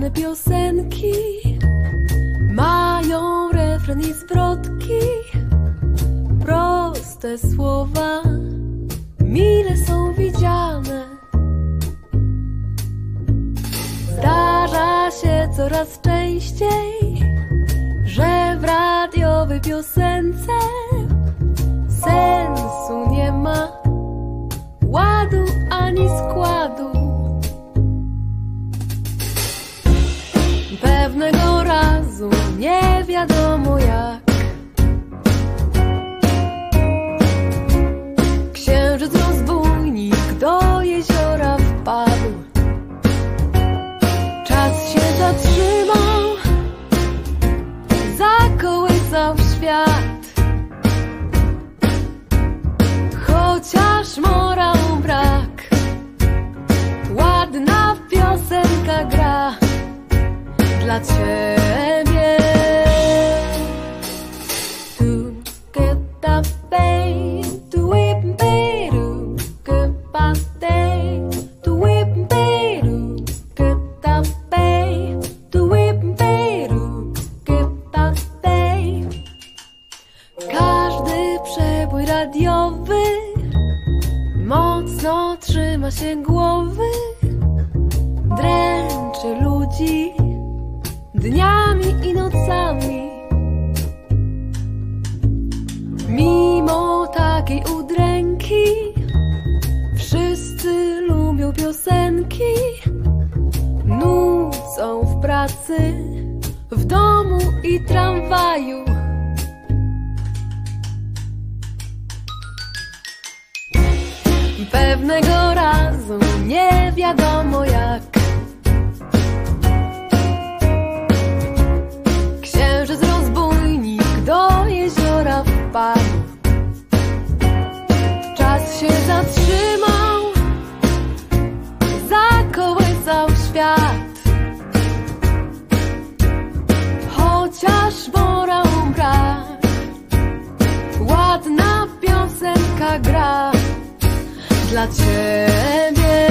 ładne piosenki mają refren i zwrotki, proste słowa mile są widziane. Zdarza się coraz częściej, że w radiowej piosence sensu nie ma, ładu ani składu. Pewnego razu, nie wiadomo jak, księżyc rozbójnik do jeziora wpadł. Czas się zatrzymał, zakołysał świat. Chociaż morał brak, ładna piosenka gra dla ciebie. Tu get up, babe, tu whip, babe, tu get up, babe, tu whip, babe, tu get up, babe, tu whip, babe, tu get up, babe. Każdy przebój radiowy mocno trzyma się głowy, dręczy ludzi dniami i nocami. Mimo takiej udręki wszyscy lubią piosenki, nucą w pracy, w domu i tramwaju. Pewnego razu, nie wiadomo jak, księżyc rozbójnik do jeziora wpadł. Czas się zatrzymał, zakołysał świat. Chociaż morał brak, ładna piosenka gra dla ciebie.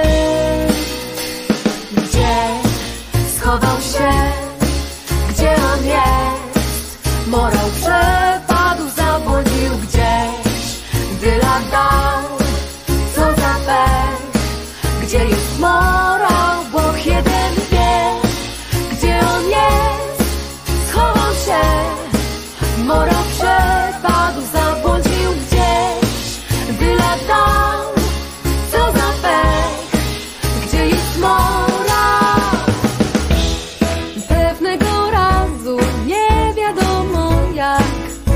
Gdzie schował się, gdzie on jest? Morał przepadł, zabłądził gdzieś, gdy lat dał, co za pech. Gdzie jest morał, Bóg jeden wie. Gdzie on jest? Schował się. Morał przepadł, zabłądził gdzieś, gdy lat dał, co za pech. Gdzie jest morał? Pewnego razu, nie wiadomo jak,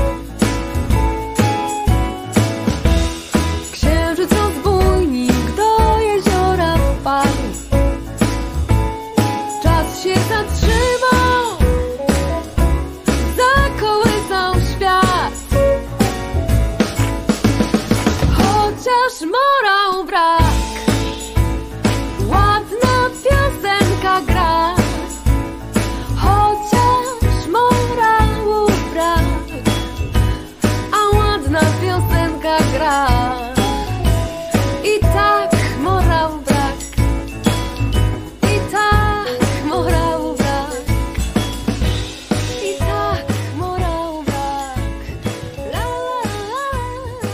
księżyc rozbójnik do jeziora wpadł. Czas się zatrzymał, zakołysał świat. Chociaż morał brak, ładna piosenka gra. Chociaż morału brak, a ładna piosenka gra. I tak morał brak, i tak morał brak, i tak morał brak. La la la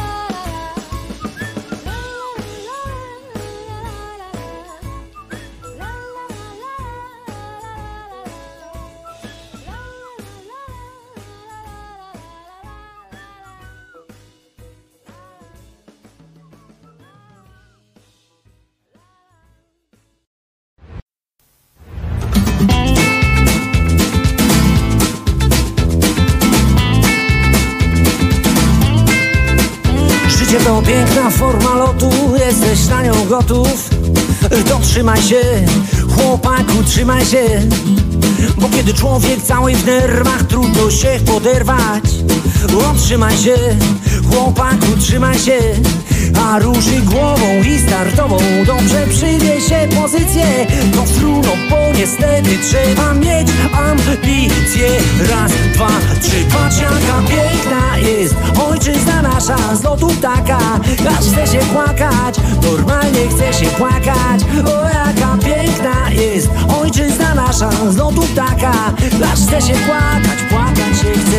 Życie to piękna forma lotu, jesteś na nią gotów. To trzymaj się, chłopaku, trzymaj się. Bo kiedy człowiek cały w nerwach, trudno się poderwać. Trzymaj się, chłopaku, trzymaj się. A ruszy głową i startową, dobrze przyjmie się pozycję. To trudno, bo niestety trzeba mieć ambicje. Raz, dwa, trzy, patrz jaka piękna jest ojczyzna nasza z lotu ptaka. Aż chce się płakać, normalnie chce się płakać. O jaka piękna jest ojczyzna nasza, z lotu ptaka. Aż chce się płakać, płakać się chce.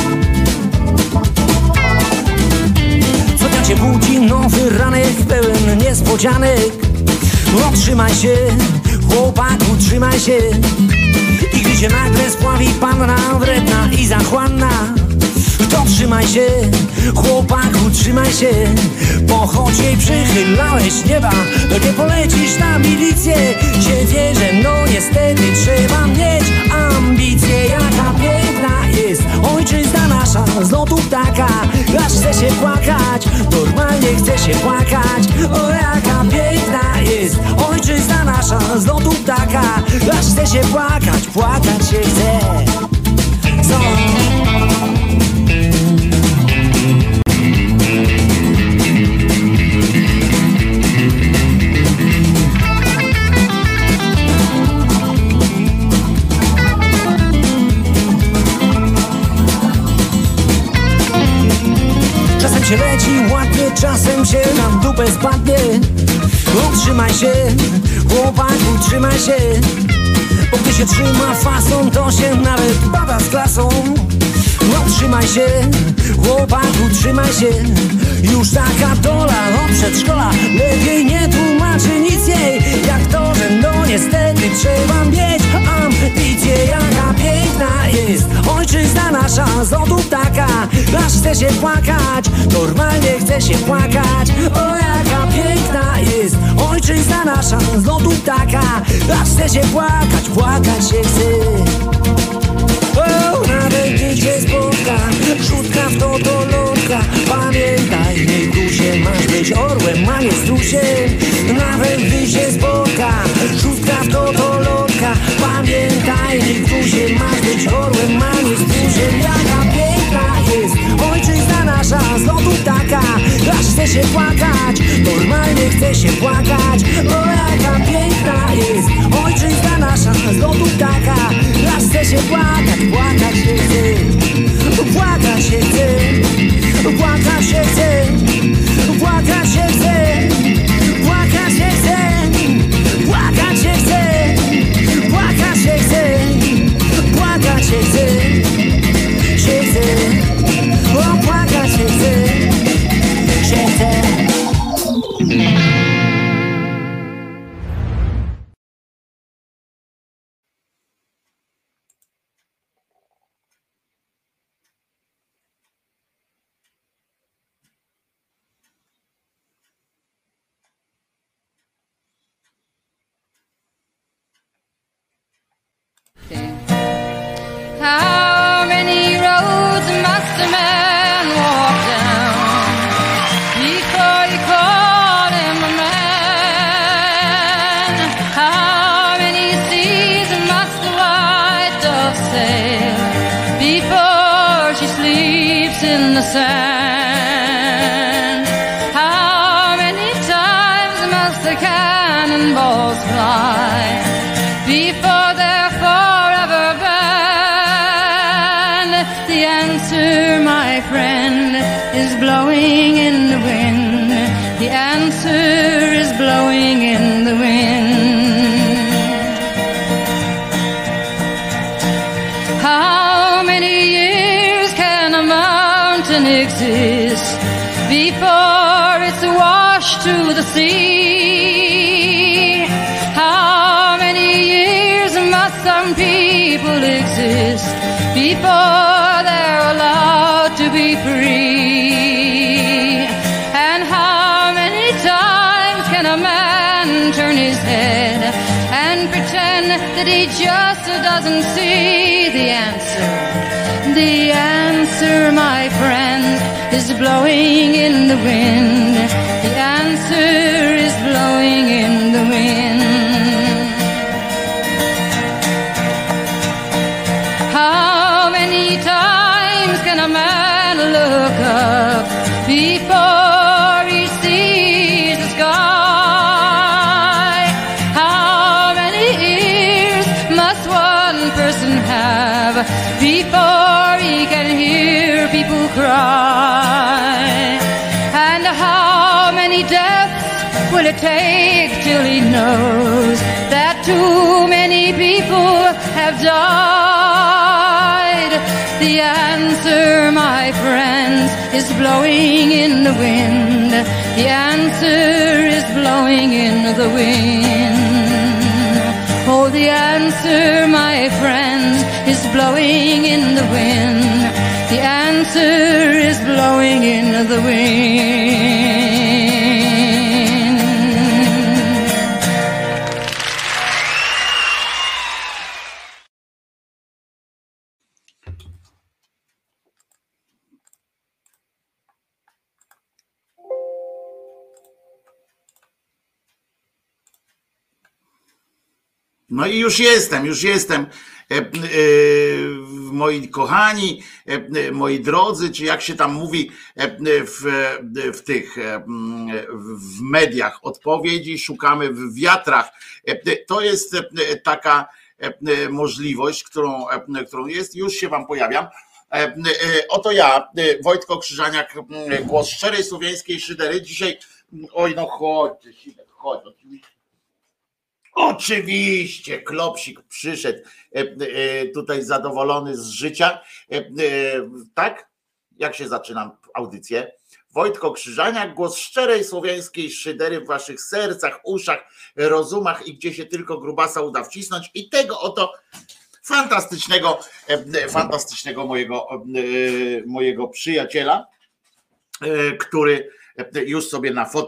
Co dnia cię budzi nowy ranek pełen niespodzianek. No trzymaj się, chłopaku, trzymaj się. I gdy się nagle spławi panna wredna i zachłanna, to trzymaj się, chłopaku, trzymaj się. Po choć jej przychylałeś nieba, to nie polecisz na milicję. Się wierzę, no niestety trzeba mieć ambicje. Jaka piękna jest ojczyzna nasza, z lotu ptaka. Aż chce się płakać, normalnie chce się płakać. O, jaka piękna jest ojczyzna nasza, z lotu ptaka. Aż chce się płakać, płakać się chce. Co? Czasem się leci ładnie, czasem się na dupę spadnie. No trzymaj się, chłopaku, trzymaj się. Bo gdy się trzyma fason, to się nawet bada z klasą. No trzymaj się, chłopaku, trzymaj się. Już taka dola od przedszkola lepiej nie tłumaczy nic jej. Jak to, że no niestety trzeba mieć ambicje. Jaka piękna jest ojczyzna nasza, z lotu ptaka. Aż chce się płakać, normalnie chce się płakać. O, jaka piękna jest ojczyzna nasza, z lotu ptaka. Aż chce się płakać, płakać się chce. O, nawet gdy cię spotka rzutka w totolotka, pamiętaj, nie grusie, masz być orłem, a nie strusiem. Nawet gdy się spotka rzutka w totolotka, pamiętaj, nie grusie, masz być orłem, a nie strusiem. Jaka piękna jest ojczyzna nasza, z lotu ptaka. Aż chce się płakać, normalnie chce się płakać. O, jaka piękna jest ojczyzna nasza, z lotu ptaka. Aż chce się płakać, płakać się chce. Płakać się chce, płakać się chce, płakać się chce, płakać się chce, płakać się chce, płakać się chce, płakać się chce, się chce, o, płakać się chce, się chce. How many roads must a man walk down before you call him a man? How many seas must the white dove sail before she sleeps in the sand? How many times must the cannonballs fly before they're forever banned? The answer, my friend, is blowing in the wind. The answer is blowing in the wind. How many years can a mountain exist before it's washed to the sea? How many years must some people exist before they're allowed to be free? And how many times can a man turn his head and pretend that he just doesn't see? The answer, my friend, is blowing in the wind. The answer is blowing in the wind. How many times can a man look up before he sees the sky? How many ears must one person have before he can hear people cry? And how many deaths will will it take till he knows that too many people have died? The answer, my friends, is blowing in the wind. The answer is blowing in the wind. Oh, the answer, my friends, is blowing in the wind. The answer is blowing in the wind. No i już jestem. Moi kochani, moi drodzy, czy jak się tam mówi w mediach, odpowiedzi szukamy w wiatrach. To jest taka możliwość, którą jest, już się wam pojawiam. Oto ja, Wojtko Krzyżaniak, głos szczerej słowiańskiej szydery. Dzisiaj, oj no chodź, oczywiście, Klopsik przyszedł tutaj zadowolony z życia. Tak? Jak się zaczynam audycję? Wojtko Krzyżaniak, głos szczerej słowiańskiej szydery w waszych sercach, uszach, rozumach i gdzie się tylko grubasa uda wcisnąć. I tego oto fantastycznego mojego przyjaciela, który już sobie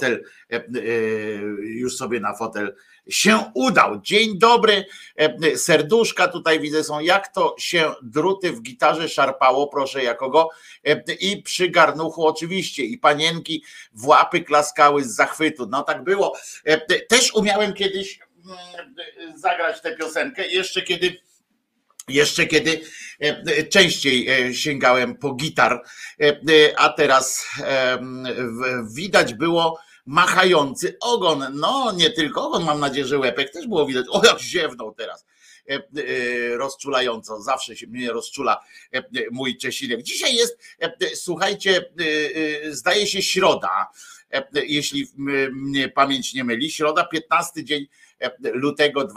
na fotel się udał. Dzień dobry, serduszka tutaj widzę są, jak to się druty w gitarze szarpało, proszę jakogo, i przy garnuchu oczywiście, i panienki w łapy klaskały z zachwytu. No tak było. Też umiałem kiedyś zagrać tę piosenkę, jeszcze kiedy częściej sięgałem po gitar, a teraz widać było machający ogon, no nie tylko ogon, mam nadzieję, że łepek też było widać. O, jak ziewnął teraz rozczulająco, zawsze się mnie rozczula mój Czesinek. Dzisiaj jest, słuchajcie, zdaje się środa, jeśli mnie pamięć nie myli, środa, 15 dzień lutego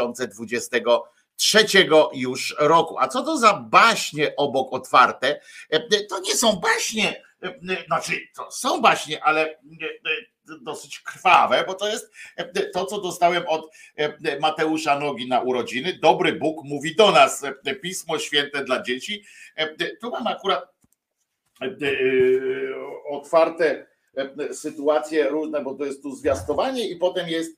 2023 już roku. A co to za baśnie obok otwarte? To nie są baśnie, znaczy to są baśnie, ale dosyć krwawe, bo to jest to, co dostałem od Mateusza Nogi na urodziny. Dobry Bóg mówi do nas, Pismo Święte dla dzieci. Tu mam akurat otwarte sytuacje różne, bo to jest tu zwiastowanie i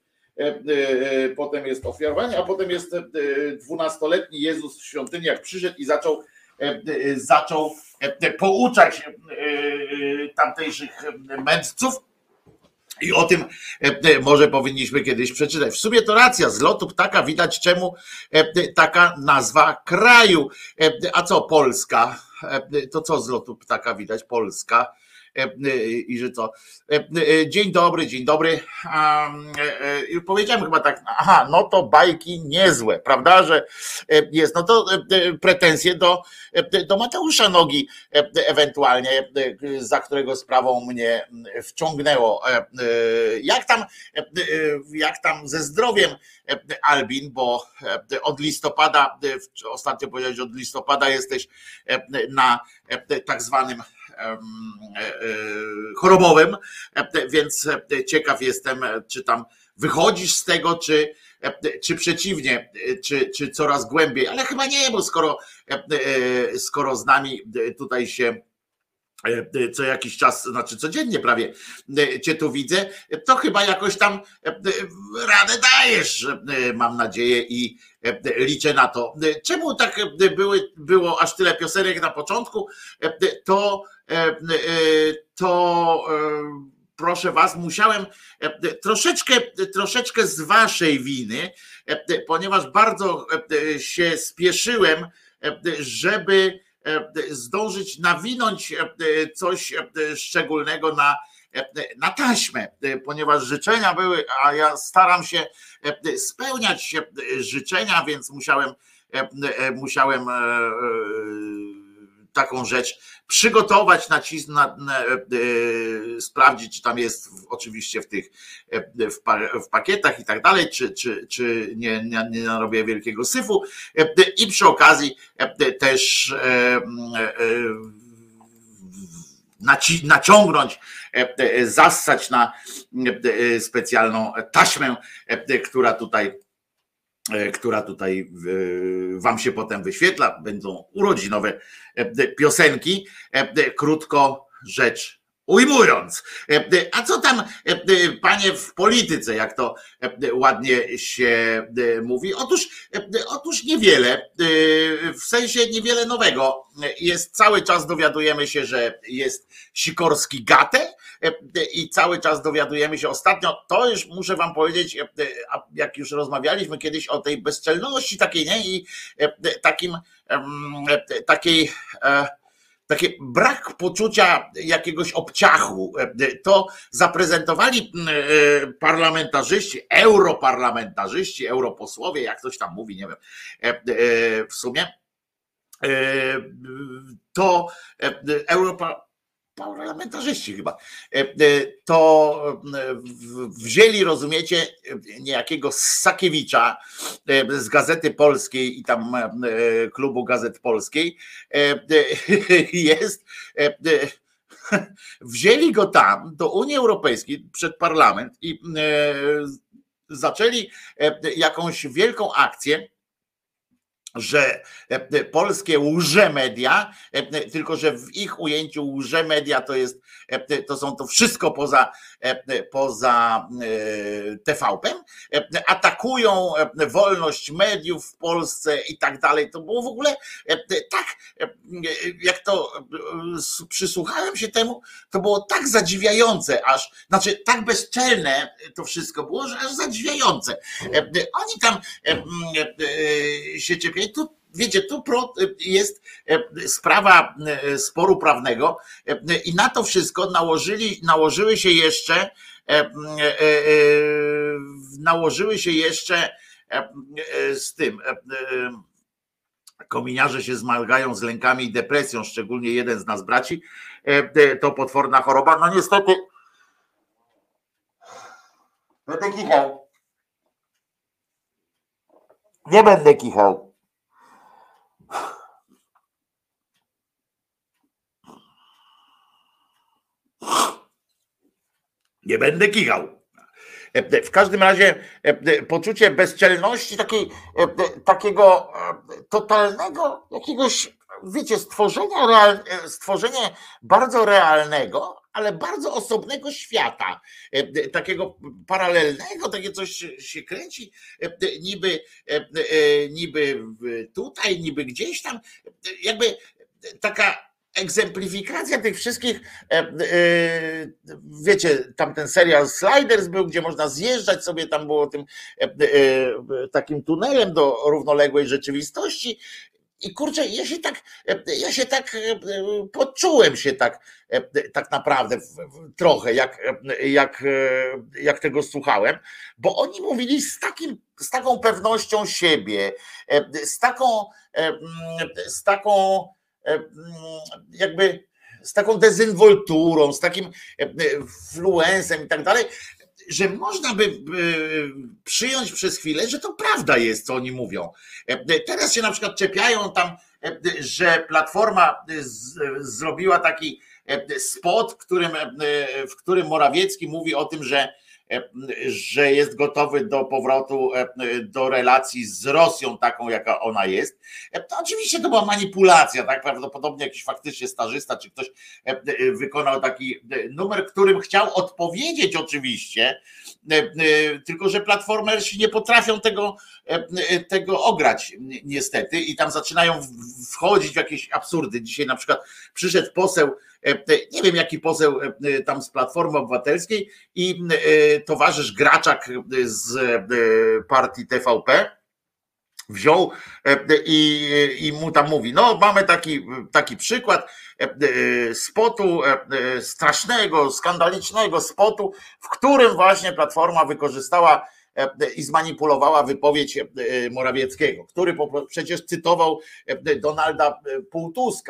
potem jest ofiarowanie, a potem jest 12-letni Jezus w świątyni, jak przyszedł i zaczął pouczać tamtejszych mędrców. I o tym może powinniśmy kiedyś przeczytać. W sumie to racja, z lotu ptaka widać, czemu taka nazwa kraju. A co Polska? To co z lotu ptaka widać? Polska. I że co? Dzień dobry. Już powiedziałem chyba tak, aha, no to bajki niezłe, prawda, że jest, no to pretensje do Mateusza Nogi ewentualnie, za którego sprawą mnie wciągnęło. Jak tam ze zdrowiem, Albin, bo od listopada, ostatnio powiedziałeś, od listopada jesteś na tak zwanym chorobowym, więc ciekaw jestem, czy tam wychodzisz z tego, czy przeciwnie, czy coraz głębiej, ale chyba nie, bo skoro z nami tutaj się co jakiś czas, znaczy codziennie prawie cię tu widzę, to chyba jakoś tam radę dajesz, mam nadzieję, i liczę na to. Czemu tak było aż tyle piosenek na początku? To proszę was, musiałem troszeczkę z waszej winy, ponieważ bardzo się spieszyłem, żeby zdążyć nawinąć coś szczególnego na taśmę, ponieważ życzenia były, a ja staram się spełniać życzenia, więc musiałem taką rzecz przygotować, sprawdzić, czy tam jest oczywiście w tych w pakietach i tak dalej, czy nie narobię wielkiego syfu i przy okazji też naciągnąć, zassać na specjalną taśmę, która tutaj wam się potem wyświetla. Będą urodzinowe piosenki, krótko rzecz ujmując. A co tam, panie, w polityce, jak to ładnie się mówi? Otóż niewiele, w sensie niewiele nowego. Jest cały czas, dowiadujemy się, że jest Sikorski Gatę i cały czas dowiadujemy się ostatnio, to już muszę wam powiedzieć, jak już rozmawialiśmy kiedyś o tej bezczelności takiej, nie? I taki brak poczucia jakiegoś obciachu, to zaprezentowali parlamentarzyści, europarlamentarzyści, europosłowie, jak ktoś tam mówi, nie wiem, w sumie, to parlamentarzyści chyba, to wzięli, rozumiecie, niejakiego Ssakiewicza z Gazety Polskiej i tam Klubu Gazet Polskiej, wzięli go tam do Unii Europejskiej przed parlament i zaczęli jakąś wielką akcję, że polskie łże-media, tylko że w ich ujęciu łże-media to są to wszystko poza TVP-em, atakują wolność mediów w Polsce i tak dalej. To było w ogóle tak, jak to przysłuchałem się temu, to było tak zadziwiające, znaczy tak bezczelne to wszystko było, że aż zadziwiające. Oni tam się czepiają. Tu, wiecie, tu jest sprawa sporu prawnego i na to wszystko nałożyły się jeszcze z tym. Kominiarze się zmagają z lękami i depresją, szczególnie jeden z nas braci. To potworna choroba. No niestety. Będę kichał. Nie będę kichał. Nie będę kichał. W każdym razie poczucie bezczelności, takiego totalnego jakiegoś, wiecie, stworzenie bardzo realnego, ale bardzo osobnego świata, takiego paralelnego, takie coś się kręci, niby tutaj, niby gdzieś tam, jakby taka egzemplifikacja tych wszystkich, wiecie, tam ten serial Sliders był, gdzie można zjeżdżać sobie, tam było tym takim tunelem do równoległej rzeczywistości. I kurczę, ja się tak poczułem się tak naprawdę trochę, jak tego słuchałem, bo oni mówili z taką pewnością siebie, z taką dezynwolturą, z takim fluensem i tak dalej, że można by przyjąć przez chwilę, że to prawda jest, co oni mówią. Teraz się na przykład czepiają tam, że Platforma zrobiła taki spot, w którym Morawiecki mówi o tym, że jest gotowy do powrotu do relacji z Rosją taką, jaka ona jest. To oczywiście to była manipulacja, tak? Prawdopodobnie jakiś faktycznie stażysta czy ktoś wykonał taki numer, którym chciał odpowiedzieć oczywiście, tylko że platformersi nie potrafią tego ograć niestety i tam zaczynają wchodzić w jakieś absurdy. Dzisiaj na przykład przyszedł poseł, nie wiem jaki poseł tam z Platformy Obywatelskiej i towarzysz Graczak z partii TVP wziął i mu tam mówi, no mamy taki przykład spotu, strasznego, skandalicznego spotu, w którym właśnie Platforma wykorzystała i zmanipulowała wypowiedź Morawieckiego, który przecież cytował Donalda Tuska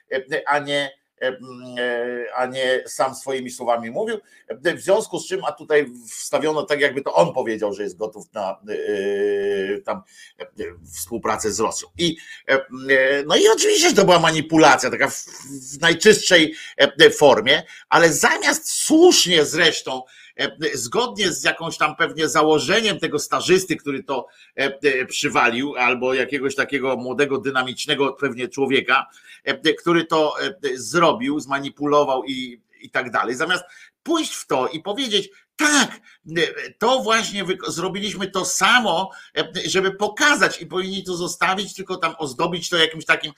a nie sam swoimi słowami mówił. W związku z czym, a tutaj wstawiono tak, jakby to on powiedział, że jest gotów na tam współpracę z Rosją. No i oczywiście to była manipulacja, taka w najczystszej formie, ale zamiast słusznie zresztą, zgodnie z jakąś tam pewnie założeniem tego stażysty, który to przywalił, albo jakiegoś takiego młodego, dynamicznego pewnie człowieka, który to zrobił, zmanipulował i tak dalej, zamiast pójść w to i powiedzieć, tak, to właśnie zrobiliśmy to samo, żeby pokazać i powinni to zostawić, tylko tam ozdobić to jakimś takim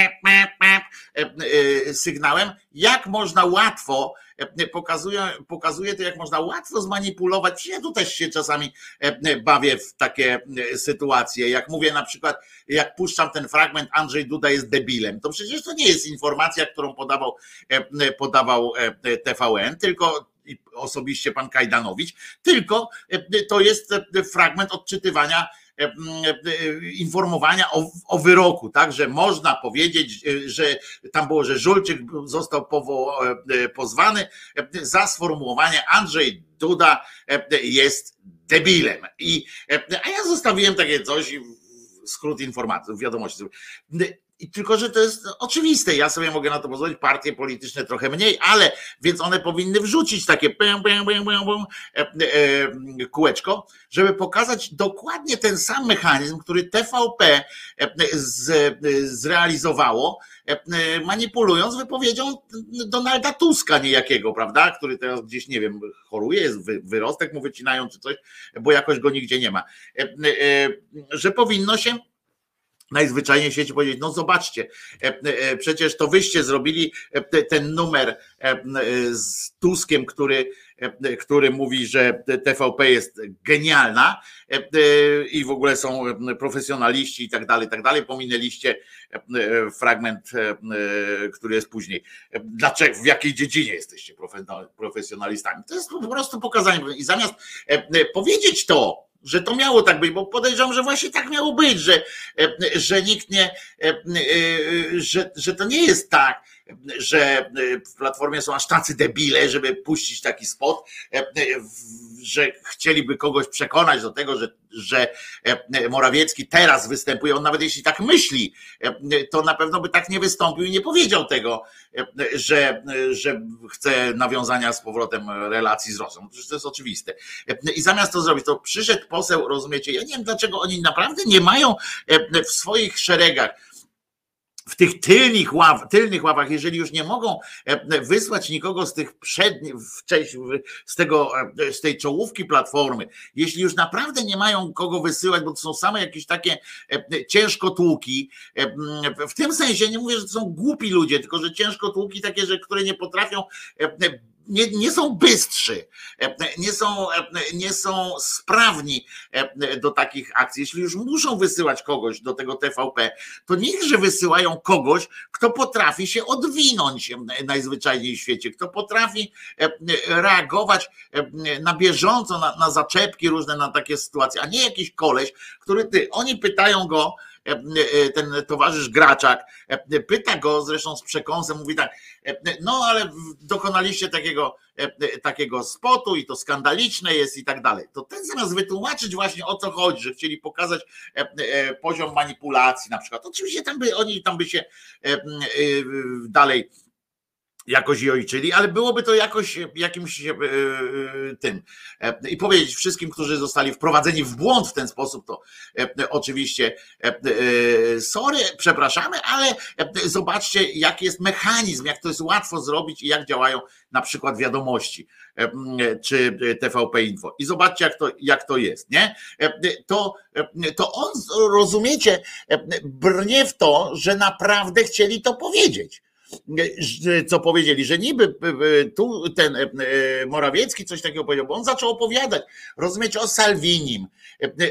sygnałem, jak można łatwo, pokazuje to, jak można łatwo zmanipulować. Ja tu też się czasami bawię w takie sytuacje, jak mówię na przykład, jak puszczam ten fragment Andrzej Duda jest debilem, to przecież to nie jest informacja, którą podawał TVN, tylko osobiście pan Kajdanowicz, tylko to jest fragment odczytywania, informowania o wyroku, tak, że można powiedzieć, że tam było, że Żulczyk został pozwany za sformułowanie Andrzej Duda jest debilem. A ja zostawiłem takie coś, skrót informacji, wiadomości. I tylko, że to jest oczywiste, ja sobie mogę na to pozwolić, partie polityczne trochę mniej, ale więc one powinny wrzucić takie kółeczko, żeby pokazać dokładnie ten sam mechanizm, który TVP zrealizowało, manipulując wypowiedzią Donalda Tuska niejakiego, prawda, który teraz gdzieś, nie wiem, choruje, jest wyrostek mu wycinają czy coś, bo jakoś go nigdzie nie ma, że powinno się najzwyczajniej w świecie powiedzieć, no zobaczcie, przecież to wyście zrobili ten numer z Tuskiem, który mówi, że TVP jest genialna i w ogóle są profesjonaliści i tak dalej, pominęliście fragment, który jest później. Dlaczego, w jakiej dziedzinie jesteście profesjonalistami? To jest po prostu pokazanie. I zamiast powiedzieć to, że to miało tak być, bo podejrzewam, że właśnie tak miało być, że nikt nie, że to nie jest tak, że w Platformie są aż tacy debile, żeby puścić taki spot, że chcieliby kogoś przekonać do tego, że Morawiecki teraz występuje, on nawet jeśli tak myśli, to na pewno by tak nie wystąpił i nie powiedział tego, że chce nawiązania z powrotem relacji z Rosją. Przecież to jest oczywiste. I zamiast to zrobić, to przyszedł poseł, rozumiecie, ja nie wiem dlaczego oni naprawdę nie mają w swoich szeregach, w tych tylnych ławach, jeżeli już nie mogą wysłać nikogo z tych przednich, z tej czołówki Platformy, jeśli już naprawdę nie mają kogo wysyłać, bo to są same jakieś takie ciężkotłuki, w tym sensie nie mówię, że to są głupi ludzie, tylko że ciężkotłuki takie, które nie potrafią, nie są bystrzy, nie są sprawni do takich akcji. Jeśli już muszą wysyłać kogoś do tego TVP, to niechże wysyłają kogoś, kto potrafi się odwinąć najzwyczajniej w świecie, kto potrafi reagować na bieżąco, na zaczepki różne, na takie sytuacje, a nie jakiś koleś, oni pytają go, ten towarzysz Graczak pyta go zresztą z przekąsem, mówi tak, no ale dokonaliście takiego spotu i to skandaliczne jest i tak dalej. To ten zamiast wytłumaczyć właśnie o co chodzi, że chcieli pokazać poziom manipulacji na przykład. Oczywiście oni by się dalej jakoś i ojczyli, ale byłoby to jakoś jakimś tym. I powiedzieć wszystkim, którzy zostali wprowadzeni w błąd w ten sposób, to oczywiście sorry, przepraszamy, ale zobaczcie, jaki jest mechanizm, jak to jest łatwo zrobić i jak działają na przykład Wiadomości czy TVP Info. I zobaczcie, jak to jest, nie? To on, rozumiecie, brnie w to, że naprawdę chcieli to powiedzieć. Co powiedzieli, że niby tu ten Morawiecki coś takiego powiedział, bo on zaczął opowiadać, rozumiecie, o Salvinim,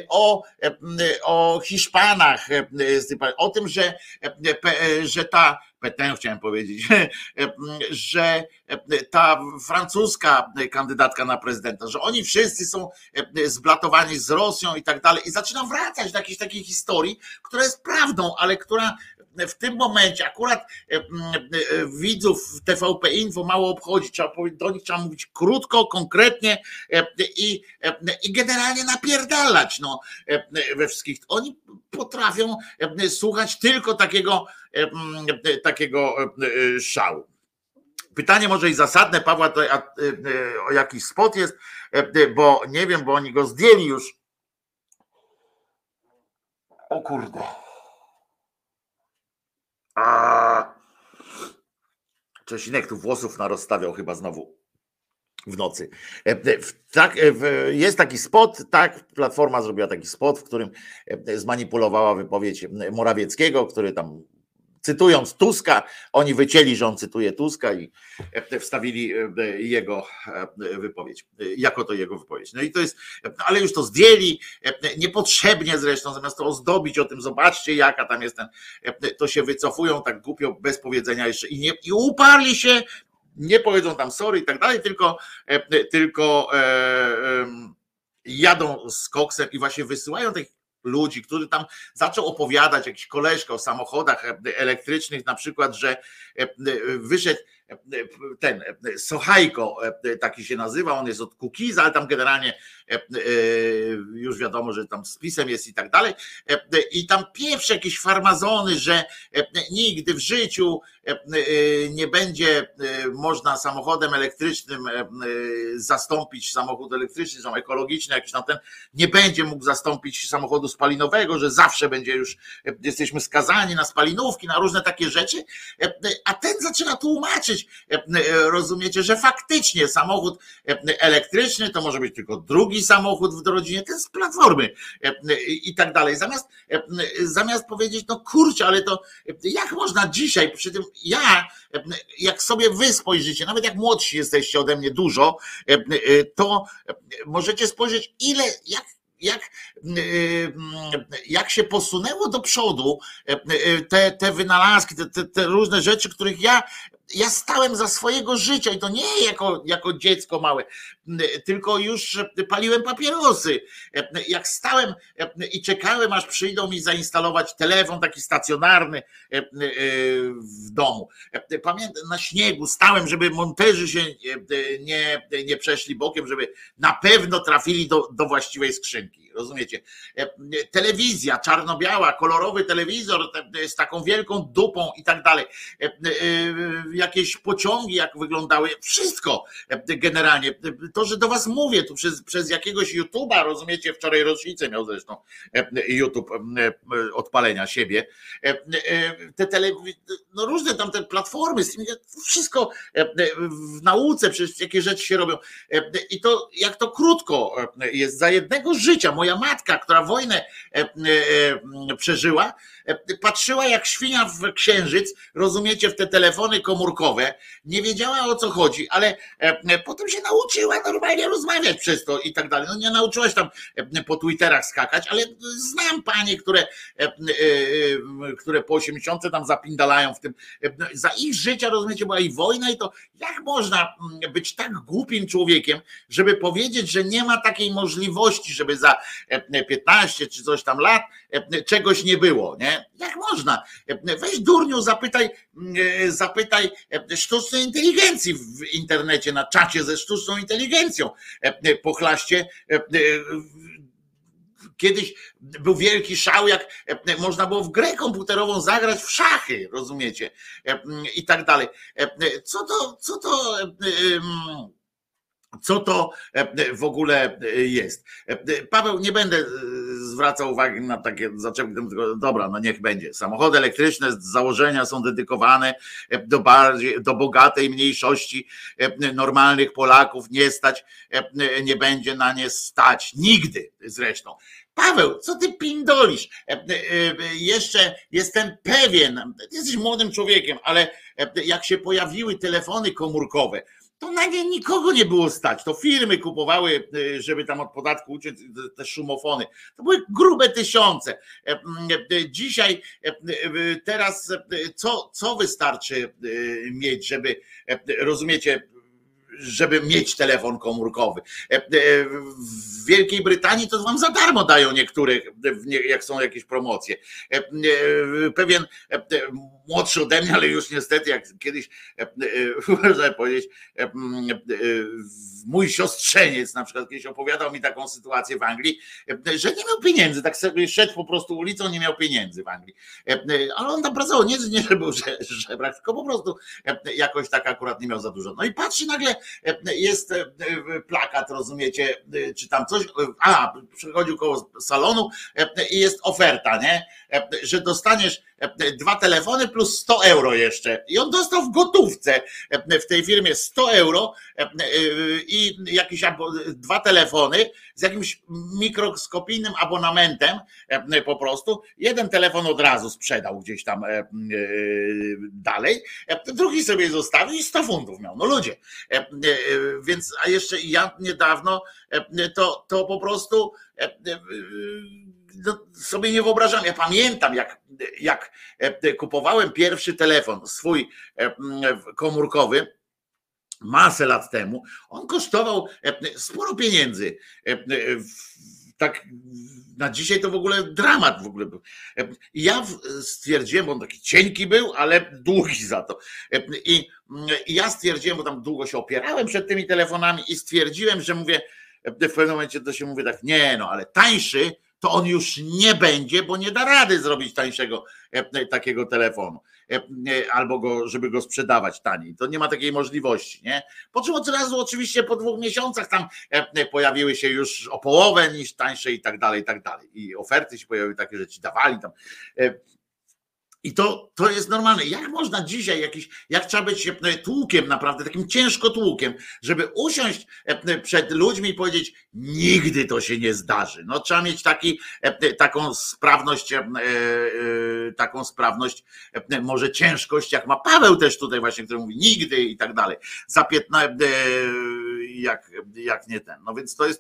o Hiszpanach, o tym, że ta Petain chciałem powiedzieć, że ta francuska kandydatka na prezydenta, że oni wszyscy są zblatowani z Rosją i tak dalej. I zaczynam wracać do jakiejś takiej historii, która jest prawdą, ale która w tym momencie akurat widzów TVP Info mało obchodzi. Do nich trzeba mówić krótko, konkretnie i generalnie napierdalać we wszystkich. Oni potrafią słuchać tylko takiego szału. Pytanie może i zasadne Pawła, o jaki spot jest, bo nie wiem, bo oni go zdjęli już. O kurde. Czesinek tu włosów narozstawiał chyba znowu w nocy. Jest taki spot, tak, Platforma zrobiła taki spot, w którym zmanipulowała wypowiedź Morawieckiego, który tam, cytując Tuska, oni wycięli, że on cytuje Tuska i wstawili jego wypowiedź, jako to jego wypowiedź. No i to jest, ale już to zdjęli, niepotrzebnie zresztą, zamiast to ozdobić o tym, zobaczcie jaka tam jest to się wycofują tak głupio, bez powiedzenia jeszcze i uparli się, nie powiedzą tam sorry i tak dalej, tylko jadą z koksem i właśnie wysyłają tych ludzi, który tam zaczął opowiadać, jakiś koleżka o samochodach elektrycznych, na przykład, że wyszedł ten Sochajko, taki się nazywa, on jest od Kukiza, ale tam generalnie już wiadomo, że tam z PiS-em jest i tak dalej, i tam pieprz jakieś farmazony, że nigdy w życiu nie będzie można samochodem elektrycznym zastąpić samochód elektryczny, są ekologiczny, jakiś tam ten, nie będzie mógł zastąpić samochodu spalinowego, że zawsze będzie już, jesteśmy skazani na spalinówki, na różne takie rzeczy, a ten zaczyna tłumaczyć, rozumiecie, że faktycznie samochód elektryczny to może być tylko drugi samochód w rodzinie, ten z Platformy i tak dalej. Zamiast powiedzieć, no kurczę, ale to jak można dzisiaj, przy tym jak sobie wy spojrzycie, nawet jak młodsi jesteście ode mnie dużo, to możecie spojrzeć jak się posunęło do przodu te wynalazki, te różne rzeczy, których ja stałem za swojego życia i to nie jako dziecko małe, tylko już paliłem papierosy. Jak stałem i czekałem, aż przyjdą mi zainstalować telefon taki stacjonarny w domu. Pamiętam, na śniegu stałem, żeby monterzy się nie przeszli bokiem, żeby na pewno trafili do właściwej skrzynki. Rozumiecie? Telewizja czarno-biała, kolorowy telewizor z taką wielką dupą i tak dalej. Jakieś pociągi, jak wyglądały, wszystko generalnie. To, że do was mówię, tu przez jakiegoś YouTube'a, rozumiecie, wczoraj rocznicę miał zresztą YouTube odpalenia siebie. No różne tam te platformy, wszystko w nauce, przecież jakie rzeczy się robią. I to jak to krótko jest, za jednego życia. Moja matka, która wojnę przeżyła, patrzyła jak świnia w księżyc, rozumiecie, w te telefony komórkowe, nie wiedziała o co chodzi, ale potem się nauczyła normalnie rozmawiać przez to i tak dalej. No nie nauczyłaś tam po Twitterach skakać, ale znam panie, które po 80 tam zapindalają w tym. Za ich życia, rozumiecie, była i wojna i to jak można być tak głupim człowiekiem, żeby powiedzieć, że nie ma takiej możliwości, żeby za 15 czy coś tam lat czegoś nie było, nie? Jak można? Weź durniu, zapytaj sztucznej inteligencji w internecie, na czacie ze sztuczną inteligencją. Pochlaście. Kiedyś był wielki szał, jak można było w grę komputerową zagrać w szachy, rozumiecie? I tak dalej. Co to w ogóle jest? Paweł, nie będę zwracał uwagi na takie zaczepki, dobra, no niech będzie. Samochody elektryczne z założenia są dedykowane do bogatej mniejszości normalnych Polaków, nie będzie na nie stać. Nigdy zresztą. Paweł, co ty pindolisz? Jeszcze jestem pewien, ty jesteś młodym człowiekiem, ale jak się pojawiły telefony komórkowe, to na nie nikogo nie było stać. To firmy kupowały, żeby tam od podatku uciec, te szumofony. To były grube tysiące. Dzisiaj, teraz, co wystarczy mieć, żeby, rozumiecie, żeby mieć telefon komórkowy. W Wielkiej Brytanii to wam za darmo dają niektórych, jak są jakieś promocje. Pewien młodszy ode mnie, ale już niestety, jak kiedyś można powiedzieć, mój siostrzeniec na przykład kiedyś opowiadał mi taką sytuację w Anglii, że nie miał pieniędzy, tak sobie szedł po prostu ulicą, nie miał pieniędzy w Anglii. Ale on tam pracował, nie że był żebrak, tylko po prostu jakoś tak akurat nie miał za dużo. No i patrzy nagle, jest plakat, rozumiecie, czy tam coś, przychodził koło salonu i jest oferta, nie, że dostaniesz 2 telefony plus 100 euro jeszcze. I on dostał w gotówce w tej firmie 100 euro i jakieś 2 telefony z jakimś mikroskopijnym abonamentem po prostu. Jeden telefon od razu sprzedał gdzieś tam dalej, drugi sobie zostawił i 100 funtów miał. No ludzie. Więc, a jeszcze ja niedawno to po prostu sobie nie wyobrażam. Ja pamiętam, jak kupowałem pierwszy telefon swój komórkowy masę lat temu. On kosztował sporo pieniędzy. Tak na dzisiaj to w ogóle dramat w ogóle był. I ja stwierdziłem, bo on taki cienki był, ale długi za to. I ja stwierdziłem, bo tam długo się opierałem przed tymi telefonami i stwierdziłem, że mówię, w pewnym momencie to się mówi tak, nie no, ale tańszy to on już nie będzie, bo nie da rady zrobić tańszego takiego telefonu. Albo żeby go sprzedawać taniej. To nie ma takiej możliwości, nie? Po czym od razu oczywiście po 2 miesiącach tam pojawiły się już o połowę niż tańsze i tak dalej, i tak dalej. I oferty się pojawiły takie, że ci dawali tam. I to jest normalne. Jak można dzisiaj jak trzeba być tłukiem naprawdę, takim ciężko tłukiem, żeby usiąść przed ludźmi i powiedzieć, nigdy to się nie zdarzy. No trzeba mieć taką sprawność, może ciężkość, jak ma Paweł też tutaj właśnie, który mówi nigdy i tak dalej. Za 15, jak nie ten. No więc to jest,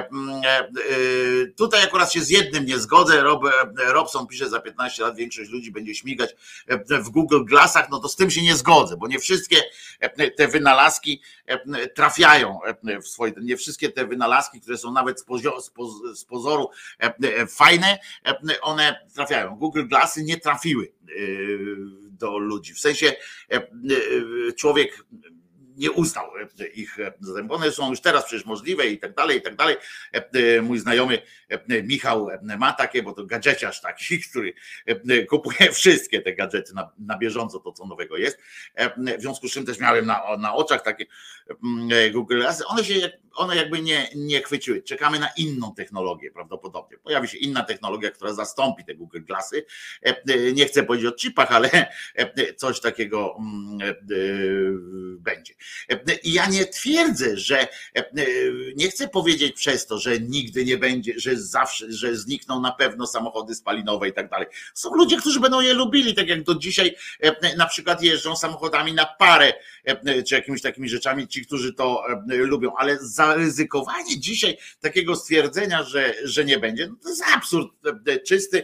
tutaj akurat się z jednym nie zgodzę. Robson pisze, za 15 lat większość ludzi będzie śmigać w Google Glassach, no to z tym się nie zgodzę, bo nie wszystkie te wynalazki trafiają w swoje, nie wszystkie te wynalazki, które są nawet z pozoru fajne, one trafiają. Google Glassy nie trafiły do ludzi, w sensie człowiek nie uznał ich, bo one są już teraz przecież możliwe i tak dalej, i tak dalej. Mój znajomy Michał ma takie, bo to gadżeciarz taki, który kupuje wszystkie te gadżety na bieżąco, to co nowego jest. W związku z czym też miałem na oczach takie Google Glassy. One jakby nie chwyciły. Czekamy na inną technologię prawdopodobnie. Pojawi się inna technologia, która zastąpi te Google Glassy. Nie chcę powiedzieć o chipach, ale coś takiego będzie. I ja nie twierdzę, że nie chcę powiedzieć przez to, że nigdy nie będzie, że zawsze, że znikną na pewno samochody spalinowe i tak dalej. Są ludzie, którzy będą je lubili, tak jak do dzisiaj na przykład jeżdżą samochodami na parę, czy jakimiś takimi rzeczami, ci, którzy to lubią, ale zaryzykowanie dzisiaj takiego stwierdzenia, że nie będzie, no to jest absurd czysty,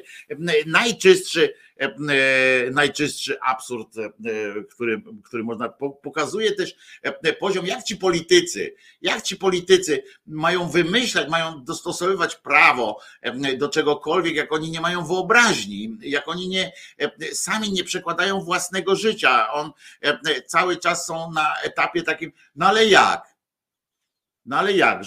najczystszy absurd, który można, pokazuje też poziom, jak ci politycy mają wymyślać, mają dostosowywać prawo do czegokolwiek, jak oni nie mają wyobraźni, jak oni sami nie przekładają własnego życia. Cały czas są na etapie takim, no ale jak,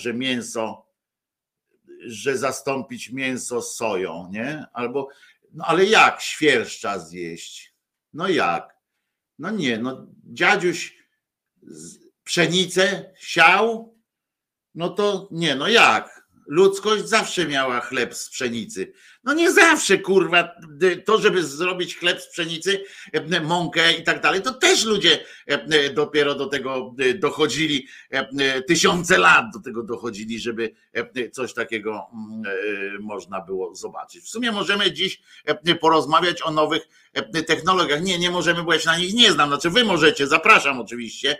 że zastąpić mięso soją, nie? Albo no ale jak świerszcza zjeść? No jak? No nie, no dziadziuś pszenicę siał, no to nie, no jak? Ludzkość zawsze miała chleb z pszenicy. No nie zawsze, kurwa, to żeby zrobić chleb z pszenicy, mąkę i tak dalej, to też ludzie dopiero do tego dochodzili, tysiące lat do tego dochodzili, żeby coś takiego można było zobaczyć. W sumie możemy dziś porozmawiać o nowych technologiach. Nie możemy, bo ja się na nich nie znam, znaczy wy możecie, zapraszam oczywiście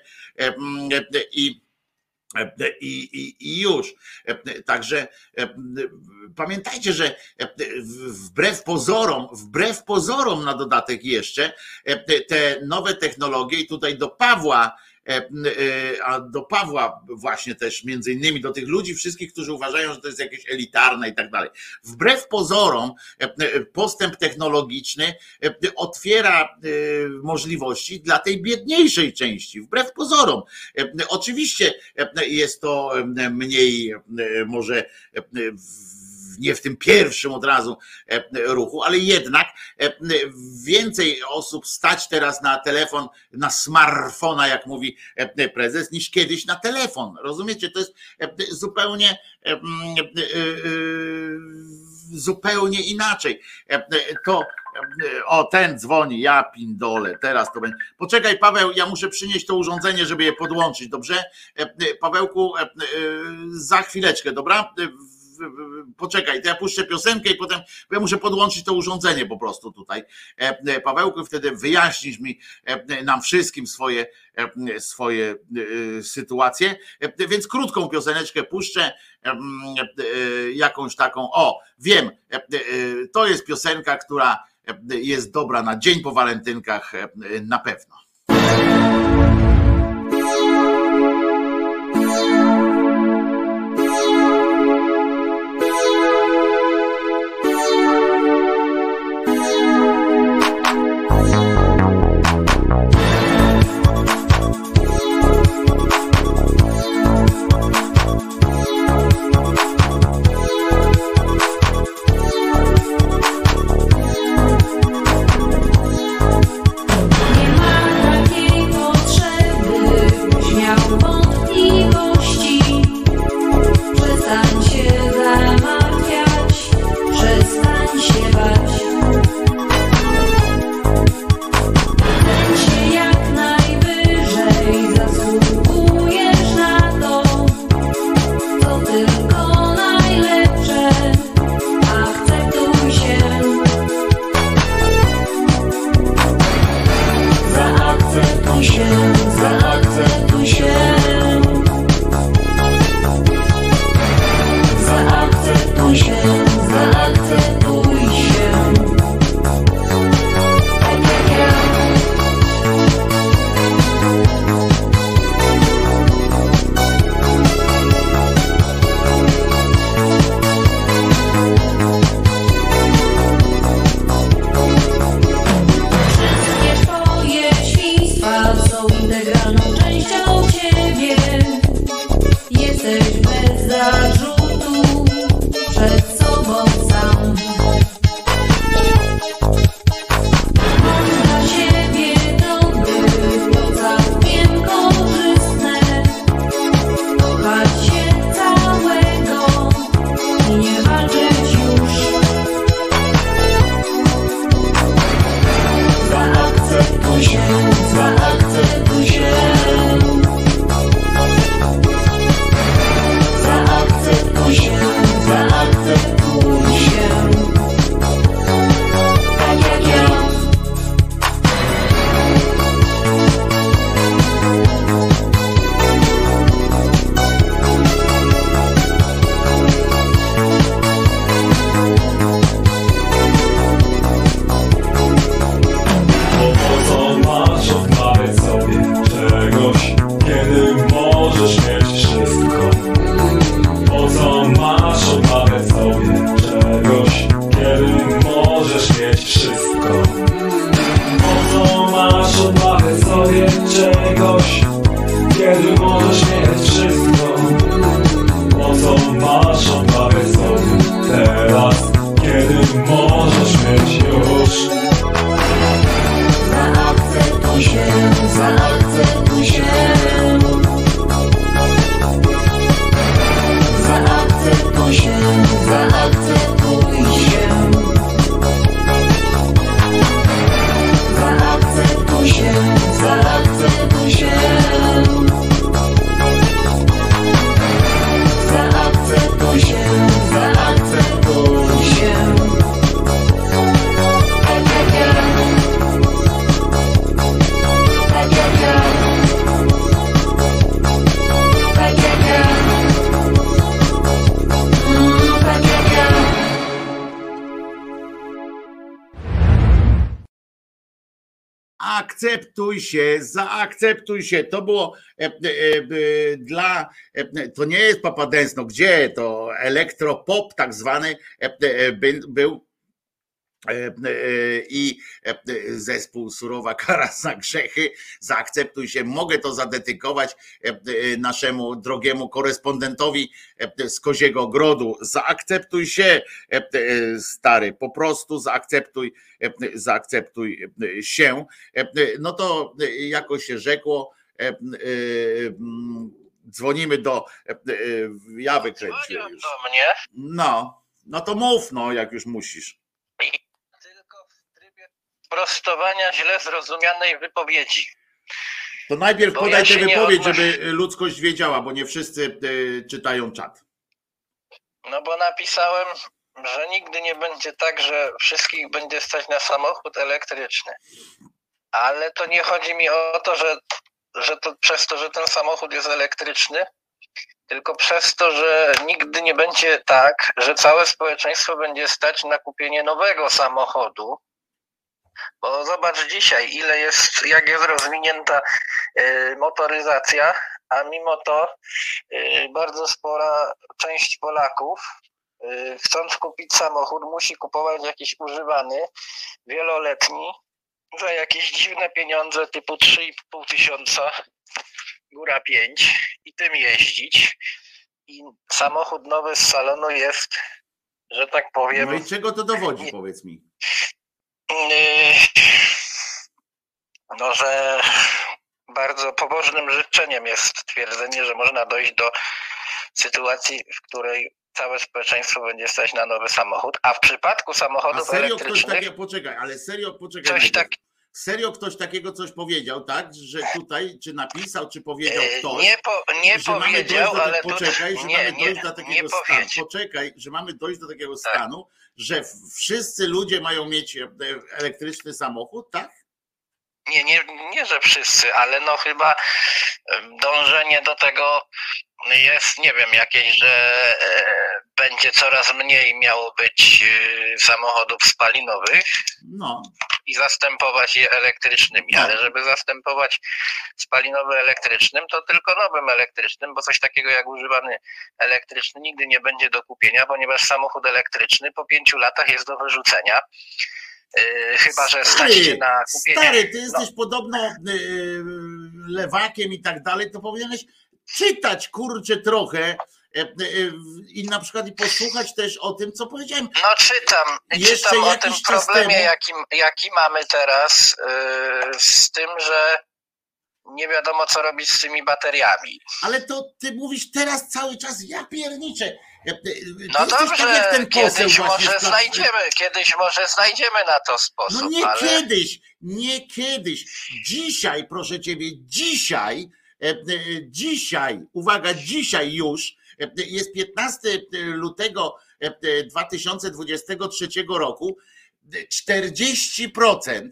i już. Także pamiętajcie, że wbrew pozorom na dodatek jeszcze te nowe technologie i tutaj do Pawła właśnie też między innymi do tych ludzi wszystkich, którzy uważają, że to jest jakieś elitarne i tak dalej. Wbrew pozorom postęp technologiczny otwiera możliwości dla tej biedniejszej części. Wbrew pozorom. Oczywiście jest to mniej może nie w tym pierwszym od razu ruchu, ale jednak więcej osób stać teraz na telefon, na smartfona, jak mówi prezes, niż kiedyś na telefon. Rozumiecie? To jest zupełnie inaczej. Ten dzwoni, ja pindolę, teraz to będzie. Poczekaj, Paweł, ja muszę przynieść to urządzenie, żeby je podłączyć, dobrze? Pawełku, za chwileczkę, dobra? Poczekaj, to ja puszczę piosenkę i potem, bo ja muszę podłączyć to urządzenie po prostu tutaj. Pawełku, wtedy wyjaśnisz nam wszystkim swoje sytuacje, więc krótką pioseneczkę puszczę, jakąś taką, wiem, to jest piosenka, która jest dobra na dzień po walentynkach na pewno. Zaakceptuj się. zaakceptuj się. To było to nie jest Papa Dance, no gdzie to elektropop tak zwany był i zespół Surowa kara za grzechy. Zaakceptuj się. Mogę to zadedykować naszemu drogiemu korespondentowi z Koziego Grodu. Zaakceptuj się, stary, po prostu zaakceptuj się. No to jako się rzekło, dzwonimy ja wykręciłem już. Do mnie. No to mów, no, jak już musisz. Tylko w trybie prostowania źle zrozumianej wypowiedzi. To najpierw podaj tę wypowiedź, żeby ludzkość wiedziała, bo nie wszyscy czytają czat. No bo napisałem, że nigdy nie będzie tak, że wszystkich będzie stać na samochód elektryczny. Ale to nie chodzi mi o to, że to przez to, że ten samochód jest elektryczny, tylko przez to, że nigdy nie będzie tak, że całe społeczeństwo będzie stać na kupienie nowego samochodu. Bo zobacz dzisiaj, jak jest rozwinięta motoryzacja, a mimo to bardzo spora część Polaków, chcąc kupić samochód, musi kupować jakiś używany, wieloletni, za jakieś dziwne pieniądze typu 3,5 tysiąca, góra 5 i tym jeździć. I samochód nowy z salonu jest, że tak powiem... No i czego to dowodzi, powiedz mi? No, że bardzo pobożnym życzeniem jest twierdzenie, że można dojść do sytuacji, w której całe społeczeństwo będzie stać na nowy samochód, a w przypadku samochodów elektrycznych... Serio ktoś takiego coś powiedział, tak? Że tutaj, czy napisał, czy powiedział ktoś? Nie powiedział, ale... że mamy dojść do takiego stanu, że wszyscy ludzie mają mieć elektryczny samochód, tak? Nie, że wszyscy, ale no chyba dążenie do tego jest, nie wiem, jakieś, że będzie coraz mniej miało być samochodów spalinowych. No. I zastępować je elektrycznymi, ale żeby zastępować spalinowy elektrycznym, to tylko nowym elektrycznym, bo coś takiego jak używany elektryczny nigdy nie będzie do kupienia, ponieważ samochód elektryczny po 5 latach jest do wyrzucenia. Chyba że stać się na kupienie. Stary, ty jesteś podobno lewakiem i tak dalej, to powinieneś czytać, kurczę, trochę i na przykład i posłuchać też o tym, co powiedziałem. No czytam o tym problemie, jaki mamy teraz z tym, że nie wiadomo, co robić z tymi bateriami. Ale to ty mówisz teraz cały czas, ja pierniczę. No dobrze, kiedyś może znajdziemy na to sposób. No nie kiedyś. Dzisiaj, proszę ciebie, dzisiaj, uwaga, dzisiaj już, jest 15 lutego 2023 roku, 40%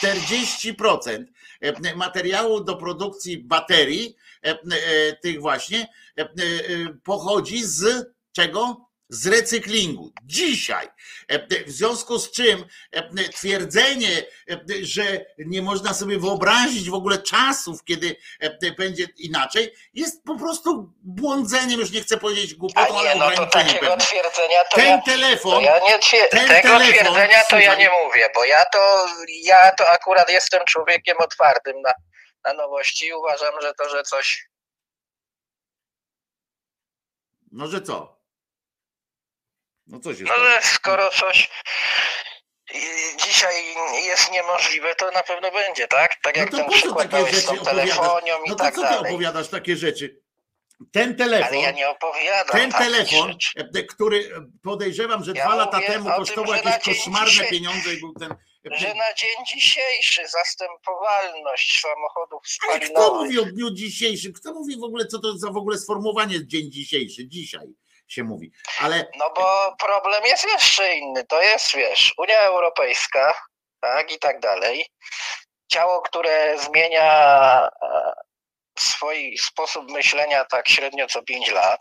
materiału do produkcji baterii, tych właśnie, pochodzi z czego? Z recyklingu. Dzisiaj. W związku z czym twierdzenie, że nie można sobie wyobrazić w ogóle czasów, kiedy będzie inaczej, jest po prostu błądzeniem, już nie chcę powiedzieć głupotą, ale ograniczeniem pewnym. Twierdzenia to ten telefon, twierdzenia to ja nie mówię, bo ja to akurat jestem człowiekiem otwartym na nowości i uważam, że coś... No, że co? No coś jest. No, że skoro coś dzisiaj jest niemożliwe, to na pewno będzie, tak? Tak jak no ten przykład z tą telefonią i tak dalej. No to co ty opowiadasz takie rzeczy? Ten telefon, ale ja nie opowiadam. Ten telefon, który podejrzewam, że 2 lata temu kosztował jakieś koszmarne pieniądze i był ten... Że na dzień dzisiejszy zastępowalność samochodów spalinowych... Ale kto mówi o dniu dzisiejszym? Kto mówi w ogóle, co to za w ogóle sformułowanie dzień dzisiejszy? Dzisiaj się mówi. Ale... No bo problem jest jeszcze inny. To jest, wiesz, Unia Europejska, tak, i tak dalej. Ciało, które zmienia swój sposób myślenia tak średnio co 5 lat.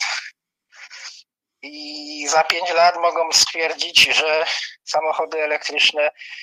I za 5 lat mogą stwierdzić, że samochody elektryczne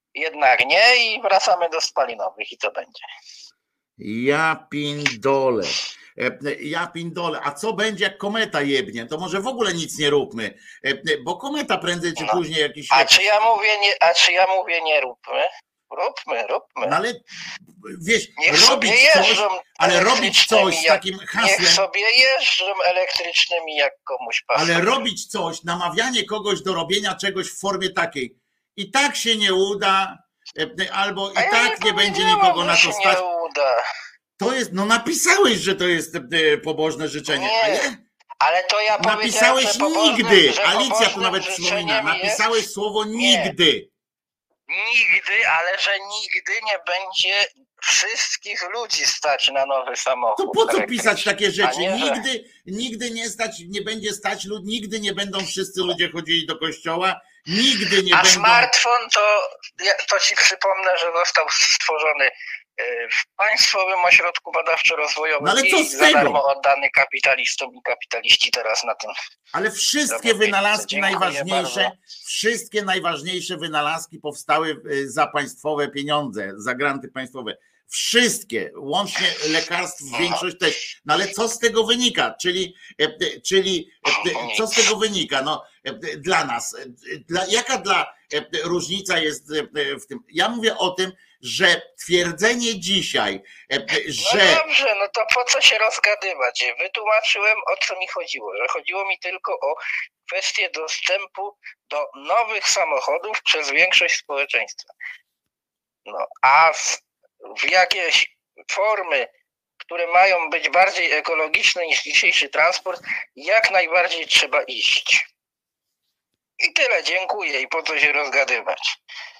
jednak nie i wracamy do spalinowych i co będzie? Ja pindole. Ja pindole. A co będzie, jak kometa jebnie? To może w ogóle nic nie róbmy, bo kometa prędzej czy później jakiś... A czy ja mówię nie róbmy? Róbmy. No ale wiesz, niech robić coś, ale robić coś z takim hasłem. Niech sobie jeżdżą elektrycznymi, jak komuś pasuje. Ale robić coś, namawianie kogoś do robienia czegoś w formie takiej. I tak się nie uda, albo i tak nie będzie nikogo na to stać. Nie uda. To jest, no napisałeś, że to jest pobożne życzenie. Nie. Ale to ja napisałeś nigdy. Alicja tu nawet przypomina. Napisałeś słowo nigdy. Nigdy, ale że nigdy nie będzie wszystkich ludzi stać na nowy samochód. To po co pisać takie rzeczy? Nigdy nie stać, nie będzie stać ludzi, nigdy nie będą wszyscy ludzie chodzili do kościoła, nigdy nie będą... A smartfon to ci przypomnę, że został stworzony w Państwowym Ośrodku Badawczo-Rozwojowym, no ale co z tego? Za darmo oddany kapitalistom i kapitaliści teraz na tym. Ale wszystkie wynalazki najważniejsze, wszystkie najważniejsze wynalazki powstały za państwowe pieniądze, za granty państwowe. Wszystkie, łącznie lekarstw, większość też. No ale co z tego wynika? Czyli co z tego wynika? No, dla nas. Jaka różnica jest w tym? Ja mówię o tym, że twierdzenie dzisiaj, że... No dobrze, no to po co się rozgadywać? Wytłumaczyłem, o co mi chodziło. Że chodziło mi tylko o kwestię dostępu do nowych samochodów przez większość społeczeństwa. No, a w jakieś formy, które mają być bardziej ekologiczne niż dzisiejszy transport, jak najbardziej trzeba iść. I tyle, dziękuję. I po co się rozgadywać?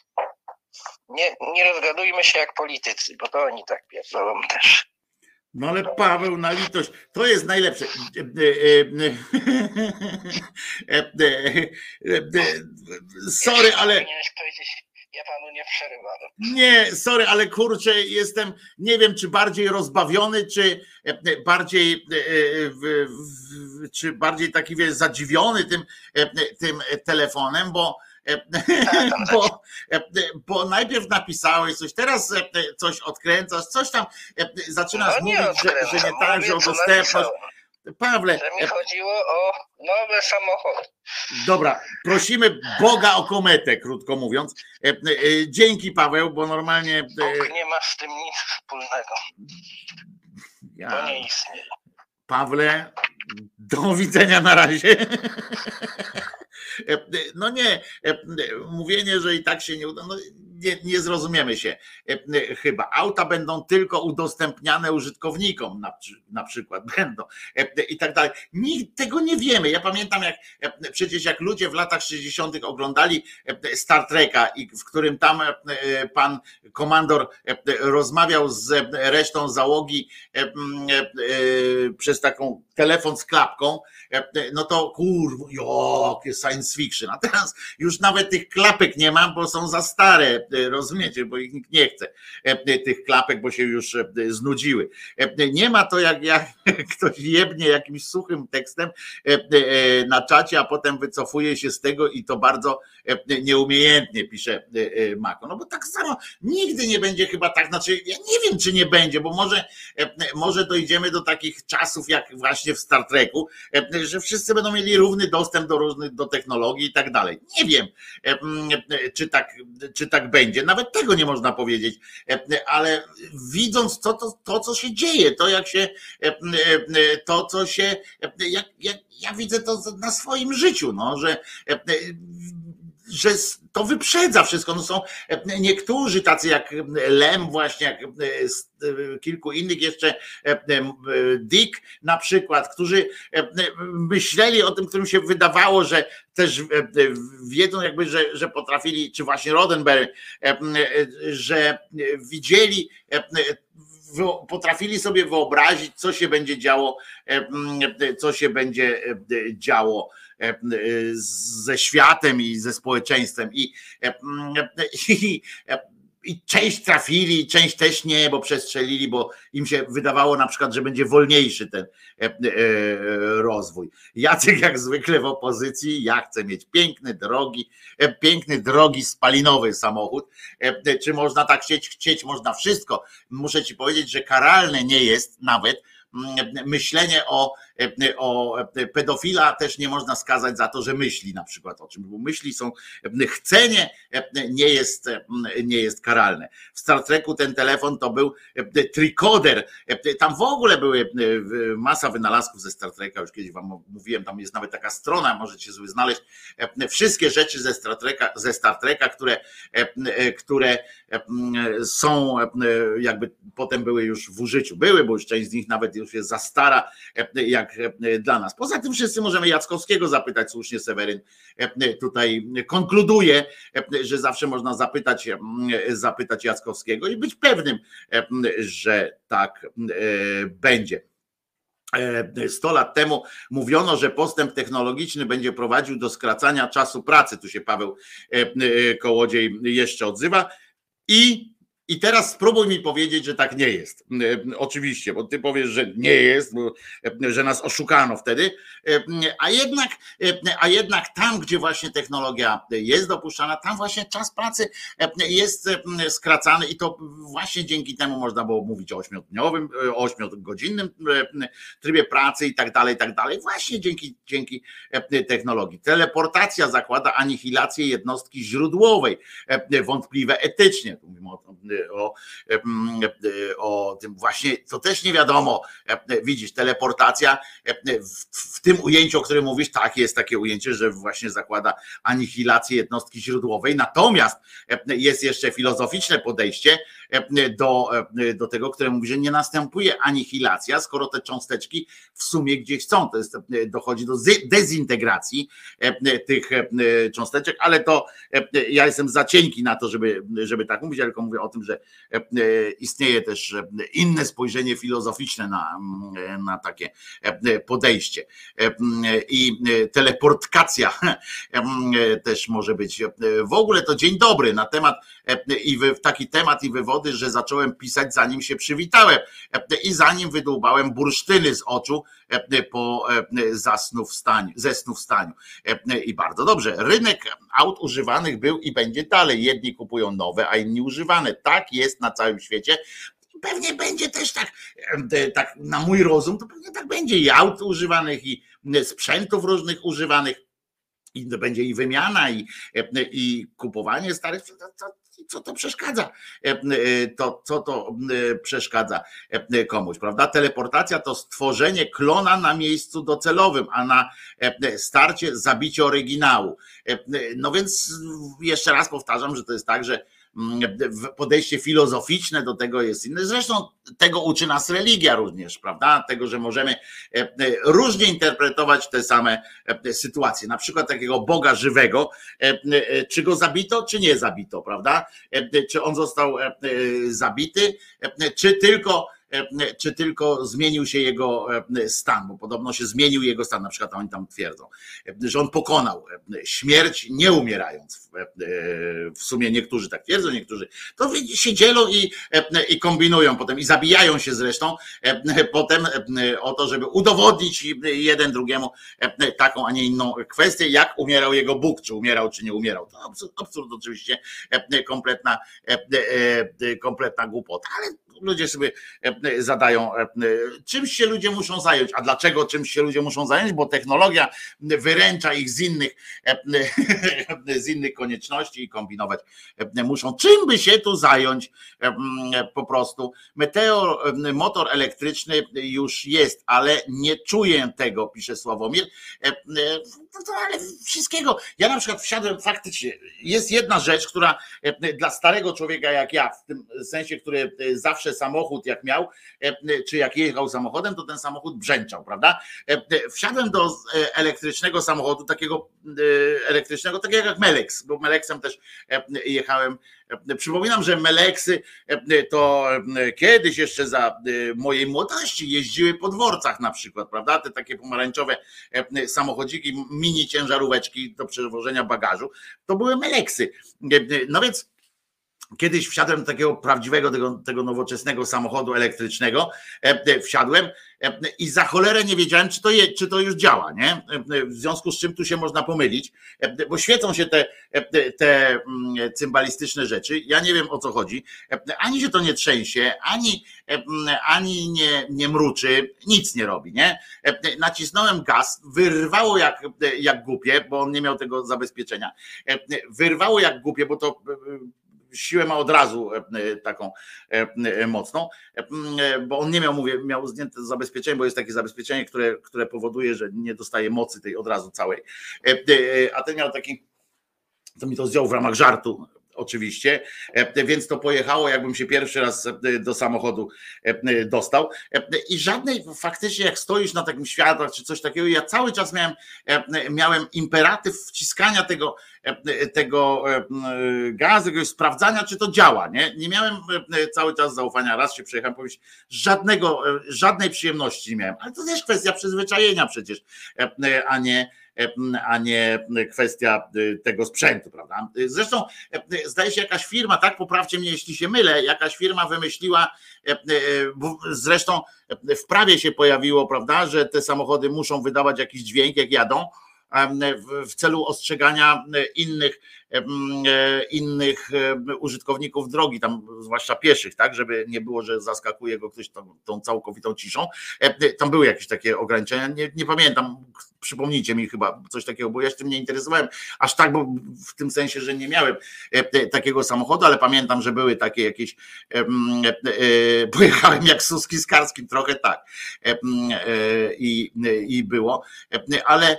Nie rozgadujmy się jak politycy, bo to oni tak pierdolą też. No ale Paweł, na litość, to jest najlepsze. Sorry, ale... Ja panu nie przerywałem. Nie, sorry, ale kurczę, jestem, nie wiem, czy bardziej rozbawiony, czy bardziej taki, wiesz, zadziwiony tym telefonem, bo najpierw napisałeś coś, teraz coś odkręcasz, coś tam zaczynasz mówić, że nie tak, że o dostępność. Pawle, że mi chodziło o nowe samochody. Dobra, prosimy Boga o kometę, krótko mówiąc. Dzięki, Paweł, bo normalnie... Bóg nie ma z tym nic wspólnego. To nie istnieje. Pawle, do widzenia na razie. No nie, mówienie, że i tak się nie uda, no nie zrozumiemy się chyba. Auta będą tylko udostępniane użytkownikom, na przykład będą i tak dalej. Tego nie wiemy. Ja pamiętam, przecież jak ludzie w latach 60. oglądali Star Treka, w którym tam pan komandor rozmawiał z resztą załogi przez taką telefon z klapką, no to kurwa, jakie science fiction. A teraz już nawet tych klapek nie ma, bo są za stare, rozumiecie, bo ich nikt nie chce, tych klapek, bo się już znudziły. Nie ma to jak ktoś jebnie jakimś suchym tekstem na czacie, a potem wycofuje się z tego i to bardzo nieumiejętnie, pisze Mako. No bo tak samo nigdy nie będzie chyba tak, znaczy ja nie wiem, czy nie będzie, bo może dojdziemy do takich czasów jak właśnie w Star Treku, że wszyscy będą mieli równy dostęp do technologii i tak dalej. Nie wiem, czy tak będzie. Nawet tego nie można powiedzieć, ale widząc to co się dzieje, ja widzę to na swoim życiu, no, że to wyprzedza wszystko. No są niektórzy tacy jak Lem, właśnie jak kilku innych jeszcze, Dick na przykład, którzy myśleli o tym, którym się wydawało, że też wiedzą jakby, że potrafili, czy właśnie Roddenberry, że widzieli, potrafili sobie wyobrazić, co się będzie działo ze światem i ze społeczeństwem. I i część trafili, część też nie, bo przestrzelili, bo im się wydawało na przykład, że będzie wolniejszy ten rozwój. Jacek jak zwykle w opozycji, ja chcę mieć piękny, drogi, spalinowy samochód. Czy można tak chcieć? Można wszystko. Muszę ci powiedzieć, że karalne nie jest nawet myślenie o pedofila, też nie można skazać za to, że myśli na przykład o czym, bo myśli są, chcenie nie jest karalne. W Star Treku ten telefon to był tricoder, tam w ogóle były masa wynalazków ze Star Treka, już kiedyś wam mówiłem, tam jest nawet taka strona, możecie sobie znaleźć wszystkie rzeczy ze Star Treka, które są jakby potem były już w użyciu, bo już część z nich nawet już jest za stara jak dla nas. Poza tym wszyscy możemy Jackowskiego zapytać, słusznie Seweryn tutaj konkluduje, że zawsze można zapytać Jackowskiego i być pewnym, że tak będzie. 100 lat temu mówiono, że postęp technologiczny będzie prowadził do skracania czasu pracy. Tu się Paweł Kołodziej jeszcze odzywa. I teraz spróbuj mi powiedzieć, że tak nie jest. Oczywiście, bo ty powiesz, że nie jest, że nas oszukano wtedy, a jednak tam, gdzie właśnie technologia jest dopuszczana, tam właśnie czas pracy jest skracany i to właśnie dzięki temu można było mówić o 8-godzinnym trybie pracy i tak dalej, właśnie dzięki technologii. Teleportacja zakłada anihilację jednostki źródłowej, wątpliwe etycznie. Tu mówimy o tym właśnie, to też nie wiadomo, widzisz, teleportacja w tym ujęciu, o którym mówisz, tak, jest takie ujęcie, że właśnie zakłada anihilację jednostki źródłowej, natomiast jest jeszcze filozoficzne podejście do tego, które mówi, że nie następuje anihilacja, skoro te cząsteczki w sumie gdzieś są, to jest, dochodzi do dezintegracji tych cząsteczek, ale to ja jestem za cienki na to, żeby tak mówić, tylko mówię o tym, że istnieje też inne spojrzenie filozoficzne na takie podejście i teleportacja też może być. W ogóle to dzień dobry na temat taki temat i wywody, że zacząłem pisać zanim się przywitałem i zanim wydłubałem bursztyny z oczu po zesnówstaniu. I bardzo dobrze. Rynek aut używanych był i będzie dalej. Jedni kupują nowe, a inni używane. Tak jest na całym świecie. Pewnie będzie też tak na mój rozum, to pewnie tak będzie i aut używanych, i sprzętów różnych używanych. I to będzie i wymiana, i kupowanie starych. Co to przeszkadza? Co to przeszkadza komuś, prawda? Teleportacja to stworzenie klona na miejscu docelowym, a na starcie zabicie oryginału. No więc jeszcze raz powtarzam, że to jest tak, że podejście filozoficzne do tego jest inne. Zresztą tego uczy nas religia również, prawda? Tego, że możemy różnie interpretować te same sytuacje. Na przykład takiego Boga żywego, czy go zabito, czy nie zabito, prawda? Czy on został zabity, czy tylko zmienił się jego stan, bo podobno się zmienił jego stan, na przykład oni tam twierdzą, że on pokonał śmierć nie umierając. W sumie niektórzy tak twierdzą, niektórzy to się dzielą i kombinują potem i zabijają się zresztą potem o to, żeby udowodnić jeden drugiemu taką, a nie inną kwestię, jak umierał jego Bóg, czy umierał, czy nie umierał. To absurd oczywiście, kompletna głupota, ale ludzie sobie zadają, czymś się ludzie muszą zająć. A dlaczego czymś się ludzie muszą zająć? Bo technologia wyręcza ich z innych konieczności i kombinować muszą. Czym by się tu zająć po prostu? Motor elektryczny już jest, ale nie czuję tego, pisze Sławomir. Ale wszystkiego. Ja na przykład wsiadłem, faktycznie jest jedna rzecz, która dla starego człowieka jak ja, w tym sensie, który zawsze samochód jak miał, czy jak jechał samochodem, to ten samochód brzęczał, prawda? Wsiadłem do elektrycznego samochodu, takiego elektrycznego, takiego jak Melex, bo Melexem też jechałem. Przypominam, że Meleksy to kiedyś jeszcze za mojej młodości jeździły po dworcach na przykład, prawda? Te takie pomarańczowe samochodziki, mini ciężaróweczki do przewożenia bagażu, to były Meleksy. No więc kiedyś wsiadłem do takiego prawdziwego, tego nowoczesnego samochodu elektrycznego, wsiadłem i za cholerę nie wiedziałem, czy to już działa, nie? W związku z czym tu się można pomylić, bo świecą się te cymbalistyczne rzeczy, ja nie wiem, o co chodzi, ani się to nie trzęsie, ani nie mruczy, nic nie robi, nie? Nacisnąłem gaz, wyrwało jak głupie, bo on nie miał tego zabezpieczenia, wyrwało jak głupie, bo to siłę ma od razu taką mocną, bo on nie miał zdjęte zabezpieczenie, bo jest takie zabezpieczenie, które powoduje, że nie dostaje mocy tej od razu całej, a ten miał taki, to mi to zdjął w ramach żartu oczywiście, więc to pojechało, jakbym się pierwszy raz do samochodu dostał i żadnej, faktycznie jak stoisz na takim światłach czy coś takiego, ja cały czas miałem imperatyw wciskania tego gazu, sprawdzania, czy to działa, nie miałem cały czas zaufania, raz się przejechałem, powiedzieć, żadnej przyjemności nie miałem, ale to też kwestia przyzwyczajenia przecież, a nie kwestia tego sprzętu, prawda? Zresztą zdaje się jakaś firma, tak, poprawcie mnie jeśli się mylę, jakaś firma wymyśliła, zresztą w prawie się pojawiło, prawda, że te samochody muszą wydawać jakiś dźwięk jak jadą, w celu ostrzegania innych użytkowników drogi, tam zwłaszcza pieszych, tak, żeby nie było, że zaskakuje go ktoś tą całkowitą ciszą. Tam były jakieś takie ograniczenia, nie pamiętam, przypomnijcie mi chyba coś takiego, bo ja się tym nie interesowałem aż tak, bo w tym sensie, że nie miałem takiego samochodu, ale pamiętam, że były takie jakieś, pojechałem jak Suski z Karskim, trochę tak i było, ale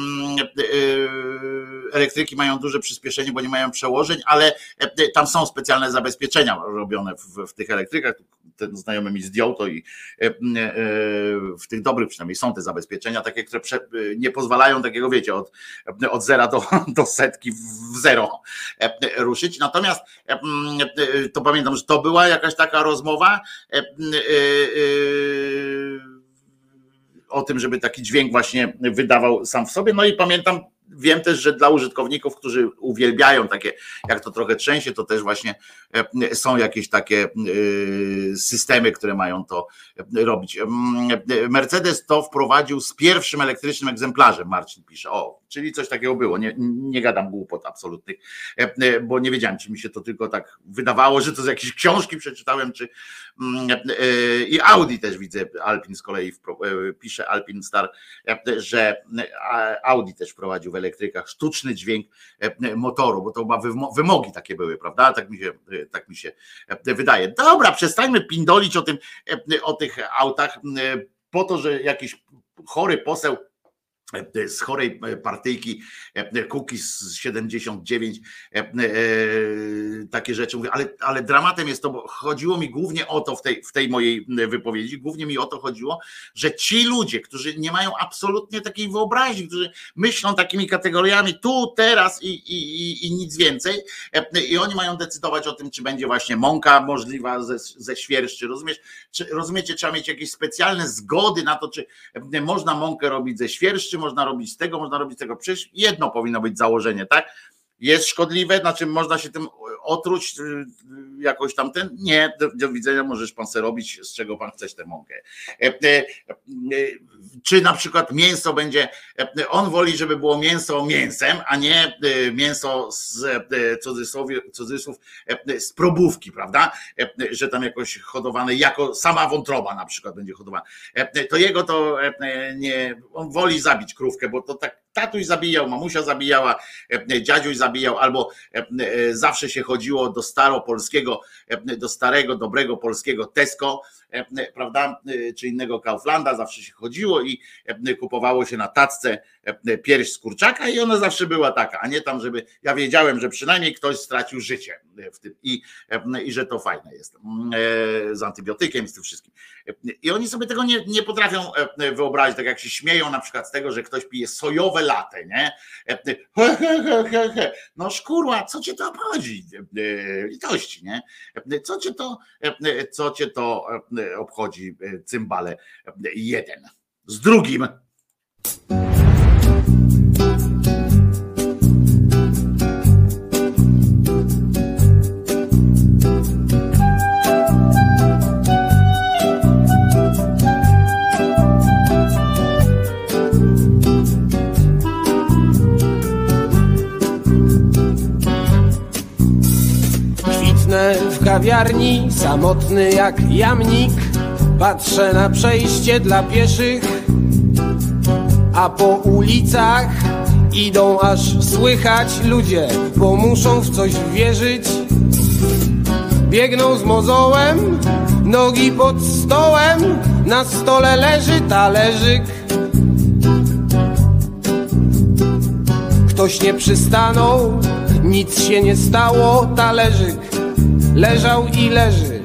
elektryki mają duże przyspieszenie, bo nie mają przełożeń, ale tam są specjalne zabezpieczenia robione w tych elektrykach. Ten znajomy mi zdjął to i w tych dobrych przynajmniej są te zabezpieczenia takie, które nie pozwalają takiego, wiecie, od zera do setki w zero ruszyć. Natomiast to pamiętam, że to była jakaś taka rozmowa o tym, żeby taki dźwięk właśnie wydawał sam w sobie. No i pamiętam, wiem też, że dla użytkowników, którzy uwielbiają takie, jak to trochę trzęsie, to też właśnie są jakieś takie systemy, które mają to robić. Mercedes to wprowadził z pierwszym elektrycznym egzemplarzem, Marcin pisze. O, czyli coś takiego było. Nie gadam głupot absolutnych, bo nie wiedziałem, czy mi się to tylko tak wydawało, że to z jakiejś książki przeczytałem, czy i Audi też widzę, Alpin z kolei pisze, Alpin Star, że Audi też wprowadził w elektrykach sztuczny dźwięk motoru, bo to chyba wymogi takie były, prawda? Tak mi się wydaje. Dobra, przestańmy pindolić o tych autach po to, że jakiś chory poseł z chorej partyjki Kukiz 79 takie rzeczy mówię, ale dramatem jest to, bo chodziło mi głównie o to w tej mojej wypowiedzi, głównie mi o to chodziło, że ci ludzie, którzy nie mają absolutnie takiej wyobraźni, którzy myślą takimi kategoriami tu, teraz i nic więcej, i oni mają decydować o tym, czy będzie właśnie mąka możliwa ze świerszczy, rozumiecie, trzeba mieć jakieś specjalne zgody na to, czy można mąkę robić ze świerszczy, można robić z tego, można robić z tego. Przecież jedno powinno być założenie, tak? Jest szkodliwe, na czym można się tym otruć jakoś tamten? Nie, do widzenia, możesz pan sobie robić, z czego pan chcesz tę mąkę. Czy na przykład mięso będzie, on woli, żeby było mięso mięsem, a nie mięso z cudzysłów z probówki, prawda? Że tam jakoś hodowane, jako sama wątroba na przykład będzie hodowana. To jego to nie, on woli zabić krówkę, bo to tak tatuś zabijał, mamusia zabijała, dziadziuś zabijał, albo zawsze się chodziło do staropolskiego, do starego, dobrego polskiego Tesco, prawda, czy innego Kauflanda, zawsze się chodziło i kupowało się na tacce pierś z kurczaka i ona zawsze była taka, a nie tam, żeby, ja wiedziałem, że przynajmniej ktoś stracił życie w tym i że to fajne jest, z antybiotykiem, z tym wszystkim. I oni sobie tego nie potrafią wyobrazić, tak jak się śmieją na przykład z tego, że ktoś pije sojowe latte, nie? No szkurła, co cię to obchodzi? Litości, nie? Co cię to obchodzi, cymbale jeden z drugim. kawiarni, samotny jak jamnik, patrzę na przejście dla pieszych, a po ulicach idą aż słychać ludzie, bo muszą w coś wierzyć. Biegną z mozołem, nogi pod stołem, na stole leży talerzyk. Ktoś nie przystanął, nic się nie stało, talerzyk leżał i leży.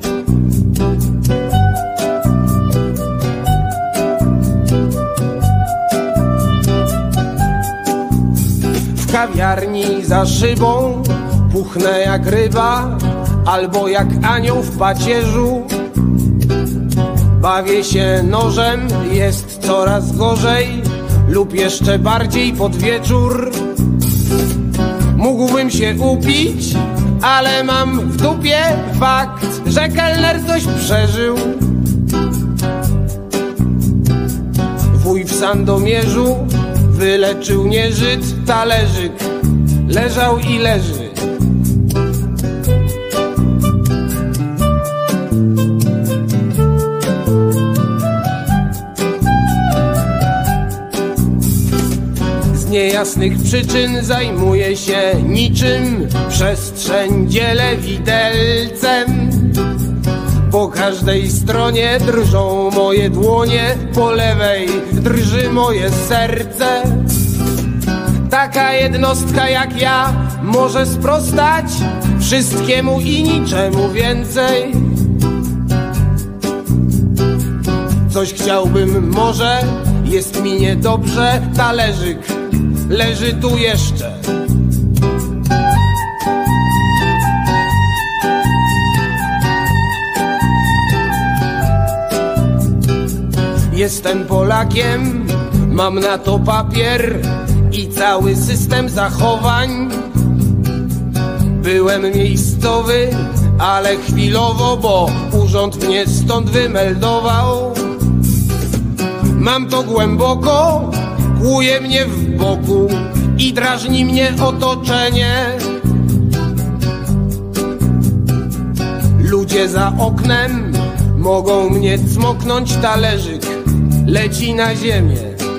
W kawiarni za szybą puchnę jak ryba, albo jak anioł w pacierzu. Bawię się nożem, jest coraz gorzej, lub jeszcze bardziej pod wieczór. Mógłbym się upić, ale mam w dupie fakt, że kelner coś przeżył. Wuj w Sandomierzu wyleczył nieżyt, talerzyk leżał i leży. Z niejasnych przyczyn zajmuję się niczym, przestrzeń dzielę widelcem. Po każdej stronie drżą moje dłonie, po lewej drży moje serce. Taka jednostka jak ja może sprostać wszystkiemu i niczemu więcej. Coś chciałbym może, jest mi niedobrze, talerzyk leży tu jeszcze. Jestem Polakiem, mam na to papier i cały system zachowań. Byłem miejscowy, ale chwilowo, bo urząd mnie stąd wymeldował. Mam to głęboko, kłuje mnie w boku i drażni mnie otoczenie. Ludzie za oknem mogą mnie cmoknąć, talerzyk leci na ziemię.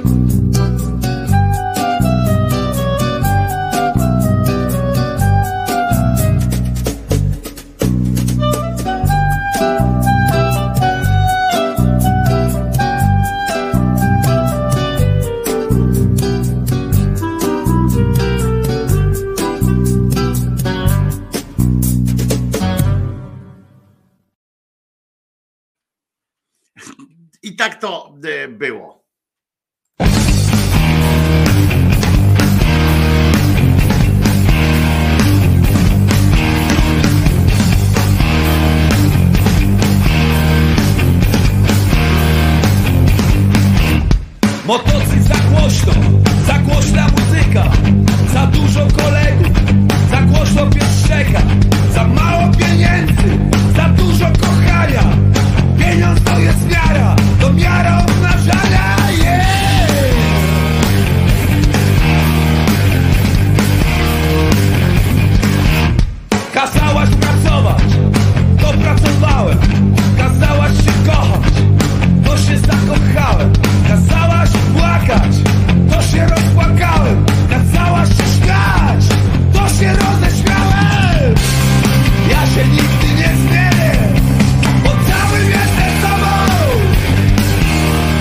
I tak to było. Motocykl za głośna muzyka, za dużo kolegów, za głośno pieszczeka, za mało pieniędzy, za dużo kochania. Pieniądz to jest miara, to miara obnażania, yeah! Kazałaś pracować, to pracowałem. Kazałaś się kochać, to się zakochałem. Kazałaś płakać, to się rozpłakałem. Kazałaś się śmiać, to się roześmiałem. Ja się nigdy nie zmienię, bo całym jestem sobą.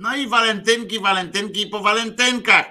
No i walentynki po walentynkach.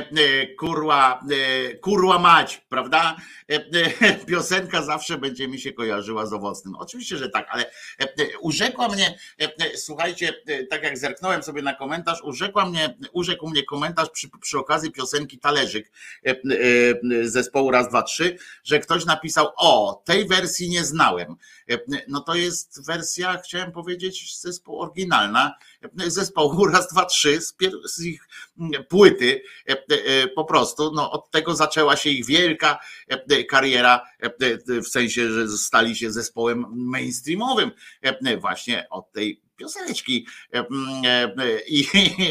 Kurła mać, prawda? Piosenka zawsze będzie mi się kojarzyła z owocnym. Oczywiście, że tak, ale urzekła mnie, słuchajcie, tak jak zerknąłem sobie na komentarz, urzekł mnie komentarz przy okazji piosenki Talerzyk zespołu Raz, Dwa, Trzy, że ktoś napisał: o, tej wersji nie znałem. No to jest wersja, chciałem powiedzieć, zespołu oryginalna, zespołu Raz, Dwa, Trzy, z ich płyty, po prostu, no od tego zaczęła się ich wielka kariera, w sensie, że stali się zespołem mainstreamowym, właśnie od tej pioseneczki. I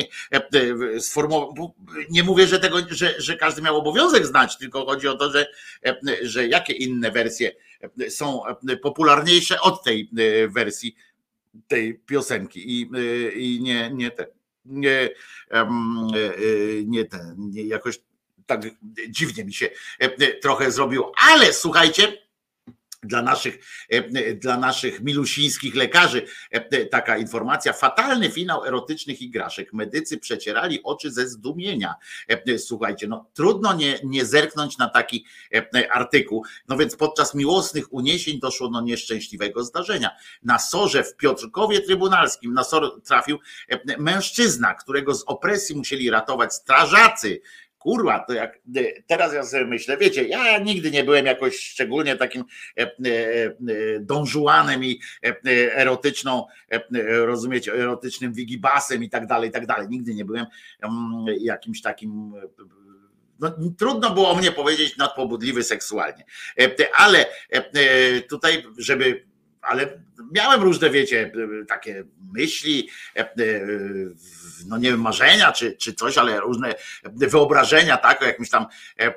nie mówię, że tego, że każdy miał obowiązek znać, tylko chodzi o to, że jakie inne wersje są popularniejsze od tej wersji tej piosenki i nie jakoś tak dziwnie mi się trochę zrobiło, ale słuchajcie, dla naszych milusińskich lekarzy taka informacja: fatalny finał erotycznych igraszek. Medycy przecierali oczy ze zdumienia. Słuchajcie, no trudno nie zerknąć na taki artykuł. No więc podczas miłosnych uniesień doszło do nieszczęśliwego zdarzenia. Na sorze w Piotrkowie Trybunalskim na sor trafił mężczyzna, którego z opresji musieli ratować strażacy. Kurwa, to jak teraz ja sobie myślę, wiecie, ja nigdy nie byłem jakoś szczególnie takim Don Juanem i erotyczną, rozumiecie, erotycznym wigibasem i tak dalej. Nigdy nie byłem jakimś takim, no, trudno było o mnie powiedzieć, nadpobudliwy seksualnie. Ale tutaj, ale miałem różne, wiecie, takie myśli, no nie wiem, marzenia czy coś, ale różne wyobrażenia, tak, o jakimś tam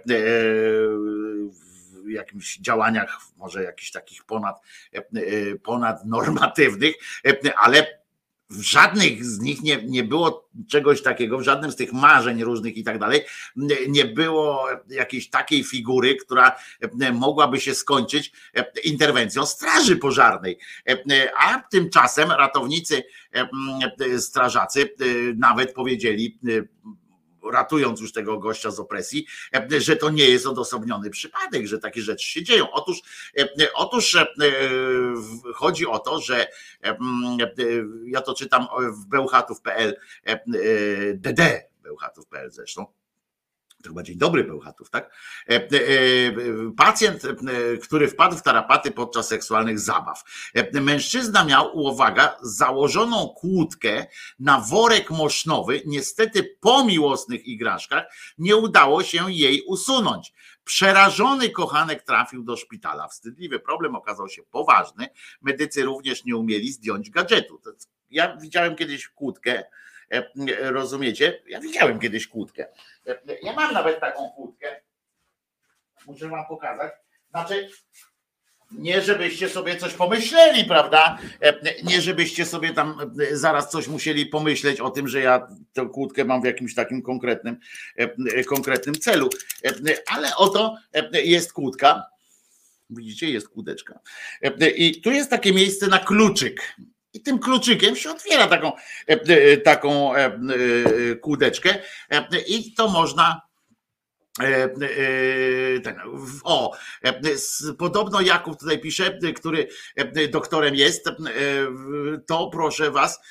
jakimś działaniach, może jakichś takich ponadnormatywnych, ale w żadnych z nich nie było czegoś takiego, w żadnym z tych marzeń różnych i tak dalej, nie było jakiejś takiej figury, która mogłaby się skończyć interwencją straży pożarnej. A tymczasem ratownicy, strażacy nawet powiedzieli, ratując już tego gościa z opresji, że to nie jest odosobniony przypadek, że takie rzeczy się dzieją. Otóż chodzi o to, że ja to czytam w Bełchatów.pl, Bełchatów.pl zresztą, to chyba Dzień Dobry Bełchatów, tak? Pacjent, który wpadł w tarapaty podczas seksualnych zabaw. Mężczyzna miał, uwaga, założoną kłódkę na worek mosznowy. Niestety po miłosnych igraszkach nie udało się jej usunąć. Przerażony kochanek trafił do szpitala. Wstydliwy problem okazał się poważny. Medycy również nie umieli zdjąć gadżetu. Ja widziałem kiedyś kłódkę, rozumiecie? Ja widziałem kiedyś kłódkę. Ja mam nawet taką kłódkę. Muszę wam pokazać. Znaczy, nie żebyście sobie coś pomyśleli, prawda? Nie żebyście sobie tam zaraz coś musieli pomyśleć o tym, że ja tę kłódkę mam w jakimś takim konkretnym celu. Ale oto jest kłódka. Widzicie, jest kłódeczka. I tu jest takie miejsce na kluczyk. I tym kluczykiem się otwiera taką kłódeczkę i to można. Podobno Jakub tutaj pisze, który doktorem jest, to proszę was,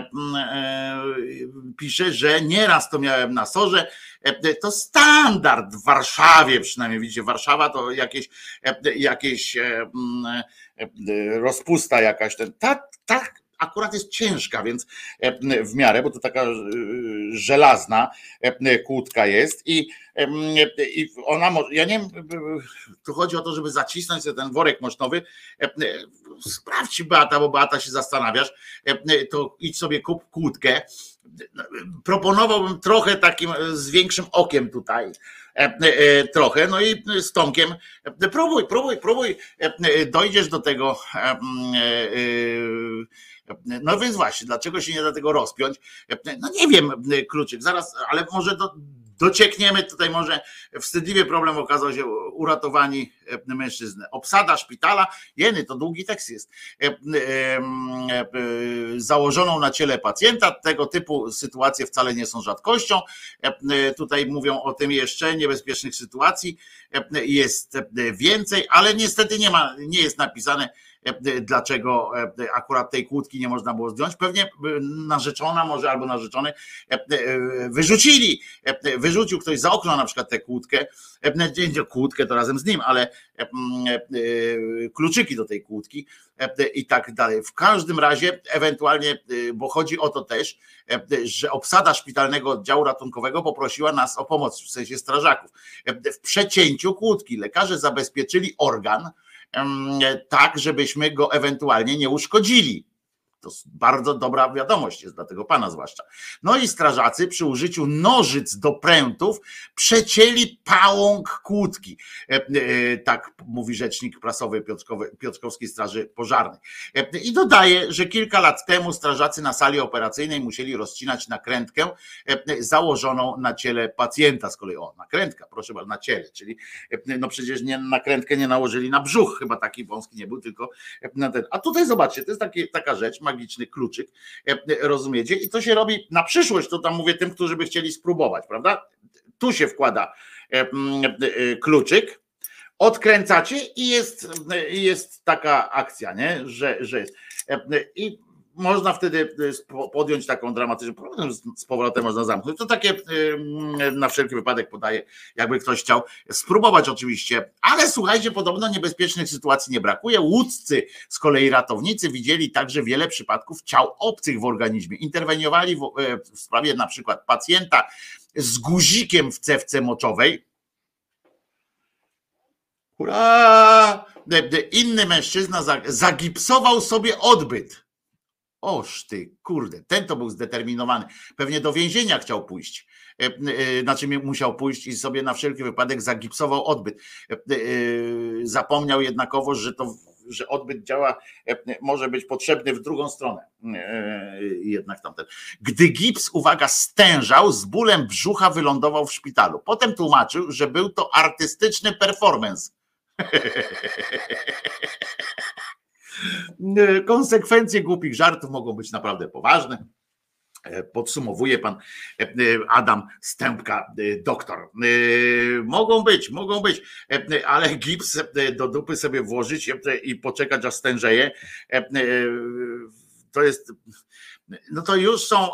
pisze, że nieraz to miałem na sorze. To standard w Warszawie, przynajmniej widzicie, Warszawa to jakieś rozpusta jakaś, tak akurat jest ciężka, więc w miarę, bo to taka żelazna kłódka jest i ona może, ja nie wiem, tu chodzi o to, żeby zacisnąć sobie ten worek mosznowy. Sprawdź, Beata, bo Beata się zastanawiasz, to idź sobie kup kłódkę. Proponowałbym trochę takim z większym okiem tutaj, trochę, no i z Tomkiem próbuj, dojdziesz do tego. No więc właśnie, dlaczego się nie da tego rozpiąć? No nie wiem, kluczyk, zaraz, ale może Dociekniemy tutaj może, wstydliwy problem okazał się uratowani mężczyzn. Obsada szpitala, jeny, to długi tekst jest, założoną na ciele pacjenta. Tego typu sytuacje wcale nie są rzadkością. Tutaj mówią o tym jeszcze, niebezpiecznych sytuacji jest więcej, ale niestety nie jest napisane, dlaczego akurat tej kłódki nie można było zdjąć. Pewnie narzeczona może albo narzeczony wyrzucił ktoś za okno na przykład tę kłódkę, kłódkę to razem z nim, ale kluczyki do tej kłódki i tak dalej. W każdym razie ewentualnie, bo chodzi o to też, że obsada szpitalnego oddziału ratunkowego poprosiła nas o pomoc, w sensie strażaków. W przecięciu kłódki lekarze zabezpieczyli organ tak, żebyśmy go ewentualnie nie uszkodzili. To bardzo dobra wiadomość jest dla tego pana zwłaszcza. No i strażacy przy użyciu nożyc do prętów przecięli pałąk kłódki. Tak mówi rzecznik prasowy Piotrkowskiej Straży Pożarnej. I dodaje, że kilka lat temu strażacy na sali operacyjnej musieli rozcinać nakrętkę założoną na ciele pacjenta. Z kolei nakrętka, proszę bardzo, na ciele, czyli no przecież nakrętkę nie nałożyli na brzuch, chyba taki wąski nie był, tylko na ten. A tutaj zobaczcie, to jest taka rzecz, magiczny kluczyk, rozumiecie? I to się robi na przyszłość, to tam mówię tym, którzy by chcieli spróbować, prawda? Tu się wkłada kluczyk, odkręcacie i jest taka akcja, nie? Że jest. I można wtedy podjąć taką dramatyczną, z powrotem można zamknąć. To takie na wszelki wypadek podaję, jakby ktoś chciał spróbować oczywiście, ale słuchajcie, podobno niebezpiecznych sytuacji nie brakuje. Łódzcy z kolei ratownicy widzieli także wiele przypadków ciał obcych w organizmie. Interweniowali w sprawie na przykład pacjenta z guzikiem w cewce moczowej. Hurra! Inny mężczyzna zagipsował sobie odbyt. Oż ty, kurde, ten to był zdeterminowany. Pewnie do więzienia chciał pójść. Znaczy musiał pójść i sobie na wszelki wypadek zagipsował odbyt. Zapomniał jednakowoż, że odbyt działa, może być potrzebny w drugą stronę. Jednak tamten. Gdy gips, uwaga, stężał, z bólem brzucha wylądował w szpitalu. Potem tłumaczył, że był to artystyczny performance. Konsekwencje głupich żartów mogą być naprawdę poważne. Podsumowuje pan Adam Stępka, doktor. Mogą być, ale gips do dupy sobie włożyć i poczekać, aż stężeje. To jest. No to już są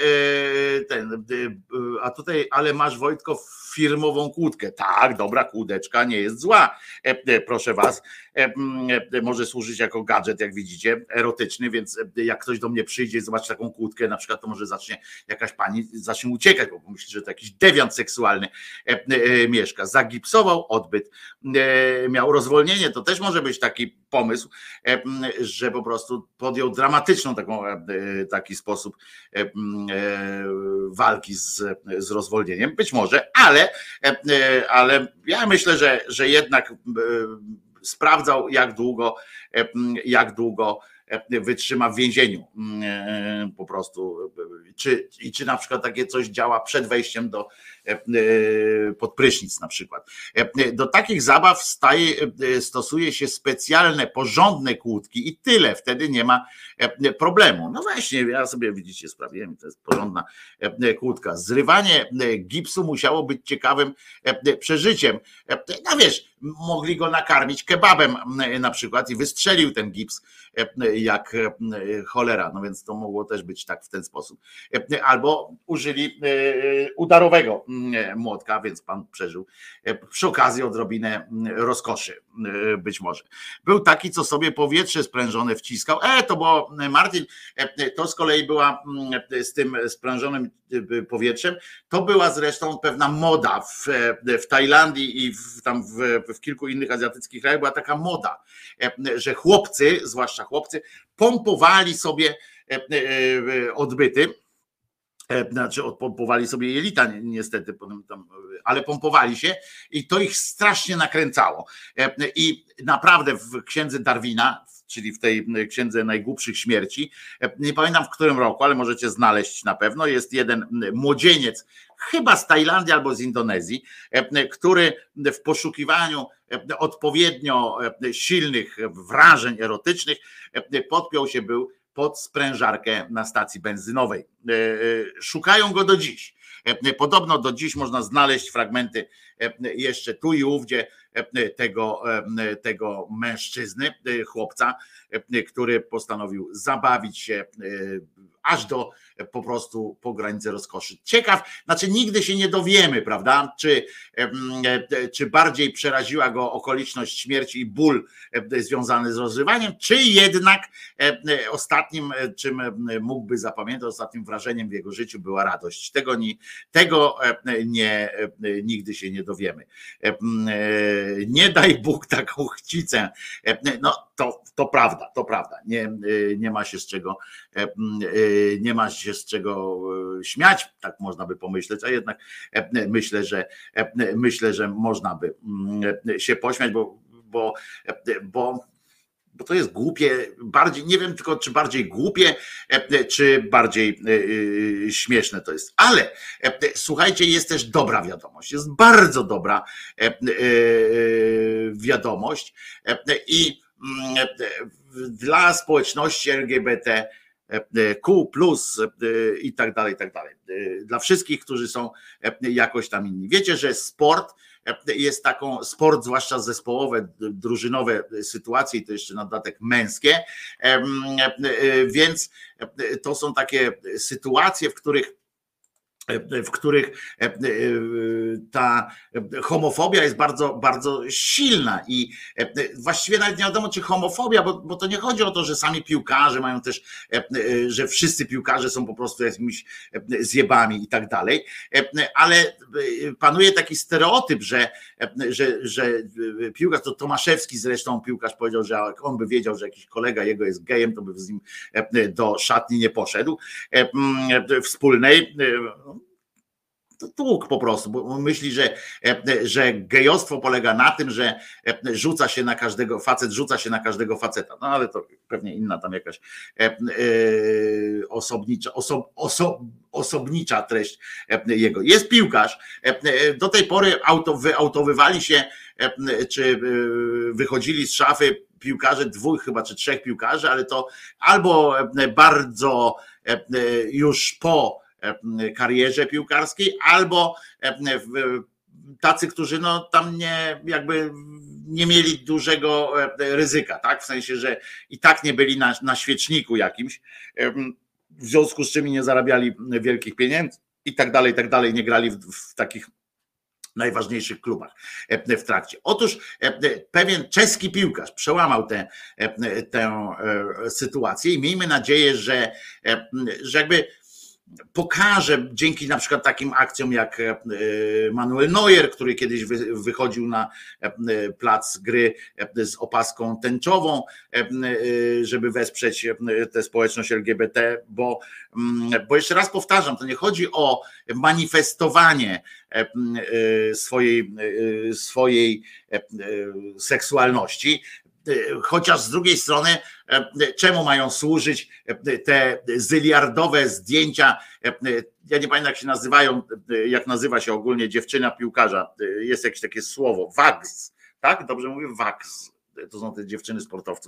a tutaj, ale masz, Wojtko, firmową kłódkę. Tak, dobra kłódeczka nie jest zła, proszę was. Może służyć jako gadżet, jak widzicie, erotyczny, więc jak ktoś do mnie przyjdzie i zobaczy taką kłódkę, na przykład, to może jakaś pani zacznie uciekać, bo myśli, że to jakiś dewiant seksualny mieszka. Zagipsował odbyt, miał rozwolnienie, to też może być taki pomysł, że po prostu podjął dramatyczną taki sposób walki z rozwolnieniem, być może, ale ja myślę, że jednak sprawdzał, jak długo wytrzyma w więzieniu po prostu, czy na przykład takie coś działa przed wejściem pod prysznic na przykład. Do takich zabaw stosuje się specjalne, porządne kłódki i tyle, wtedy nie ma problemu. No właśnie, ja sobie, widzicie, sprawiłem, to jest porządna kłódka. Zrywanie gipsu musiało być ciekawym przeżyciem. No wiesz, mogli go nakarmić kebabem na przykład i wystrzelił ten gips jak cholera, no więc to mogło też być tak w ten sposób. Albo użyli udarowego młotka, więc pan przeżył przy okazji odrobinę rozkoszy, być może. Był taki, co sobie powietrze sprężone wciskał. To było, Martin, to z kolei była z tym sprężonym powietrzem, to była zresztą pewna moda w Tajlandii i tam w kilku innych azjatyckich krajach była taka moda, że chłopcy, zwłaszcza chłopcy, pompowali sobie odbyty, znaczy pompowali sobie jelita niestety, ale pompowali się i to ich strasznie nakręcało. I naprawdę w księdze Darwina, czyli w tej księdze najgłupszych śmierci, nie pamiętam w którym roku, ale możecie znaleźć na pewno, jest jeden młodzieniec, chyba z Tajlandii albo z Indonezji, który w poszukiwaniu odpowiednio silnych wrażeń erotycznych podpiął się był pod sprężarkę na stacji benzynowej. Szukają go do dziś. Podobno do dziś można znaleźć fragmenty jeszcze tu i ówdzie tego mężczyzny, chłopca, który postanowił zabawić się aż do po prostu po granicę rozkoszy. Ciekaw, znaczy nigdy się nie dowiemy, prawda, czy bardziej przeraziła go okoliczność śmierci i ból związany z rozrywaniem, czy jednak ostatnim, czym mógłby zapamiętać, ostatnim wrażeniem w jego życiu była radość. Tego nigdy się nie dowiemy. Nie daj Bóg taką chcicę. No to prawda, to prawda. Nie ma się z czego śmiać, tak można by pomyśleć, a jednak myślę, że można by się pośmiać, bo to jest głupie, bardziej, nie wiem tylko czy bardziej głupie, czy bardziej śmieszne to jest. Ale słuchajcie, jest też dobra wiadomość, jest bardzo dobra wiadomość i dla społeczności LGBTQ+, i tak dalej, dla wszystkich, którzy są jakoś tam inni. Wiecie, że sport jest sport, zwłaszcza zespołowe, drużynowe sytuacje, i to jeszcze na dodatek męskie, więc to są takie sytuacje, w których ta homofobia jest bardzo, bardzo silna i właściwie nawet nie wiadomo, czy homofobia, bo to nie chodzi o to, że sami piłkarze mają też, że wszyscy piłkarze są po prostu jakimiś zjebami i tak dalej, ale panuje taki stereotyp, że piłkarz, to Tomaszewski zresztą piłkarz powiedział, że jak on by wiedział, że jakiś kolega jego jest gejem, to by z nim do szatni nie poszedł wspólnej. To tłuk po prostu, bo myśli, że gejostwo polega na tym, że facet rzuca się na każdego faceta. No ale to pewnie inna tam jakaś osobnicza treść jego. Jest piłkarz, do tej pory wyautowywali się, czy wychodzili z szafy piłkarze, 2 chyba czy 3 piłkarzy, ale to albo bardzo już po karierze piłkarskiej, albo tacy, którzy no tam nie mieli dużego ryzyka, tak? W sensie, że i tak nie byli na świeczniku jakimś, w związku z czym nie zarabiali wielkich pieniędzy i tak dalej, nie grali w takich najważniejszych klubach w trakcie. Otóż pewien czeski piłkarz przełamał tę sytuację i miejmy nadzieję, że jakby pokaże dzięki na przykład takim akcjom jak Manuel Neuer, który kiedyś wychodził na plac gry z opaską tęczową, żeby wesprzeć tę społeczność LGBT, bo jeszcze raz powtarzam, to nie chodzi o manifestowanie swojej seksualności, chociaż z drugiej strony czemu mają służyć te zyliardowe zdjęcia, ja nie pamiętam jak się nazywają, jak nazywa się ogólnie dziewczyna piłkarza, jest jakieś takie słowo, wags, tak? Dobrze mówię? Wags. To są te dziewczyny sportowców.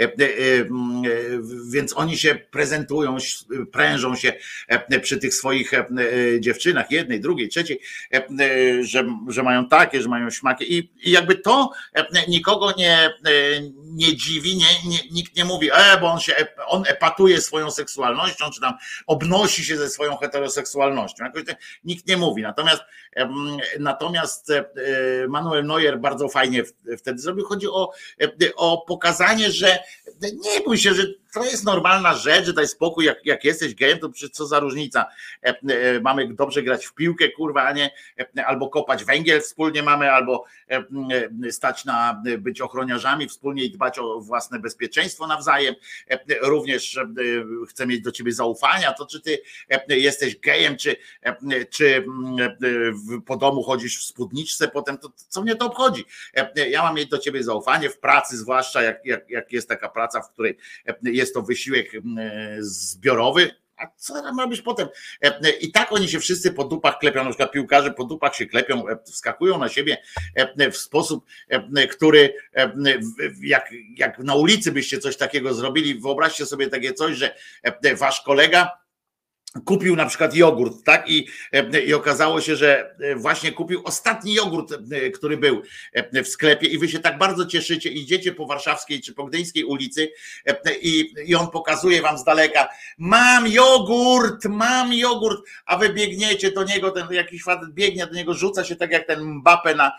Więc oni się prezentują, prężą się przy tych swoich dziewczynach, jednej, drugiej, trzeciej, że mają takie, że mają śmakie i jakby to nikogo nie dziwi, nikt nie mówi, bo on epatuje swoją seksualnością, czy tam obnosi się ze swoją heteroseksualnością. Jakoś nikt nie mówi. Natomiast Manuel Neuer bardzo fajnie wtedy zrobił. Chodzi o pokazanie, że nie bój się, że to jest normalna rzecz, że daj spokój, jak jesteś gejem, to przecież co za różnica. Mamy dobrze grać w piłkę, kurwa, a nie albo kopać węgiel wspólnie mamy, albo stać na być ochroniarzami wspólnie i dbać o własne bezpieczeństwo nawzajem. Również chcę mieć do ciebie zaufania, to czy ty jesteś gejem, czy po domu chodzisz w spódniczce potem, to co mnie to obchodzi? Ja mam mieć do ciebie zaufanie, w pracy zwłaszcza, jak jest taka praca, w której jest to wysiłek zbiorowy, A co tam robisz potem? I tak oni się wszyscy po dupach klepią, na przykład piłkarze po dupach się klepią, wskakują na siebie w sposób, który jak na ulicy byście coś takiego zrobili, wyobraźcie sobie takie coś, że wasz kolega kupił na przykład jogurt, tak? I okazało się, że właśnie kupił ostatni jogurt, który był w sklepie i wy się tak bardzo cieszycie, idziecie po Warszawskiej czy po Gdyńskiej ulicy i on pokazuje wam z daleka, mam jogurt, a wy biegniecie do niego, ten jakiś facet biegnie do niego, rzuca się tak jak ten Mbappé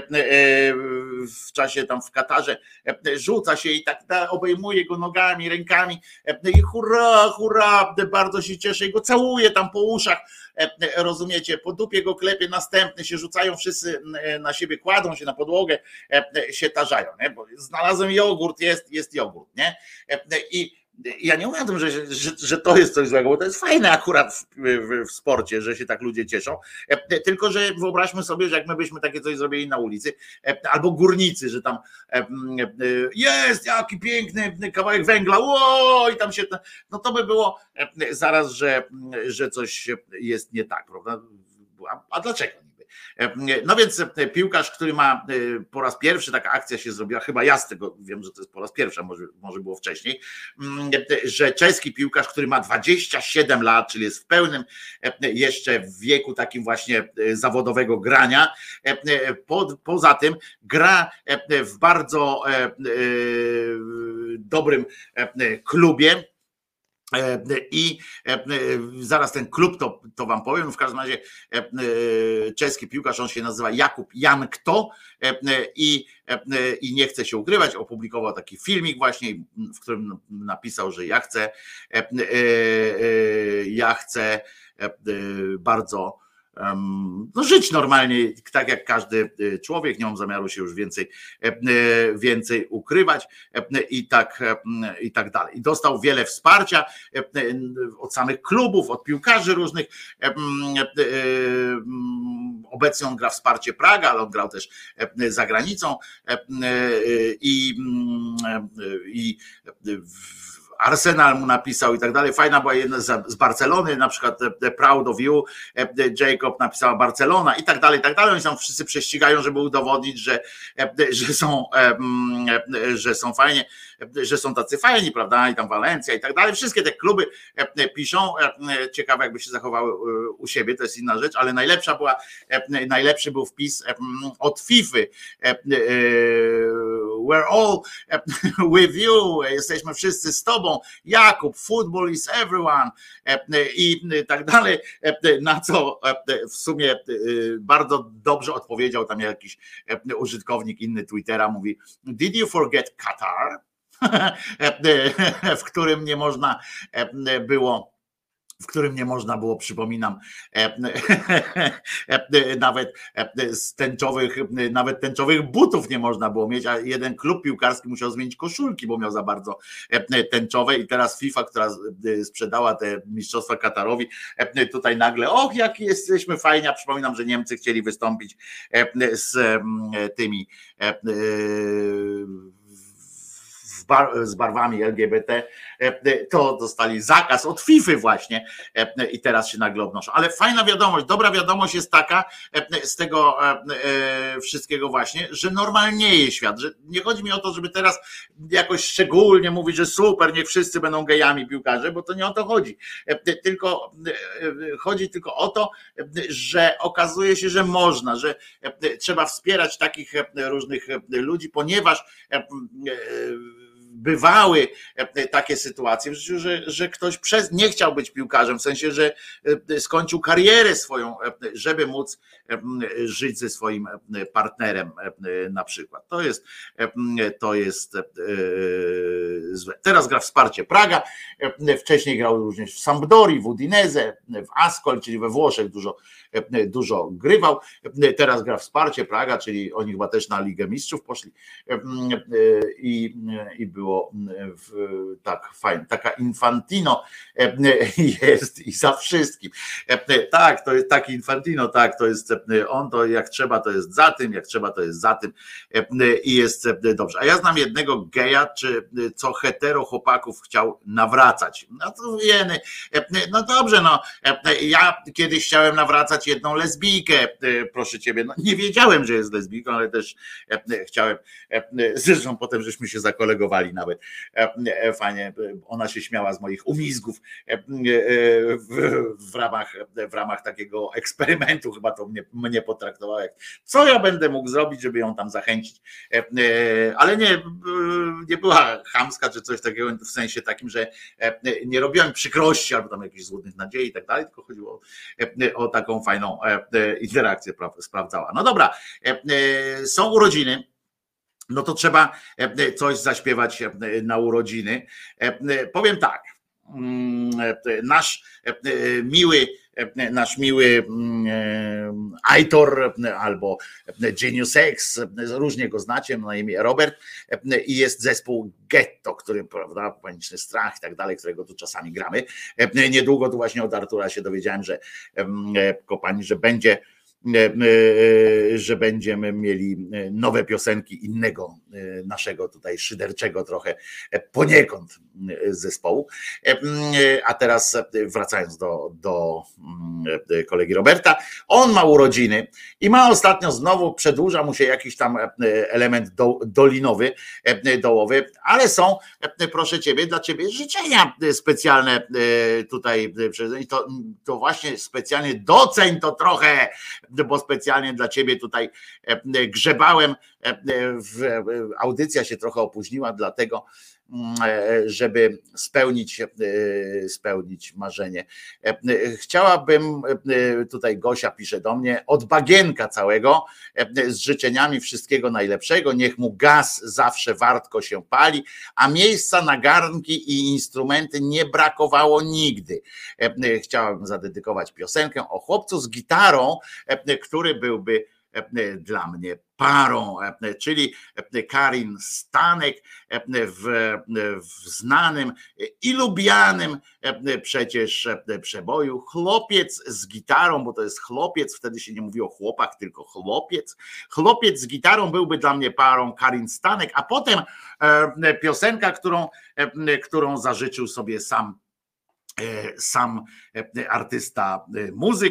w czasie tam w Katarze, rzuca się i tak obejmuje go nogami, rękami i hurra, bardzo się cieszy i go całuje tam po uszach, rozumiecie, po dupie go klepie, następny się rzucają wszyscy na siebie, kładą się na podłogę, się tarzają, nie? Bo znalazłem jogurt, jest jogurt, nie? I ja nie mówię o tym, że to jest coś złego, bo to jest fajne akurat w sporcie, że się tak ludzie cieszą, tylko że wyobraźmy sobie, że jak my byśmy takie coś zrobili na ulicy, albo górnicy, że tam jest jaki piękny kawałek węgla, i tam się, no to by było zaraz, że coś jest nie tak, prawda? A dlaczego? No więc piłkarz, który ma po raz pierwszy, taka akcja się zrobiła, chyba ja z tego wiem, że to jest po raz pierwszy, może było wcześniej, że czeski piłkarz, który ma 27 lat, czyli jest w pełnym jeszcze wieku takim właśnie zawodowego grania, poza tym gra w bardzo dobrym klubie. I zaraz ten klub to wam powiem, w każdym razie czeski piłkarz, on się nazywa Jakub Jankto i nie chce się ukrywać, opublikował taki filmik właśnie, w którym napisał, że ja chcę bardzo żyć normalnie, tak jak każdy człowiek, nie mam zamiaru się już więcej ukrywać i tak dalej. I dostał wiele wsparcia od samych klubów, od piłkarzy różnych. Obecnie on gra w Sparcie Praga, ale on grał też za granicą i Arsenal mu napisał i tak dalej. Fajna była jedna z Barcelony, na przykład Proud of You, Jacob napisała Barcelona i tak dalej, i tak dalej. Oni tam wszyscy prześcigają, żeby udowodnić, że są fajnie, że są tacy fajni, prawda? I tam Walencja i tak dalej. Wszystkie te kluby piszą. Ciekawe, jakby się zachowały u siebie, to jest inna rzecz, ale najlepszy był wpis od FIFA. We're all with you. Jesteśmy wszyscy z tobą. Jakub, football is everyone. I tak dalej. Na co w sumie bardzo dobrze odpowiedział tam jakiś użytkownik inny Twittera. Mówi, did you forget Qatar? w którym nie można było, przypominam, nawet tęczowych butów nie można było mieć, a jeden klub piłkarski musiał zmienić koszulki, bo miał za bardzo tęczowe i teraz FIFA, która sprzedała te mistrzostwa Katarowi, tutaj nagle, jak jesteśmy fajni, a przypominam, że Niemcy chcieli wystąpić z tymi z barwami LGBT, to dostali zakaz od FIFA właśnie i teraz się nagle obnoszą. Ale fajna wiadomość, dobra wiadomość jest taka z tego wszystkiego właśnie, że normalnieje świat, że nie chodzi mi o to, żeby teraz jakoś szczególnie mówić, że super, niech wszyscy będą gejami piłkarze, bo to nie o to chodzi. Chodzi tylko o to, że okazuje się, że można, że trzeba wspierać takich różnych ludzi, ponieważ bywały takie sytuacje w życiu, że ktoś nie chciał być piłkarzem, w sensie, że skończył karierę swoją, żeby móc żyć ze swoim partnerem na przykład. To jest złe. Teraz gra w Sparcie Praga, wcześniej grał również w Sampdorii, w Udinese, w Ascoli, czyli we Włoszech dużo grywał. Teraz gra w Sparcie Praga, czyli oni chyba też na Ligę Mistrzów poszli i było było tak fajnie. Taka Infantino jest i za wszystkim. Tak, to jest taki Infantino, tak, to jest on, to jak trzeba to jest za tym, jak trzeba to jest za tym i jest dobrze. A ja znam jednego geja, co hetero chłopaków chciał nawracać. No to wiemy, no dobrze, no ja kiedyś chciałem nawracać jedną lesbijkę, proszę ciebie, no nie wiedziałem, że jest lesbijką, ale też chciałem, zresztą potem żeśmy się zakolegowali nawet, fajnie, ona się śmiała z moich umizgów w ramach takiego eksperymentu, chyba to mnie potraktowała jak, co ja będę mógł zrobić, żeby ją tam zachęcić, ale nie była chamska czy coś takiego, w sensie takim, że nie robiłem przykrości albo tam jakichś złudnych nadziei i tak dalej, tylko chodziło o taką fajną interakcję sprawdzała. No dobra, są urodziny, no to trzeba coś zaśpiewać na urodziny. Powiem tak, nasz miły Aitor albo Genius X, różnie go znacie, na imię Robert, i jest zespół Getto, który, prawda, Paniczny Strach i tak dalej, którego tu czasami gramy. Niedługo tu właśnie od Artura się dowiedziałem, że kopani, że będziemy mieli nowe piosenki innego naszego tutaj szyderczego trochę poniekąd zespołu. A teraz wracając do kolegi Roberta, on ma urodziny i ma ostatnio znowu, przedłuża mu się jakiś tam element dolinowy, dołowy, ale są, proszę ciebie, dla ciebie życzenia specjalne tutaj, to właśnie specjalnie doceń to trochę, bo specjalnie dla ciebie tutaj grzebałem, audycja się trochę opóźniła, dlatego żeby spełnić marzenie. Chciałabym, tutaj Gosia pisze do mnie, od bagienka całego z życzeniami wszystkiego najlepszego, niech mu gaz zawsze wartko się pali, a miejsca na garnki i instrumenty nie brakowało nigdy. Chciałabym zadedykować piosenkę o chłopcu z gitarą, który byłby dla mnie parą, czyli Karin Stanek w znanym i lubianym przecież przeboju Chłopiec z gitarą, bo to jest chłopiec, wtedy się nie mówi o chłopach, tylko chłopiec. Chłopiec z gitarą byłby dla mnie parą, Karin Stanek, a potem piosenka, którą zażyczył sobie sam artysta, muzyk,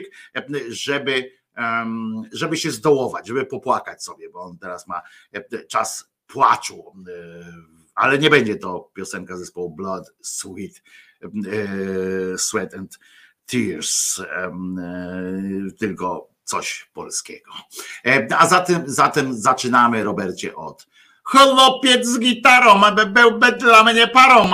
żeby się zdołować, żeby popłakać sobie, bo on teraz ma czas płaczu, ale nie będzie to piosenka zespołu Blood, Sweat and Tears, tylko coś polskiego. A zatem zaczynamy, Robercie, od chłopiec z gitarą, byłby dla mnie parą.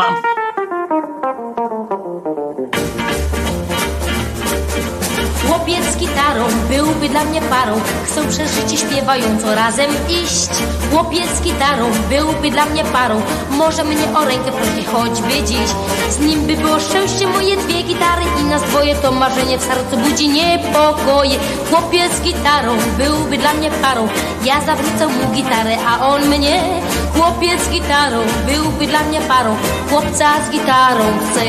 Chłopiec z gitarą byłby dla mnie parą, chcą przez życie śpiewająco razem iść. Chłopiec z gitarą byłby dla mnie parą, może mnie o rękę prosić choćby dziś. Z nim by było szczęście, moje dwie gitary i nas dwoje, to marzenie w sercu budzi niepokoje. Chłopiec z gitarą byłby dla mnie parą, ja zawrócę mu gitarę, a on mnie. Chłopiec z gitarą byłby dla mnie parą, chłopca z gitarą chcę.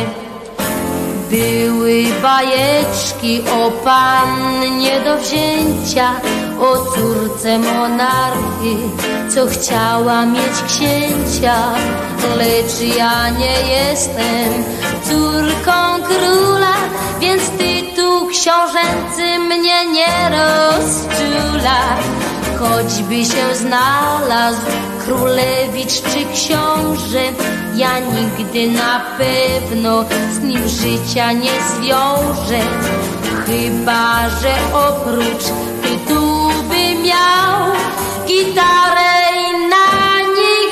Były bajeczki o pannie do wzięcia, o córce monarchy, co chciała mieć księcia. Lecz ja nie jestem córką króla, więc tytuł książęcy mnie nie rozczula. Choćby się znalazł królewicz czy książę, ja nigdy na pewno z nim życia nie zwiążę. Chyba że oprócz tytułu by miał gitarę i na niej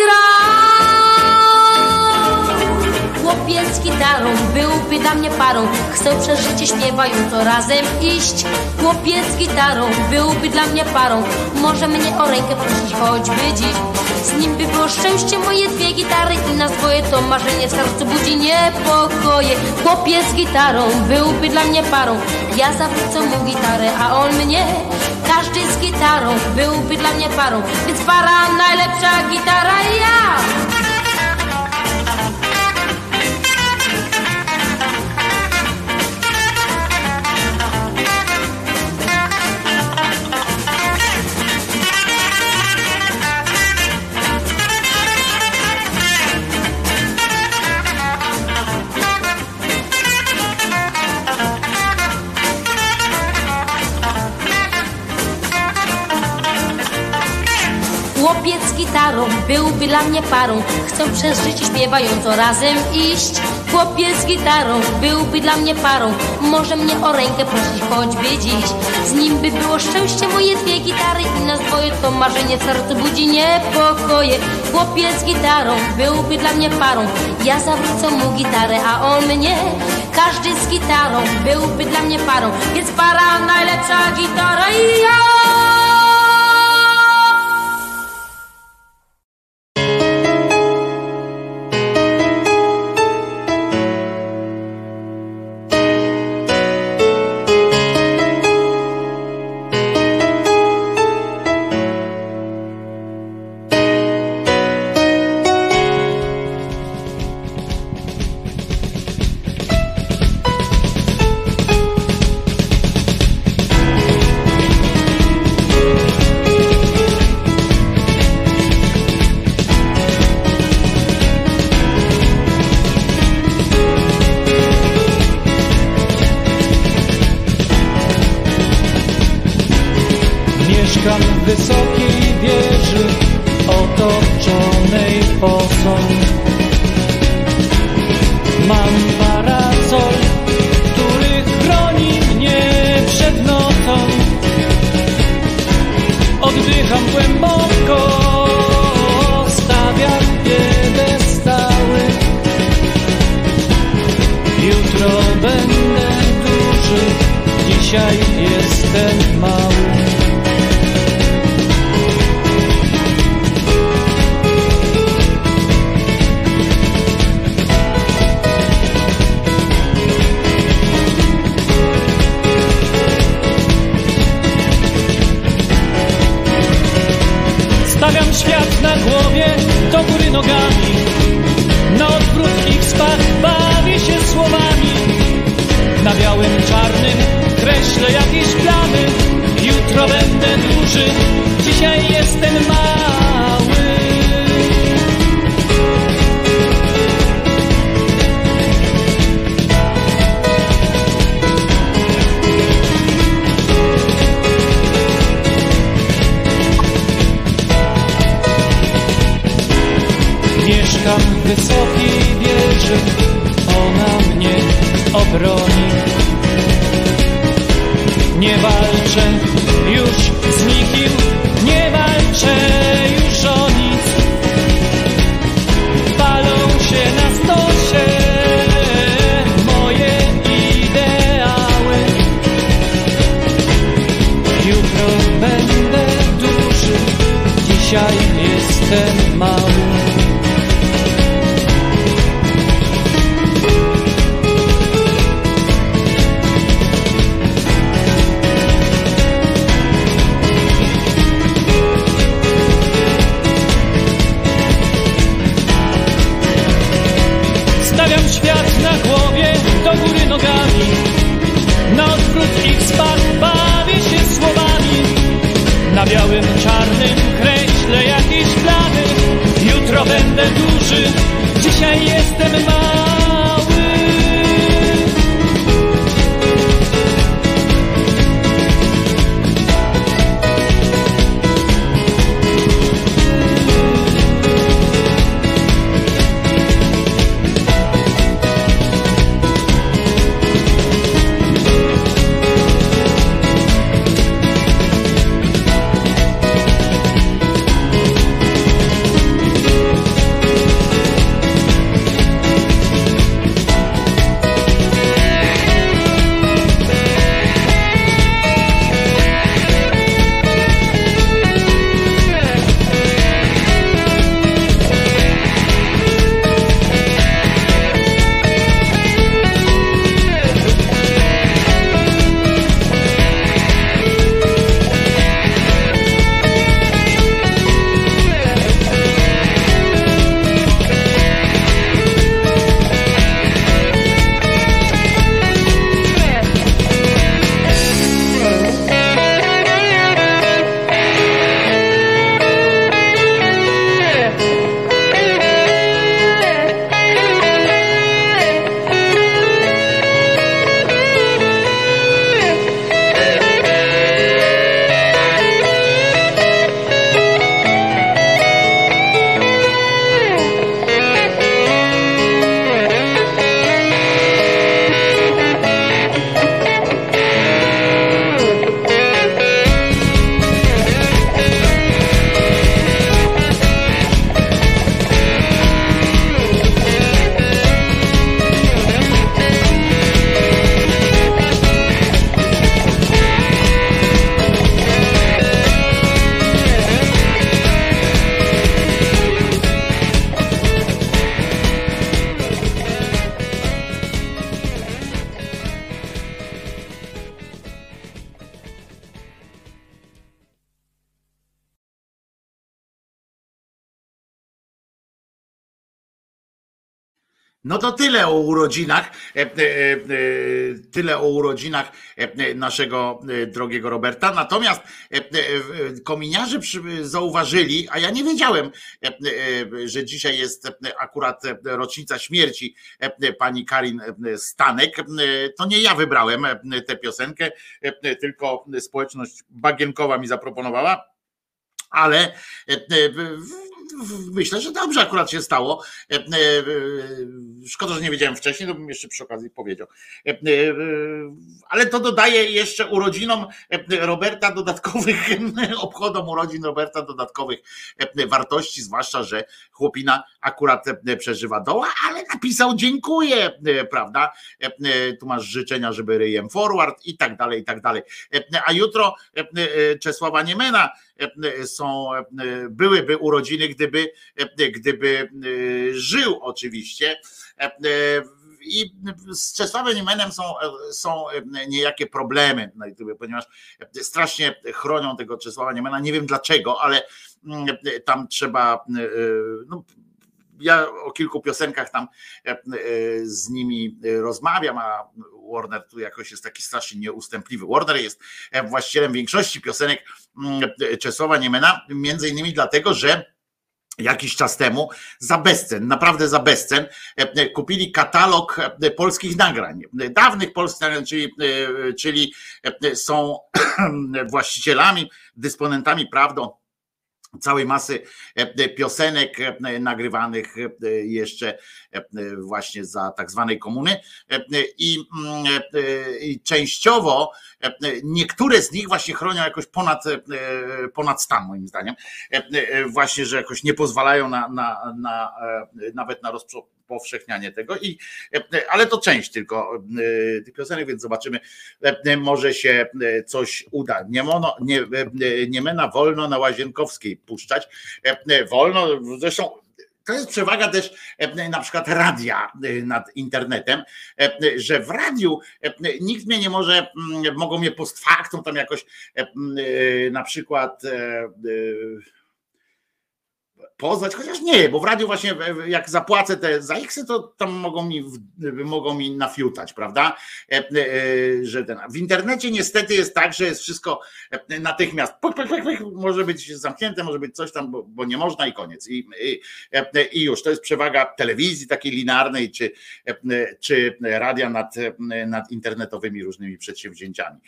grał. Chłopiec z gitarą byłby dla mnie parą, chcę przez życie śpiewająco razem iść. Chłopiec z gitarą byłby dla mnie parą, może mnie o rękę prosić choćby dziś. Z nim by było szczęście, moje dwie gitary i nas dwoje, to marzenie w sercu budzi niepokoje. Chłopiec z gitarą byłby dla mnie parą, ja zawrócę mu gitarę, a on mnie. Każdy z gitarą byłby dla mnie parą, więc para najlepsza gitara ja. gitarą byłby dla mnie parą. Chcę przez życie śpiewająco razem iść. Chłopiec z gitarą byłby dla mnie parą. Może mnie o rękę prosić choćby dziś. Z nim by było szczęście, moje dwie gitary i nas dwoje, to marzenie w sercu budzi niepokoje. Chłopiec z gitarą byłby dla mnie parą. Ja zawrócę mu gitarę, a on mnie. Każdy z gitarą byłby dla mnie parą. Więc para, najlepsza gitara i ja. Mieszkam w wysokiej wieży otoczonej fosą. Mam parasol, który chroni mnie przed nocą. Oddycham głęboko, stawiam piedestały. Jutro będę duży, dzisiaj jestem mały. Stawiam świat na głowie, do góry nogami. Na odwrót ich spadł, bawię się słowami. Na białym, czarnym kreślę jakieś plany. Jutro będę duży, dzisiaj jestem mały. Mieszkam w wysokiej wieży, ona mnie obroni. Nie walczę już z nikim, nie walczę już o nic. Palą się na stosie moje ideały. Jutro będę duży, dzisiaj jestem mały. Stawiam świat na głowie, do góry nogami. Na odwrót ich spadł, bawię się słowami. Na białym, czarnym kreślę jakieś plany. Jutro będę duży, dzisiaj jestem mały. No to tyle o urodzinach, naszego drogiego Roberta. Natomiast kominiarze zauważyli, a ja nie wiedziałem, że dzisiaj jest akurat rocznica śmierci pani Karin Stanek. To nie ja wybrałem tę piosenkę, tylko społeczność bagienkowa mi zaproponowała, ale myślę, że dobrze akurat się stało. Szkoda, że nie wiedziałem wcześniej, to bym jeszcze przy okazji powiedział. Ale to dodaje jeszcze urodzinom Roberta dodatkowych, obchodom urodzin Roberta dodatkowych wartości, zwłaszcza, że chłopina akurat przeżywa doła, ale napisał dziękuję, prawda? Tu masz życzenia, żeby ryjem forward i tak dalej, i tak dalej. A jutro Czesława Niemena byłyby urodziny, gdyby żył oczywiście. I z Czesławem Niemenem są niejakie problemy, ponieważ strasznie chronią tego Czesława Niemena. Nie wiem dlaczego, ale tam trzeba. No, ja o kilku piosenkach tam z nimi rozmawiam, a Warner tu jakoś jest taki strasznie nieustępliwy. Warner jest właścicielem większości piosenek Czesława Niemena, między innymi dlatego, że jakiś czas temu za bezcen, naprawdę za bezcen, kupili katalog polskich nagrań, dawnych polskich nagrań, czyli są właścicielami, dysponentami prawdą całej masy piosenek nagrywanych jeszcze właśnie za tak zwanej komuny i częściowo niektóre z nich właśnie chronią jakoś ponad stan, moim zdaniem, właśnie, że jakoś nie pozwalają nawet na rozpowszechnianie tego, ale to część tylko tych piosenek, więc zobaczymy, może się coś uda. Niemena wolno na Łazienkowskiej puszczać, wolno, zresztą to jest przewaga też na przykład radia nad internetem, że w radiu nikt mnie nie może, mogą mnie post factum tam jakoś na przykład pozwać, chociaż nie, bo w radiu właśnie jak zapłacę te za X-y, to tam mogą mi nafiutać, prawda? Że w internecie niestety jest tak, że jest wszystko natychmiast może być zamknięte, może być coś tam, bo nie można i koniec. I już, to jest przewaga telewizji takiej linearnej, czy radia nad internetowymi różnymi przedsięwzięciami.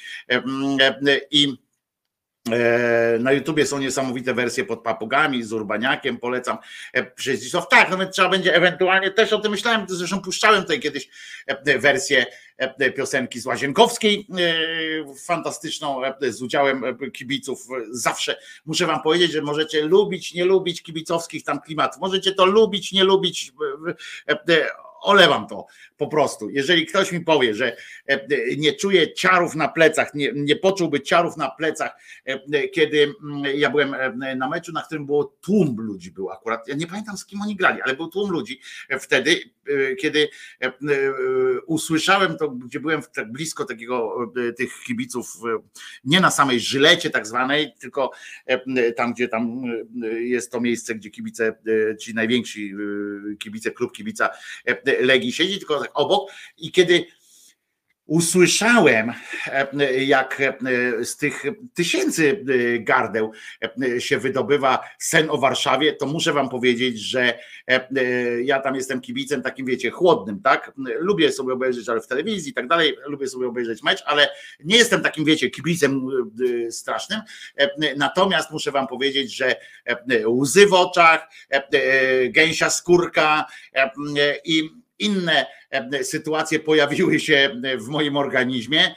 Na YouTubie są niesamowite wersje pod papugami z Urbaniakiem, polecam przez Zdzisław. Tak, nawet trzeba będzie ewentualnie, też o tym myślałem, zresztą puszczałem tutaj kiedyś wersję piosenki z Łazienkowskiej, fantastyczną, z udziałem kibiców. Zawsze muszę wam powiedzieć, że możecie lubić, nie lubić kibicowskich tam klimatów, możecie to lubić, nie lubić, olewam to po prostu. Jeżeli ktoś mi powie, że nie czuje ciarów na plecach, nie poczułby ciarów na plecach, kiedy ja byłem na meczu, na którym było tłum ludzi, był akurat, ja nie pamiętam z kim oni grali, ale był tłum ludzi wtedy, kiedy usłyszałem to, gdzie byłem tak blisko tych kibiców, nie na samej Żylecie tak zwanej, tylko tam, gdzie tam jest to miejsce, gdzie kibice, ci najwięksi kibice, klub kibica Legii siedzi, tylko tak obok, i kiedy usłyszałem, jak z tych tysięcy gardeł się wydobywa sen o Warszawie, to muszę wam powiedzieć, że ja tam jestem kibicem takim, wiecie, chłodnym, tak? Lubię sobie obejrzeć, ale w telewizji i tak dalej, lubię sobie obejrzeć mecz, ale nie jestem takim, wiecie, kibicem strasznym. Natomiast muszę wam powiedzieć, że łzy w oczach, gęsia skórka i inne sytuacje pojawiły się w moim organizmie,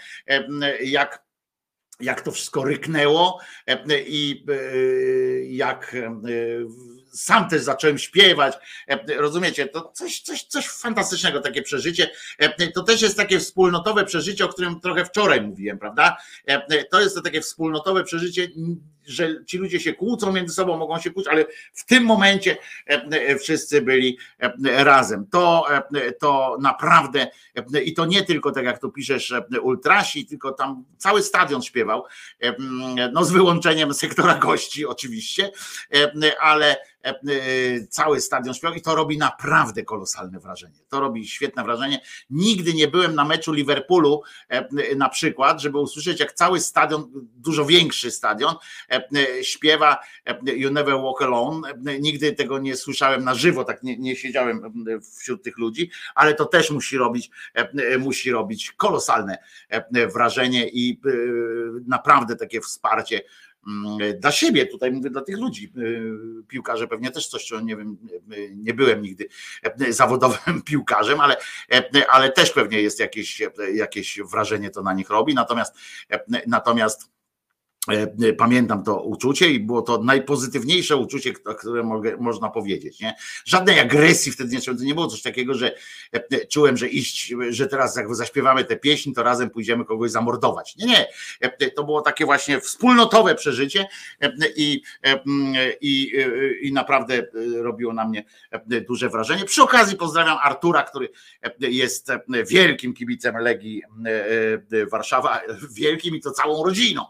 jak to wszystko ryknęło i jak sam też zacząłem śpiewać, rozumiecie, to coś fantastycznego, takie przeżycie, to też jest takie wspólnotowe przeżycie, o którym trochę wczoraj mówiłem, prawda, to jest to takie wspólnotowe przeżycie, że ci ludzie się kłócą między sobą, mogą się kłócić, ale w tym momencie wszyscy byli razem, to naprawdę, i to nie tylko tak jak tu piszesz ultrasi, tylko tam cały stadion śpiewał, no z wyłączeniem sektora gości oczywiście, ale cały stadion śpiewał i to robi naprawdę kolosalne wrażenie. To robi świetne wrażenie. Nigdy nie byłem na meczu Liverpoolu na przykład, żeby usłyszeć, jak cały stadion, dużo większy stadion, śpiewa You Never Walk Alone. Nigdy tego nie słyszałem na żywo, tak nie siedziałem wśród tych ludzi, ale to też musi robić kolosalne wrażenie i naprawdę takie wsparcie dla siebie, tutaj mówię dla tych ludzi, piłkarze pewnie też coś, nie wiem, nie byłem nigdy zawodowym piłkarzem, ale też pewnie jest jakieś wrażenie to na nich robi, natomiast pamiętam to uczucie i było to najpozytywniejsze uczucie, które można powiedzieć. Nie? Żadnej agresji wtedy nie było coś takiego, że czułem, że teraz jak zaśpiewamy tę pieśń, to razem pójdziemy kogoś zamordować. Nie. To było takie właśnie wspólnotowe przeżycie i naprawdę robiło na mnie duże wrażenie. Przy okazji pozdrawiam Artura, który jest wielkim kibicem Legii Warszawa, wielkim i to całą rodziną.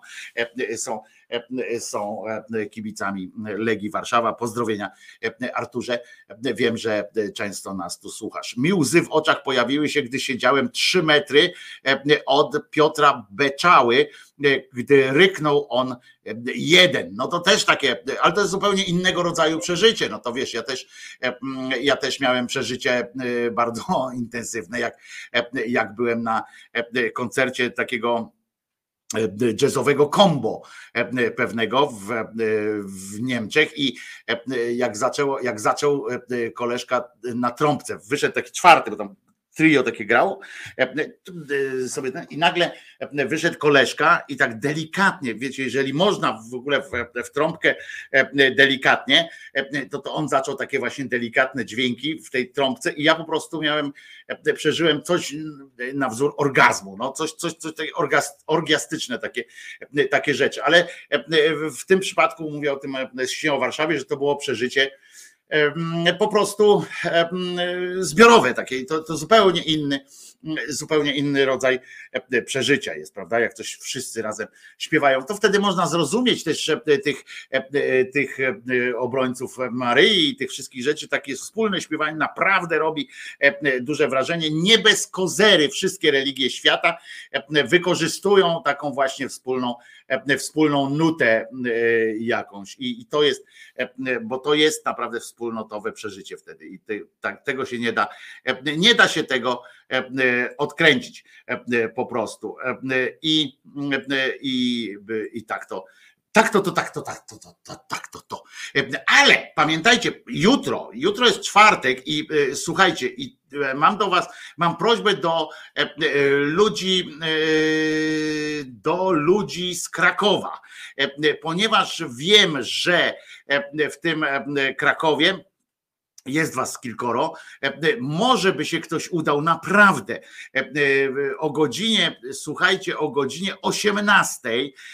Są kibicami Legii Warszawa. Pozdrowienia, Arturze. Wiem, że często nas tu słuchasz. Mi łzy w oczach pojawiły się, gdy siedziałem 3 metry od Piotra Beczały, gdy ryknął on 1. No to też takie, ale to jest zupełnie innego rodzaju przeżycie. No to wiesz, ja też miałem przeżycie bardzo intensywne, jak byłem na koncercie takiego jazzowego combo pewnego w Niemczech i jak zaczął koleżka na trąbce, wyszedł taki 4, bo tam trio takie grało sobie i nagle wyszedł koleżka i tak delikatnie, wiecie, jeżeli można w ogóle w trąbkę delikatnie, to on zaczął takie właśnie delikatne dźwięki w tej trąbce i ja po prostu przeżyłem coś na wzór orgazmu, no coś orgiastyczne takie rzeczy, ale w tym przypadku mówię o tym o Warszawie, że to było przeżycie po prostu zbiorowe takie, to zupełnie inny rodzaj przeżycia jest, prawda? Jak coś wszyscy razem śpiewają, to wtedy można zrozumieć też tych obrońców Maryi i tych wszystkich rzeczy, takie wspólne śpiewanie naprawdę robi duże wrażenie. Nie bez kozery wszystkie religie świata wykorzystują taką właśnie wspólną nutę jakąś i to jest, bo to jest naprawdę wspólnotowe przeżycie wtedy i tego się nie da się tego odkręcić po prostu i tak to. Ale pamiętajcie, jutro jest czwartek i słuchajcie, i mam prośbę do ludzi z Krakowa, ponieważ wiem, że w tym Krakowie jest was kilkoro, może by się ktoś udał naprawdę o godzinie 18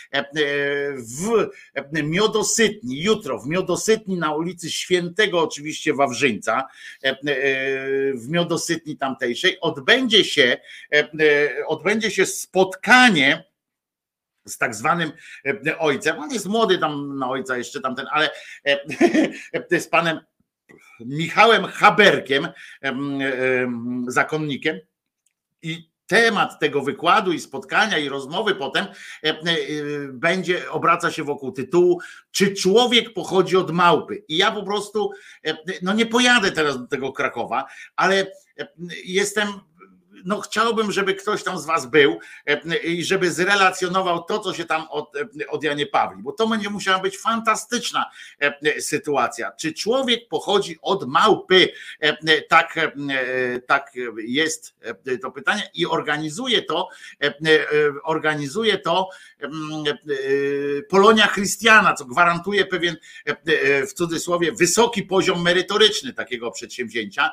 w Miodosytni, jutro w Miodosytni na ulicy Świętego oczywiście Wawrzyńca, w Miodosytni tamtejszej odbędzie się spotkanie z tak zwanym ojcem, on jest młody tam na ojca jeszcze tamten, ale z panem Michałem Haberkiem, zakonnikiem, i temat tego wykładu i spotkania i rozmowy potem obraca się wokół tytułu: czy człowiek pochodzi od małpy? I ja po prostu nie pojadę teraz do tego Krakowa, ale chciałbym, żeby ktoś tam z was był i żeby zrelacjonował to, co się tam od Janie Pawli, bo to będzie musiała być fantastyczna sytuacja. Czy człowiek pochodzi od małpy? Tak jest to pytanie i organizuje to Polonia Christiana, co gwarantuje pewien, w cudzysłowie, wysoki poziom merytoryczny takiego przedsięwzięcia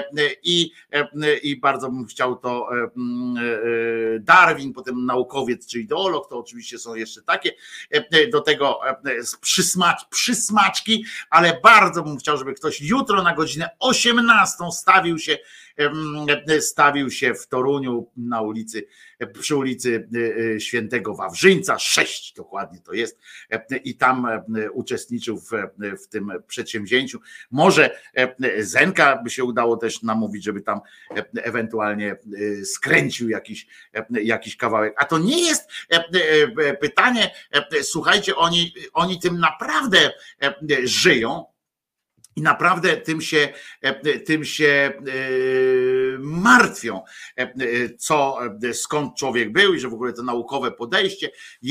i bardzo bym chciał to Darwin, potem naukowiec czy ideolog, to oczywiście są jeszcze takie do tego przysmaczki, ale bardzo bym chciał, żeby ktoś jutro na godzinę 18 stawił się stawił się w Toruniu na ulicy, przy ulicy Świętego Wawrzyńca 6 dokładnie to jest, i tam uczestniczył w tym przedsięwzięciu. Może Zenka by się udało też namówić, żeby tam ewentualnie skręcił jakiś kawałek. A to nie jest pytanie, słuchajcie, oni tym naprawdę żyją i naprawdę tym się martwią, skąd człowiek był i że w ogóle to naukowe podejście,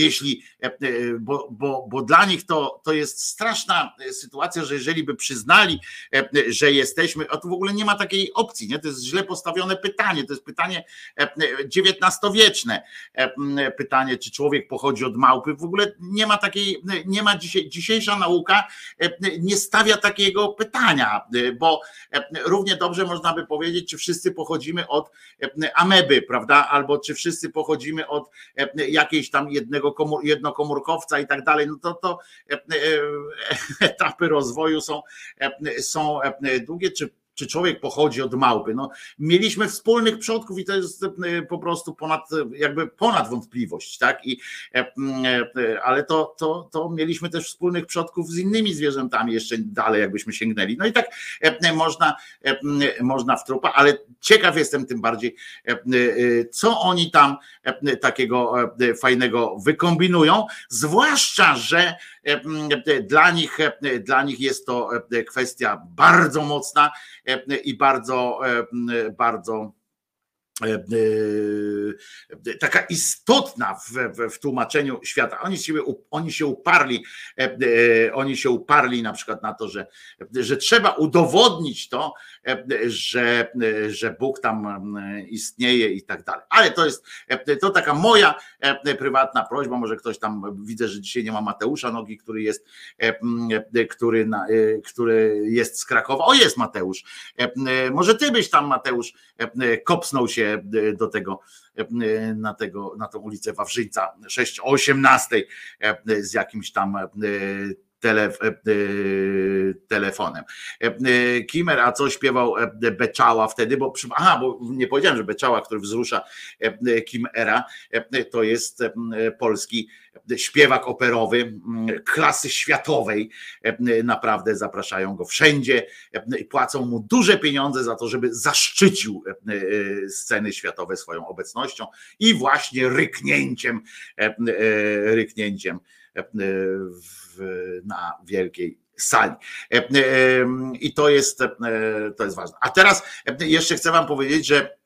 bo dla nich to jest straszna sytuacja, że jeżeli by przyznali, że jesteśmy, a tu w ogóle nie ma takiej opcji, nie? To jest źle postawione pytanie, to jest pytanie XIX-wieczne, pytanie, czy człowiek pochodzi od małpy, w ogóle nie ma dzisiejsza nauka nie stawia takiego pytania, bo równie dobrze można by powiedzieć, czy wszyscy pochodzimy od ameby, prawda, albo czy wszyscy pochodzimy od jakiejś tam jednokomórkowca i tak dalej, no to etapy rozwoju są długie, czy człowiek pochodzi od małpy. No, mieliśmy wspólnych przodków i to jest po prostu ponad wątpliwość, tak? Ale to mieliśmy też wspólnych przodków z innymi zwierzętami jeszcze dalej, jakbyśmy sięgnęli. No i tak można w trupa, ale ciekaw jestem tym bardziej, co oni tam takiego fajnego wykombinują, zwłaszcza, że dla nich jest to kwestia bardzo mocna i bardzo taka istotna w tłumaczeniu świata. Oni się uparli na przykład na to, że trzeba udowodnić to, że Bóg tam istnieje i tak dalej. Ale to taka moja prywatna prośba, może ktoś tam, widzę, że dzisiaj nie ma Mateusza Nogi, który jest z Krakowa. O, jest Mateusz. Może ty byś tam, Mateusz, kopsnął się do tego, na tą ulicę Wawrzyńca 6 o 18 z jakimś tam telefonem. Kimer, a co śpiewał Beczała wtedy, bo nie powiedziałem, że Beczała, który wzrusza Kimera, to jest polski śpiewak operowy klasy światowej, naprawdę zapraszają go wszędzie i płacą mu duże pieniądze za to, żeby zaszczycił sceny światowe swoją obecnością i właśnie ryknięciem na wielkiej sali. I to jest ważne. A teraz jeszcze chcę wam powiedzieć, że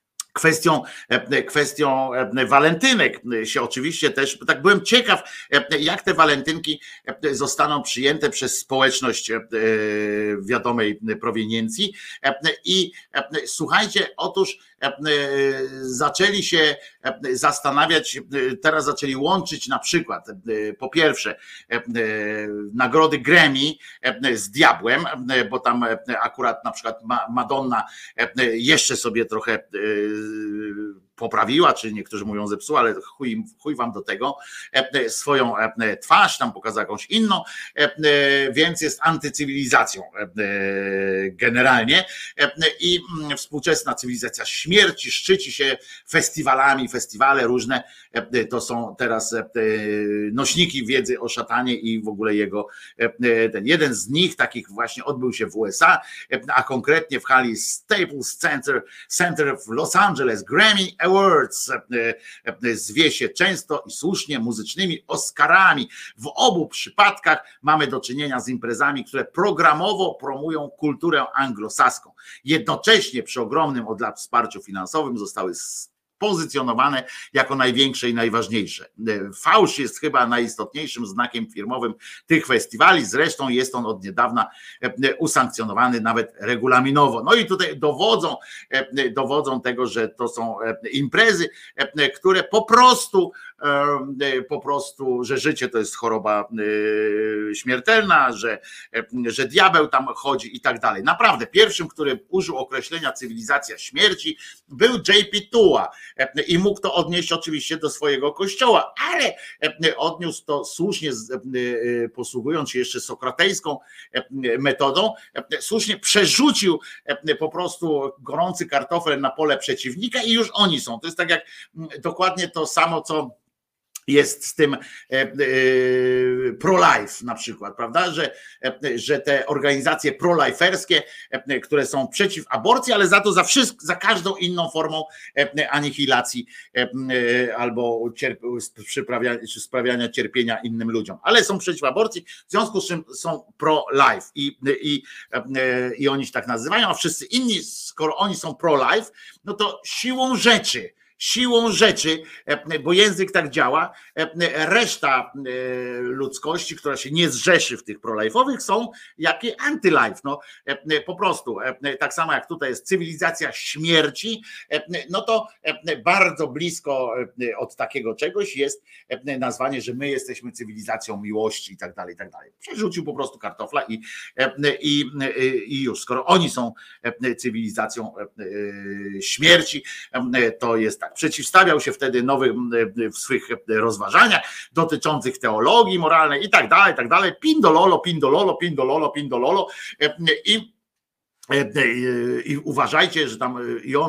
kwestią walentynek się oczywiście też, tak byłem ciekaw, jak te walentynki zostaną przyjęte przez społeczność wiadomej proweniencji i słuchajcie, otóż zaczęli się zastanawiać, teraz zaczęli łączyć na przykład po pierwsze nagrody Grammy z diabłem, bo tam akurat na przykład Madonna jeszcze sobie trochę poprawiła, czy niektórzy mówią zepsuła, ale chuj wam do tego, swoją twarz, tam pokazała jakąś inną, więc jest antycywilizacją generalnie i współczesna cywilizacja śmierci szczyci się festiwalami, festiwale różne, to są teraz nośniki wiedzy o szatanie i w ogóle jeden z nich takich właśnie odbył się w USA, a konkretnie w hali Staples Center w Los Angeles, Grammy Awards, zwie się często i słusznie muzycznymi Oscarami. W obu przypadkach mamy do czynienia z imprezami, które programowo promują kulturę anglosaską. Jednocześnie przy ogromnym od lat wsparciu finansowym zostały pozycjonowane jako największe i najważniejsze. Fałsz jest chyba najistotniejszym znakiem firmowym tych festiwali, zresztą jest on od niedawna usankcjonowany nawet regulaminowo. No i tutaj dowodzą tego, że to są imprezy, które po prostu, że życie to jest choroba śmiertelna, że diabeł tam chodzi i tak dalej. Naprawdę, pierwszym, który użył określenia cywilizacja śmierci, był J.P. Tuła, i mógł to odnieść oczywiście do swojego kościoła, ale odniósł to słusznie, posługując się jeszcze sokratejską metodą, słusznie przerzucił po prostu gorący kartofel na pole przeciwnika i już oni są. To jest tak jak dokładnie to samo, co jest z tym pro-life na przykład, prawda, że te organizacje pro-liferskie, które są przeciw aborcji, ale za to za każdą inną formą anihilacji albo sprawiania cierpienia innym ludziom, ale są przeciw aborcji, w związku z czym są pro-life i oni się tak nazywają, a wszyscy inni, skoro oni są pro-life, no to siłą rzeczy, bo język tak działa, reszta ludzkości, która się nie zrzeszy w tych pro-life'owych, są jakie anty-life. No, po prostu, tak samo jak tutaj jest cywilizacja śmierci, no to bardzo blisko od takiego czegoś jest nazwanie, że my jesteśmy cywilizacją miłości i tak dalej, i tak dalej. Przerzucił po prostu kartofla i już, skoro oni są cywilizacją śmierci, to jest tak. Przeciwstawiał się wtedy nowym w swych rozważaniach dotyczących teologii moralnej i tak dalej, pindololo i uważajcie, że tam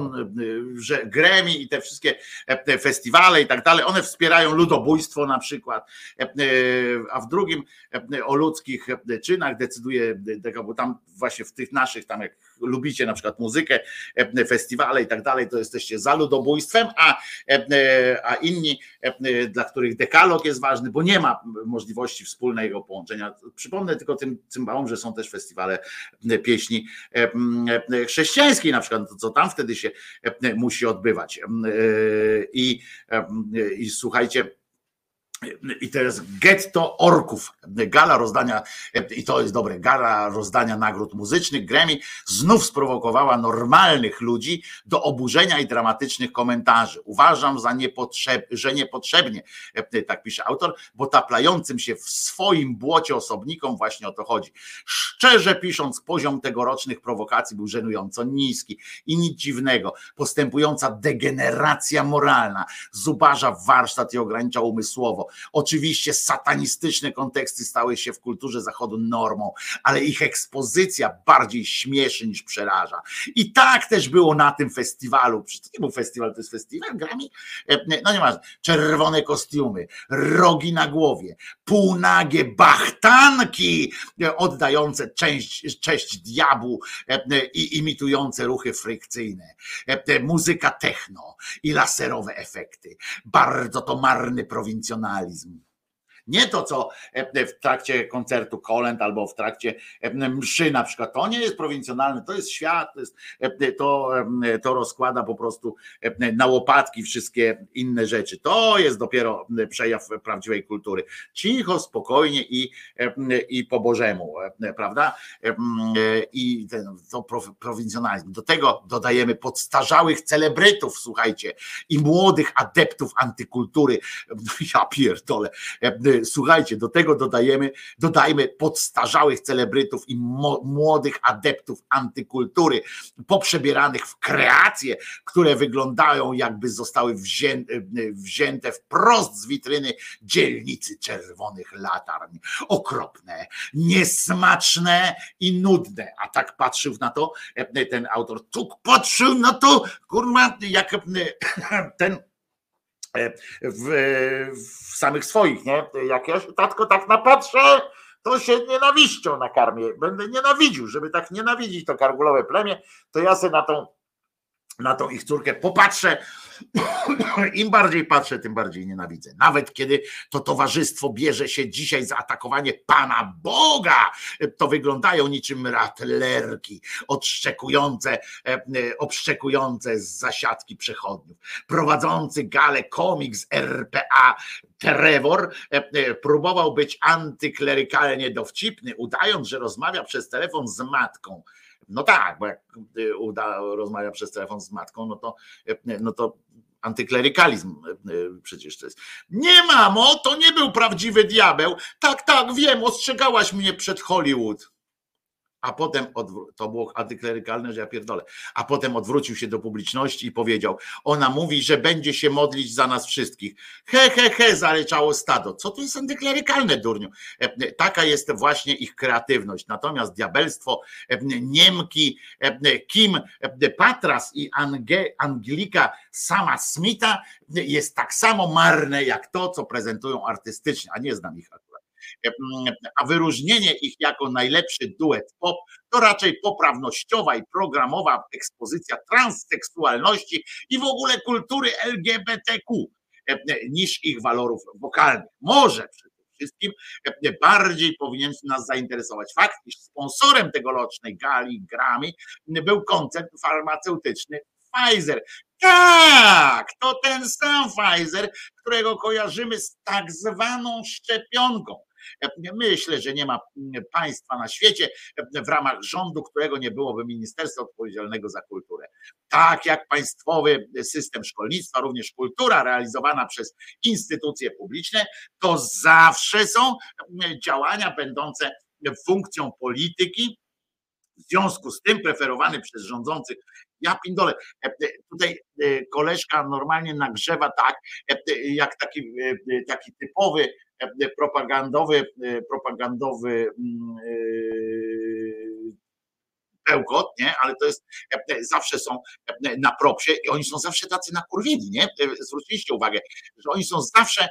że Grammy i te wszystkie festiwale i tak dalej, one wspierają ludobójstwo na przykład, a w drugim o ludzkich czynach decyduje, bo tam właśnie w tych naszych, tam jak lubicie na przykład muzykę, festiwale i tak dalej, to jesteście za ludobójstwem, a inni, dla których dekalog jest ważny, bo nie ma możliwości wspólnego połączenia. Przypomnę tylko tym cymbałom, że są też festiwale pieśni chrześcijańskiej na przykład, co tam wtedy się musi odbywać. I słuchajcie, i teraz getto orków, gala rozdania, i to jest dobre, gala rozdania nagród muzycznych Grammy znów sprowokowała normalnych ludzi do oburzenia i dramatycznych komentarzy. Uważam, że niepotrzebnie, tak pisze autor, bo taplającym się w swoim błocie osobnikom właśnie o to chodzi. Szczerze pisząc, poziom tegorocznych prowokacji był żenująco niski i nic dziwnego. Postępująca degeneracja moralna zubaża warsztat i ogranicza umysłowo. Oczywiście satanistyczne konteksty stały się w kulturze zachodu normą, ale ich ekspozycja bardziej śmieszy niż przeraża. I tak też było na tym festiwalu. Przecież to nie był festiwal, to jest festiwal Grammy? No nie ma. Czerwone kostiumy, rogi na głowie, półnagie bachtanki oddające cześć diabłu i imitujące ruchy frykcyjne. Muzyka techno i laserowe efekty. Bardzo to marny prowincjonalizm. Nie to, co w trakcie koncertu kolęd albo w trakcie mszy na przykład, to nie jest prowincjonalne, to jest świat, to rozkłada po prostu na łopatki wszystkie inne rzeczy. To jest dopiero przejaw prawdziwej kultury. Cicho, spokojnie i po Bożemu, prawda? I to prowincjonalizm. Do tego dodajemy podstarzałych celebrytów, słuchajcie, i młodych adeptów antykultury. Ja pierdolę. Słuchajcie, do tego dodajmy podstarzałych celebrytów i młodych adeptów antykultury, poprzebieranych w kreacje, które wyglądają, jakby zostały wzięte wprost z witryny dzielnicy czerwonych latarń. Okropne, niesmaczne i nudne. A tak patrzył na to ten autor, patrzył na to, kurwa, jak ten w samych swoich, nie? Jak ja się, tatko, tak napatrzę, to się nienawiścią nakarmię. Będę nienawidził, żeby tak nienawidzić to kargulowe plemię, to ja sobie na tą ich córkę popatrzę. Im bardziej patrzę, tym bardziej nienawidzę. Nawet kiedy to towarzystwo bierze się dzisiaj za atakowanie Pana Boga, to wyglądają niczym ratlerki obszczekujące z zasiadki przechodniów. Prowadzący galę komik z RPA Trevor próbował być antyklerykalnie dowcipny, udając, że rozmawia przez telefon z matką. No tak, bo jak rozmawia przez telefon z matką, no to antyklerykalizm przecież to jest. Nie, mamo, to nie był prawdziwy diabeł. Tak, wiem, ostrzegałaś mnie przed Hollywood. a potem to było antyklerykalne, że ja pierdolę, a potem odwrócił się do publiczności i powiedział, ona mówi, że będzie się modlić za nas wszystkich. He, zaryczało stado. Co to jest antyklerykalne, durniu? Taka jest właśnie ich kreatywność. Natomiast diabelstwo Niemki, Kim Patras i Angelika sama Smitha jest tak samo marne jak to, co prezentują artystycznie, a nie znam ich akurat. A wyróżnienie ich jako najlepszy duet pop to raczej poprawnościowa i programowa ekspozycja transseksualności i w ogóle kultury LGBTQ niż ich walorów wokalnych. Może przede wszystkim bardziej powinien nas zainteresować fakt, iż sponsorem tegorocznej gali Grammy był koncern farmaceutyczny Pfizer. Tak, to ten sam Pfizer, którego kojarzymy z tak zwaną szczepionką. Myślę, że nie ma państwa na świecie w ramach rządu, którego nie byłoby ministerstwa odpowiedzialnego za kulturę. Tak jak państwowy system szkolnictwa, również kultura realizowana przez instytucje publiczne, to zawsze są działania będące funkcją polityki. W związku z tym preferowany przez rządzących, ja pindolę, tutaj koleżka normalnie nagrzewa tak, jak taki typowy propagandowy bełkot, nie? Ale to jest, zawsze są na propsie i oni są zawsze tacy nakurwieni, nie? Zwróciliście uwagę, że oni są zawsze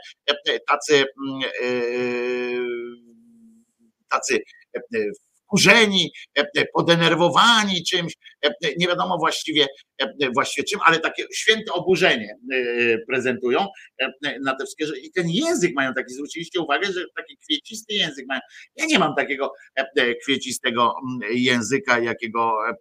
tacy wkurzeni, podenerwowani czymś, nie wiadomo właściwie czym, ale takie święte oburzenie prezentują na te wszystkie rzeczy. I ten język mają taki, zwróciliście uwagę, że taki kwiecisty język mają. Ja nie mam takiego kwiecistego języka, jakim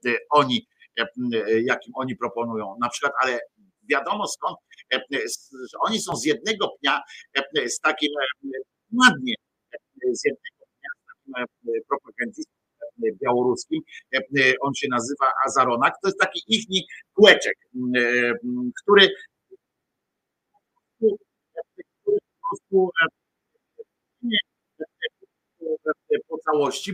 oni proponują na przykład, ale wiadomo skąd, że oni są z jednego pnia z takim ładnie, z jednego pnia z takim propagandistą białoruskim, on się nazywa Azaronak, to jest taki ichni kółeczek, który po prostu po całości,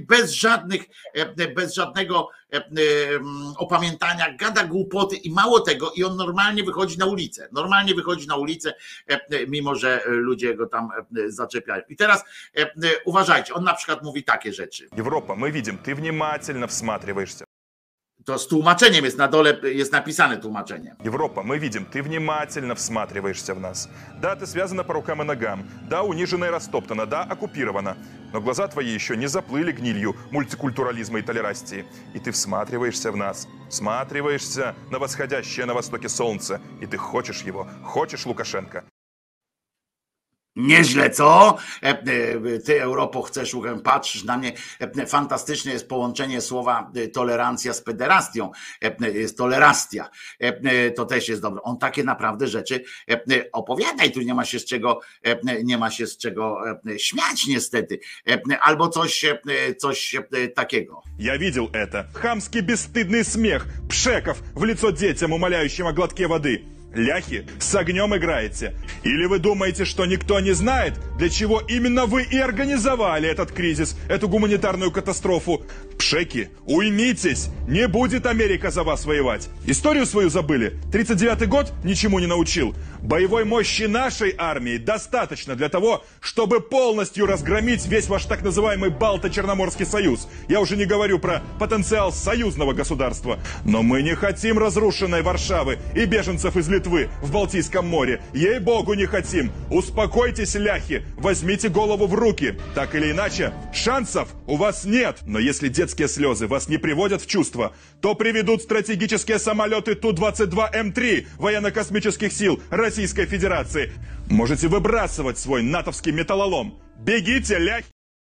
bez żadnego opamiętania, gada głupoty i mało tego, i on normalnie wychodzi na ulicę, mimo że ludzie go tam zaczepiają. I teraz uważajcie, on na przykład mówi takie rzeczy. Европа, мы видим, ты внимательно всматриваешься. To z tłumaczeniem jest na dole, jest napisane tłumaczenie. Европа, мы видим, ты внимательно всматриваешься в нас. Да, ты связана по рукам и ногам. Да, унижена и растоптана. Да, оккупирована. Но глаза твои еще не заплыли гнилью мультикультурализма и толерастии. И ты всматриваешься в нас. Всматриваешься на восходящее на востоке солнце. И ты хочешь его. Хочешь Лукашенко. Nieźle, co? Ty, Europo, chcesz, patrzysz na mnie. Fantastyczne jest połączenie słowa tolerancja z pederastią. Jest tolerastia. To też jest dobre. On takie naprawdę rzeczy opowiada i tu nie ma się z czego śmiać niestety. Albo coś takiego. Я видел это. Хамский бесстыдный смех пшеков в лицо детям, умоляющим о глотке воды. Ляхи, с огнем играете. Или вы думаете, что никто не знает, для чего именно вы и организовали этот кризис, эту гуманитарную катастрофу? Пшеки, уймитесь, не будет Америка за вас воевать. Историю свою забыли? 39-й год ничему не научил. Боевой мощи нашей армии достаточно для того, чтобы полностью разгромить весь ваш так называемый Балто-Черноморский союз. Я уже не говорю про потенциал союзного государства. Но мы не хотим разрушенной Варшавы и беженцев из Литвы в Балтийском море. Ей-богу, не хотим. Успокойтесь, ляхи, возьмите голову в руки. Так или иначе, шансов у вас нет. Но если детские слезы вас не приводят в чувство, то приведут стратегические самолеты Ту-22М3 военно-космических сил Российской Федерации. Можете выбрасывать свой натовский металлолом. Бегите, ляхи!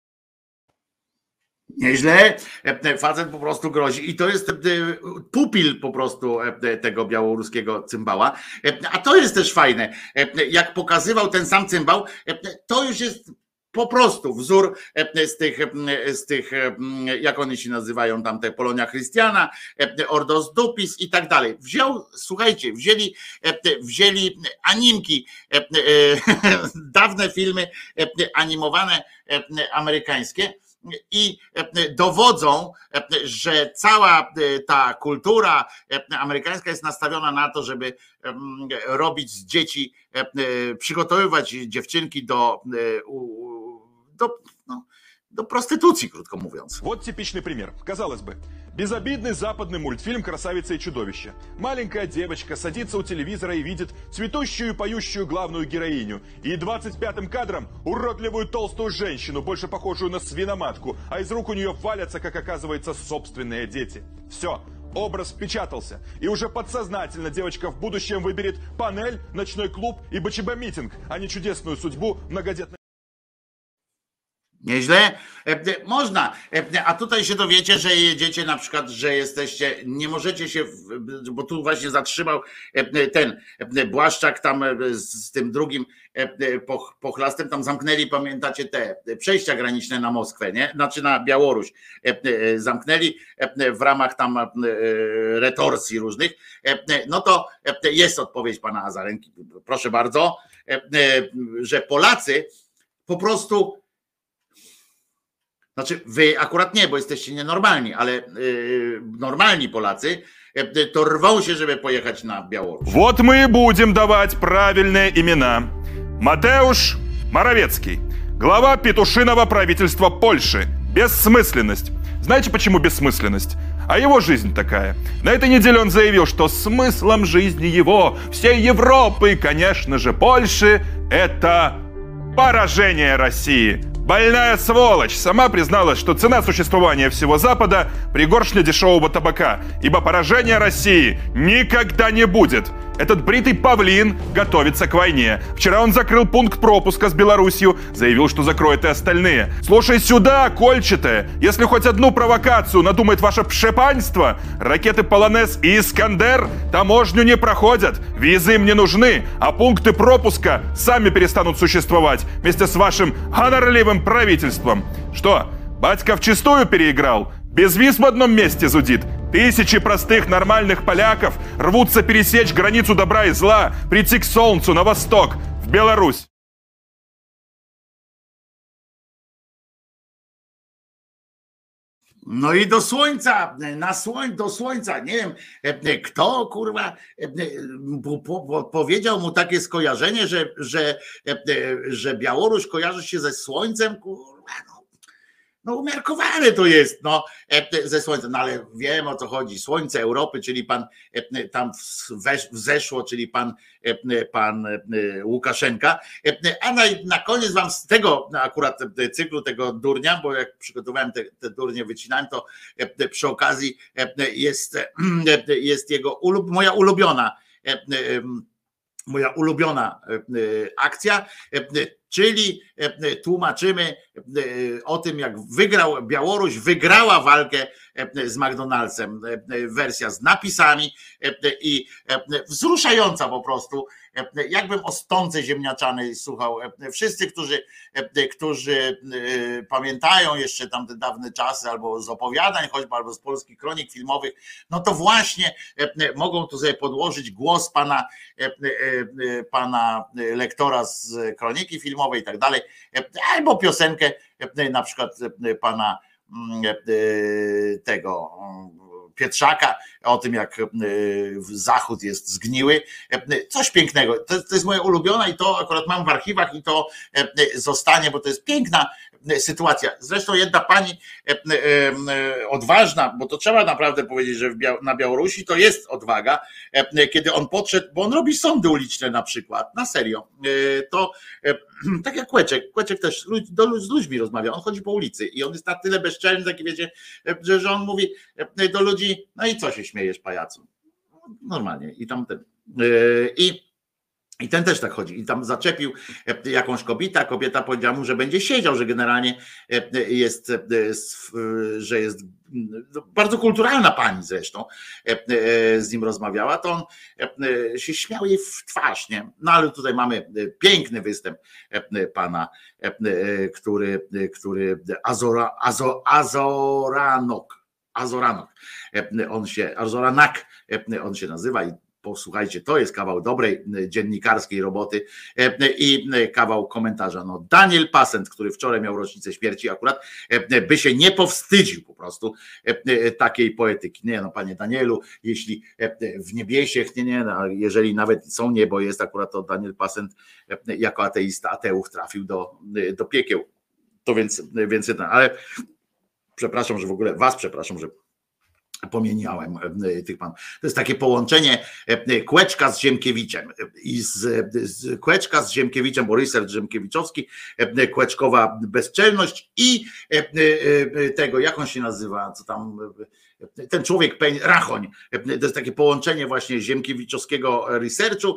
Nieźle, facet po prostu grozi i to jest pupil po prostu tego białoruskiego cymbała, a to jest też fajne, jak pokazywał ten sam cymbał, to już jest po prostu wzór z tych, jak oni się nazywają tam, te Polonia Christiana, Ordos Dupis i tak dalej. Słuchajcie, wzięli animki, dawne filmy animowane amerykańskie i dowodzą, że cała ta kultura amerykańska jest nastawiona na to, żeby robić z dzieci, przygotowywać dziewczynki do prostytucji, krótko mówiąc. Вот типичный пример. Казалось бы, безобидный западный мультфильм «Красавица и чудовище». Маленькая девочка садится у телевизора и видит цветущую и поющую главную героиню. И 25-м кадром уродливую толстую женщину, больше похожую на свиноматку, а из рук у нее валятся, как оказывается, собственные дети. Все. Образ впечатался, и уже подсознательно девочка в будущем выберет панель, ночной клуб и БЧБ-митинг, а не чудесную судьбу многодетной. Nieźle? Można, a tutaj się dowiecie, że jedziecie na przykład, że jesteście, nie możecie się, bo tu właśnie zatrzymał ten Błaszczak tam z tym drugim pochlastem, tam zamknęli, pamiętacie, te przejścia graniczne na Moskwę, nie? Znaczy na Białoruś zamknęli w ramach tam retorsji różnych, no to jest odpowiedź pana Azarenki, proszę bardzo, że Polacy po prostu, znaczy wy akurat nie, bo jesteście nienormalni, ale normalni Polacy to rwą się, żeby pojechać na Białoruś. Вот мы и будем давать правильные имена. Матеуш Моровецкий, глава петушиного правительства Польши. Бессмысленность. Знаете, почему бессмысленность? А его жизнь такая. На этой неделе он заявил, что смыслом жизни его, всей Европы и, конечно же, Польши, это поражение России. Больная сволочь сама призналась, что цена существования всего Запада – пригоршня дешевого табака, ибо поражения России никогда не будет. Этот бритый павлин готовится к войне. Вчера он закрыл пункт пропуска с Беларусью, заявил, что закроет и остальные. Слушай сюда, кольчатое, если хоть одну провокацию надумает ваше пшепанство, ракеты «Полонез» и «Искандер» таможню не проходят, визы им не нужны, а пункты пропуска сами перестанут существовать вместе с вашим гонорливым правительством. Что, батька вчистую переиграл? Без виз в одном месте зудит. Тысячи простых нормальных поляков рвутся пересечь границу добра и зла, прийти к солнцу на восток, в Беларусь. No i do słońca, do słońca, nie wiem kto kurwa powiedział mu takie skojarzenie, że Białoruś kojarzy się ze słońcem, kurwa, no umiarkowane to jest, no, ze słońcem, no ale wiem o co chodzi, słońce Europy, czyli pan tam wzeszło, czyli pan Łukaszenka, a na koniec wam z tego akurat cyklu, tego durnia, bo jak przygotowałem te durnie, wycinałem, to przy okazji jest jego moja ulubiona akcja, czyli tłumaczymy o tym, jak Białoruś wygrała walkę z McDonald'sem. Wersja z napisami i wzruszająca po prostu. Jakbym o stonce ziemniaczanej słuchał. Wszyscy, którzy pamiętają jeszcze tamte dawne czasy, albo z opowiadań choćby, albo z polskich kronik filmowych, no to właśnie mogą tu sobie podłożyć głos pana lektora z kroniki filmowej i tak dalej, albo piosenkę na przykład pana tego Pietrzaka, o tym jak Zachód jest zgniły. Coś pięknego. To jest moja ulubiona i to akurat mam w archiwach i to zostanie, bo to jest piękna sytuacja. Zresztą jedna pani odważna, bo to trzeba naprawdę powiedzieć, że na Białorusi to jest odwaga, kiedy on podszedł, bo on robi sądy uliczne na przykład, na serio. To tak jak Kłeczek też z ludźmi rozmawia, on chodzi po ulicy i on jest na tyle bezczelny, taki wiecie, że on mówi do ludzi, no i co się śmiejesz, pajacu? Normalnie. I tamten. I ten też tak chodzi. I tam zaczepił jakąś kobieta powiedziała mu, że będzie siedział, że generalnie jest bardzo kulturalna pani zresztą z nim rozmawiała, to on się śmiał jej w twarz, nie? No ale tutaj mamy piękny występ pana, który Azoranok, Azoranak on się nazywa i posłuchajcie, to jest kawał dobrej dziennikarskiej roboty i kawał komentarza. No, Daniel Passent, który wczoraj miał rocznicę śmierci akurat, by się nie powstydził po prostu takiej poetyki. Nie no, panie Danielu, jeśli w niebiesiech, no, jeżeli nawet są niebo jest, akurat to Daniel Passent jako ateista, ateuch trafił do piekieł. To więc ale przepraszam, że w ogóle was przepraszam, że pomieniałem tych panów. To jest takie połączenie Kłeczka z Ziemkiewiczem i z Kłeczka z Ziemkiewiczem, bo Ryszard Ziemkiewiczowski, Kłeczkowa bezczelność i tego, jak on się nazywa, co tam, ten człowiek, Rachoń. To jest takie połączenie właśnie ziemkiewiczowskiego researchu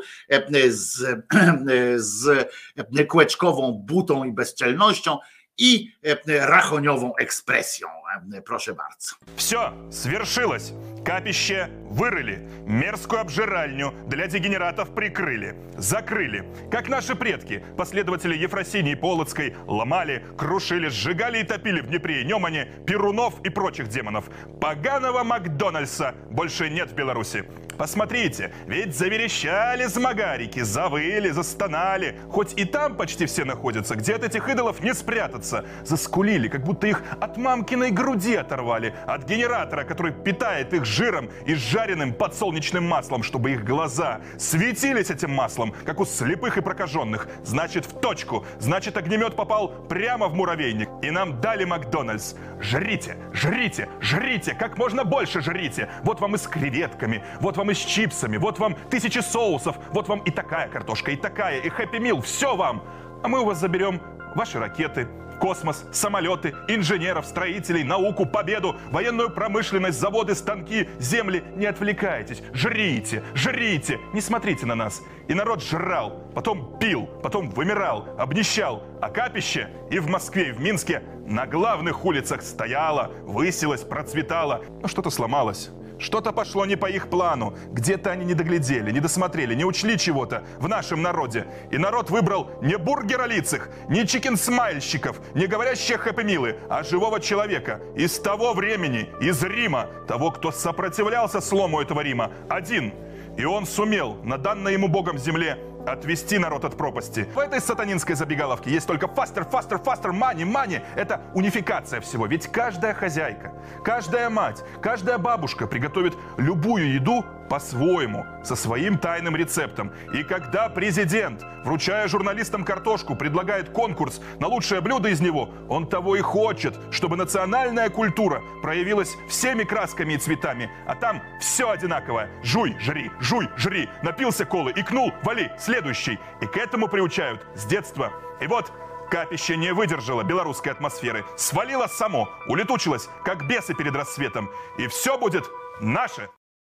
z Kłeczkową butą i bezczelnością и рахоневą экспрессией. Прошу bardzo. Все, свершилось. Капище вырыли, мерзкую обжиральню для дегенератов прикрыли, закрыли. Как наши предки, последователи Ефросинии Полоцкой, ломали, крушили, сжигали и топили в Днепре и Немане Перунов и прочих демонов. Поганого Макдональдса больше нет в Беларуси. Посмотрите, ведь заверещали змагарики, завыли, застонали. Хоть и там почти все находятся, где от этих идолов не спрятаться. Заскулили, как будто их от мамкиной груди оторвали, от генератора, который питает их жиром и жареным подсолнечным маслом, чтобы их глаза светились этим маслом, как у слепых и прокаженных. Значит, в точку. Значит, огнемет попал прямо в муравейник. И нам дали Макдональдс. Жрите, жрите, жрите, как можно больше жрите. Вот вам и с креветками, вот вам и с чипсами, вот вам 1000 соусов, вот вам и такая картошка, и такая, и Happy Meal, все вам. А мы у вас заберем ваши ракеты, космос, самолеты, инженеров, строителей, науку, победу, военную промышленность, заводы, станки, земли. Не отвлекайтесь, жрите, жрите, не смотрите на нас. И народ жрал, потом пил, потом вымирал, обнищал. А капище и в Москве, и в Минске на главных улицах стояло, высилось, процветало. Но что-то сломалось. Что-то пошло не по их плану. Где-то они не доглядели, не досмотрели, не учли чего-то в нашем народе. И народ выбрал не бургеролицых, не чикен-смайльщиков, не говорящих хэппи-милы, а живого человека. Из того времени, из Рима, того, кто сопротивлялся слому этого Рима. Один. И он сумел на данной ему Богом земле отвести народ от пропасти. В этой сатанинской забегаловке есть только faster, faster, faster, money, money. Это унификация всего. Ведь каждая хозяйка, каждая мать, каждая бабушка приготовит любую еду по-своему, со своим тайным рецептом. И когда президент, вручая журналистам картошку, предлагает конкурс на лучшее блюдо из него, он того и хочет, чтобы национальная культура проявилась всеми красками и цветами. А там все одинаковое. Жуй, жри, напился колы, икнул, вали, следующий. И к этому приучают с детства. И вот капище не выдержало белорусской атмосферы, свалило само, улетучилось, как бесы перед рассветом. И все будет наше.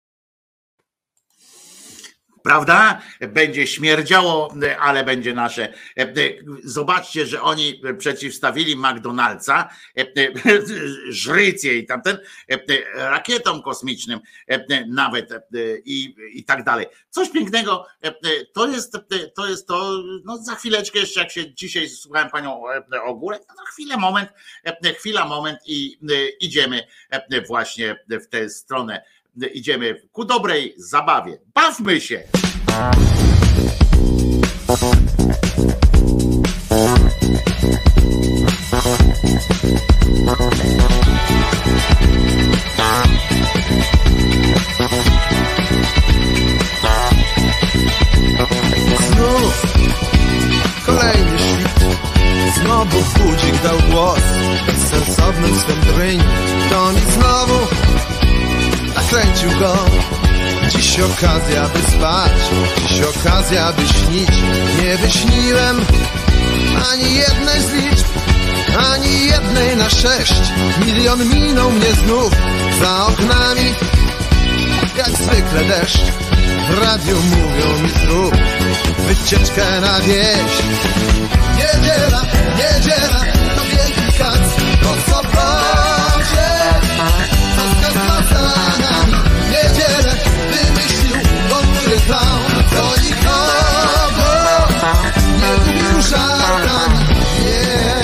Prawda? Będzie śmierdziało, ale będzie nasze. Zobaczcie, że oni przeciwstawili McDonald'sa, żrycie i tamten, rakietom kosmicznym nawet i tak dalej. Coś pięknego. To jest to, no za chwileczkę jeszcze, jak się dzisiaj słuchałem panią Ogórek, no chwila, moment i idziemy właśnie w tę stronę. Idziemy ku dobrej zabawie. Bawmy się! Znów kolejny świt, znowu budzik dał głos bezsensownym swym dryń. To mi znowu nakręcił go. Dziś okazja, by spać, dziś okazja, by śnić. Nie wyśniłem ani jednej z liczb, ani jednej na 6. Milion minął mnie znów za oknami, jak zwykle deszcz. W radiu mówią mi zrób wycieczkę na wieś. Niedziela, niedziela, to wielki kac, to co będzie, to za nami. Niedzielę wymyślił dobry clown, to nikogo nie lubił żartami, nie.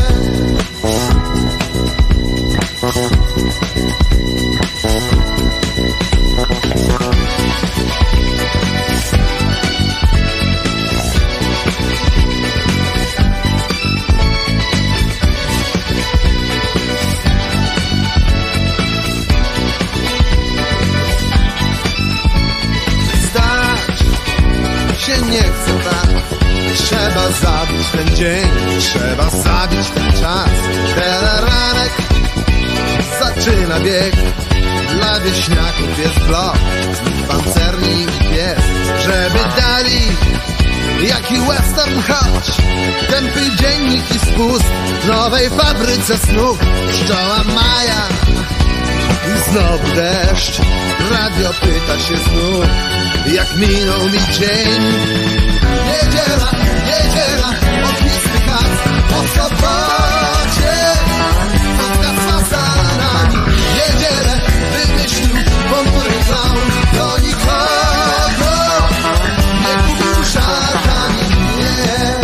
nie chcę tak. Trzeba zabić ten dzień, trzeba zabić ten czas. Teleranek zaczyna bieg. Dla wieśniaków jest blok, z nich pancerni i pies. Żeby dali jaki western choć, tępy dziennik i spust w nowej fabryce snów. Pszczoła Maja i znowu deszcz. Radio pyta się znów, jak minął mi dzień. Niedziela, niedziela, ognisty kac po sobocie. Spotka z fasanami. Niedzielę wymyślił ponury clown. Do nikogo nie kupił żartami, nie.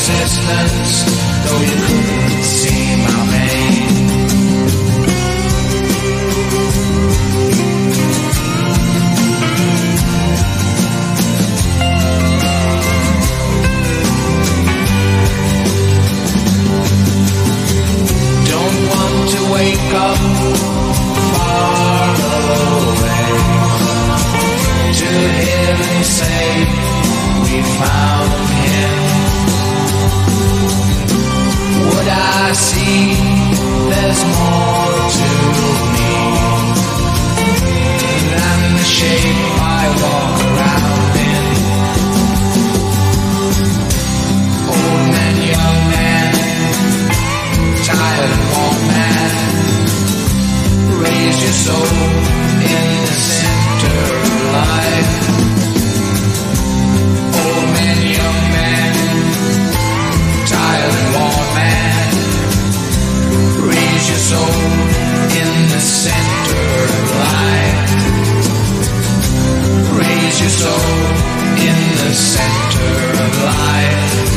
existence, though you couldn't see my pain. Don't want to wake up far away to hear him say we found him. Would I see there's more to me than the shape I walk around in? Old man, young man, tired and worn man, raise your soul in the center of life. Old man, young man, tired and worn man, raise your soul in the center of life. Raise your soul in the center of life.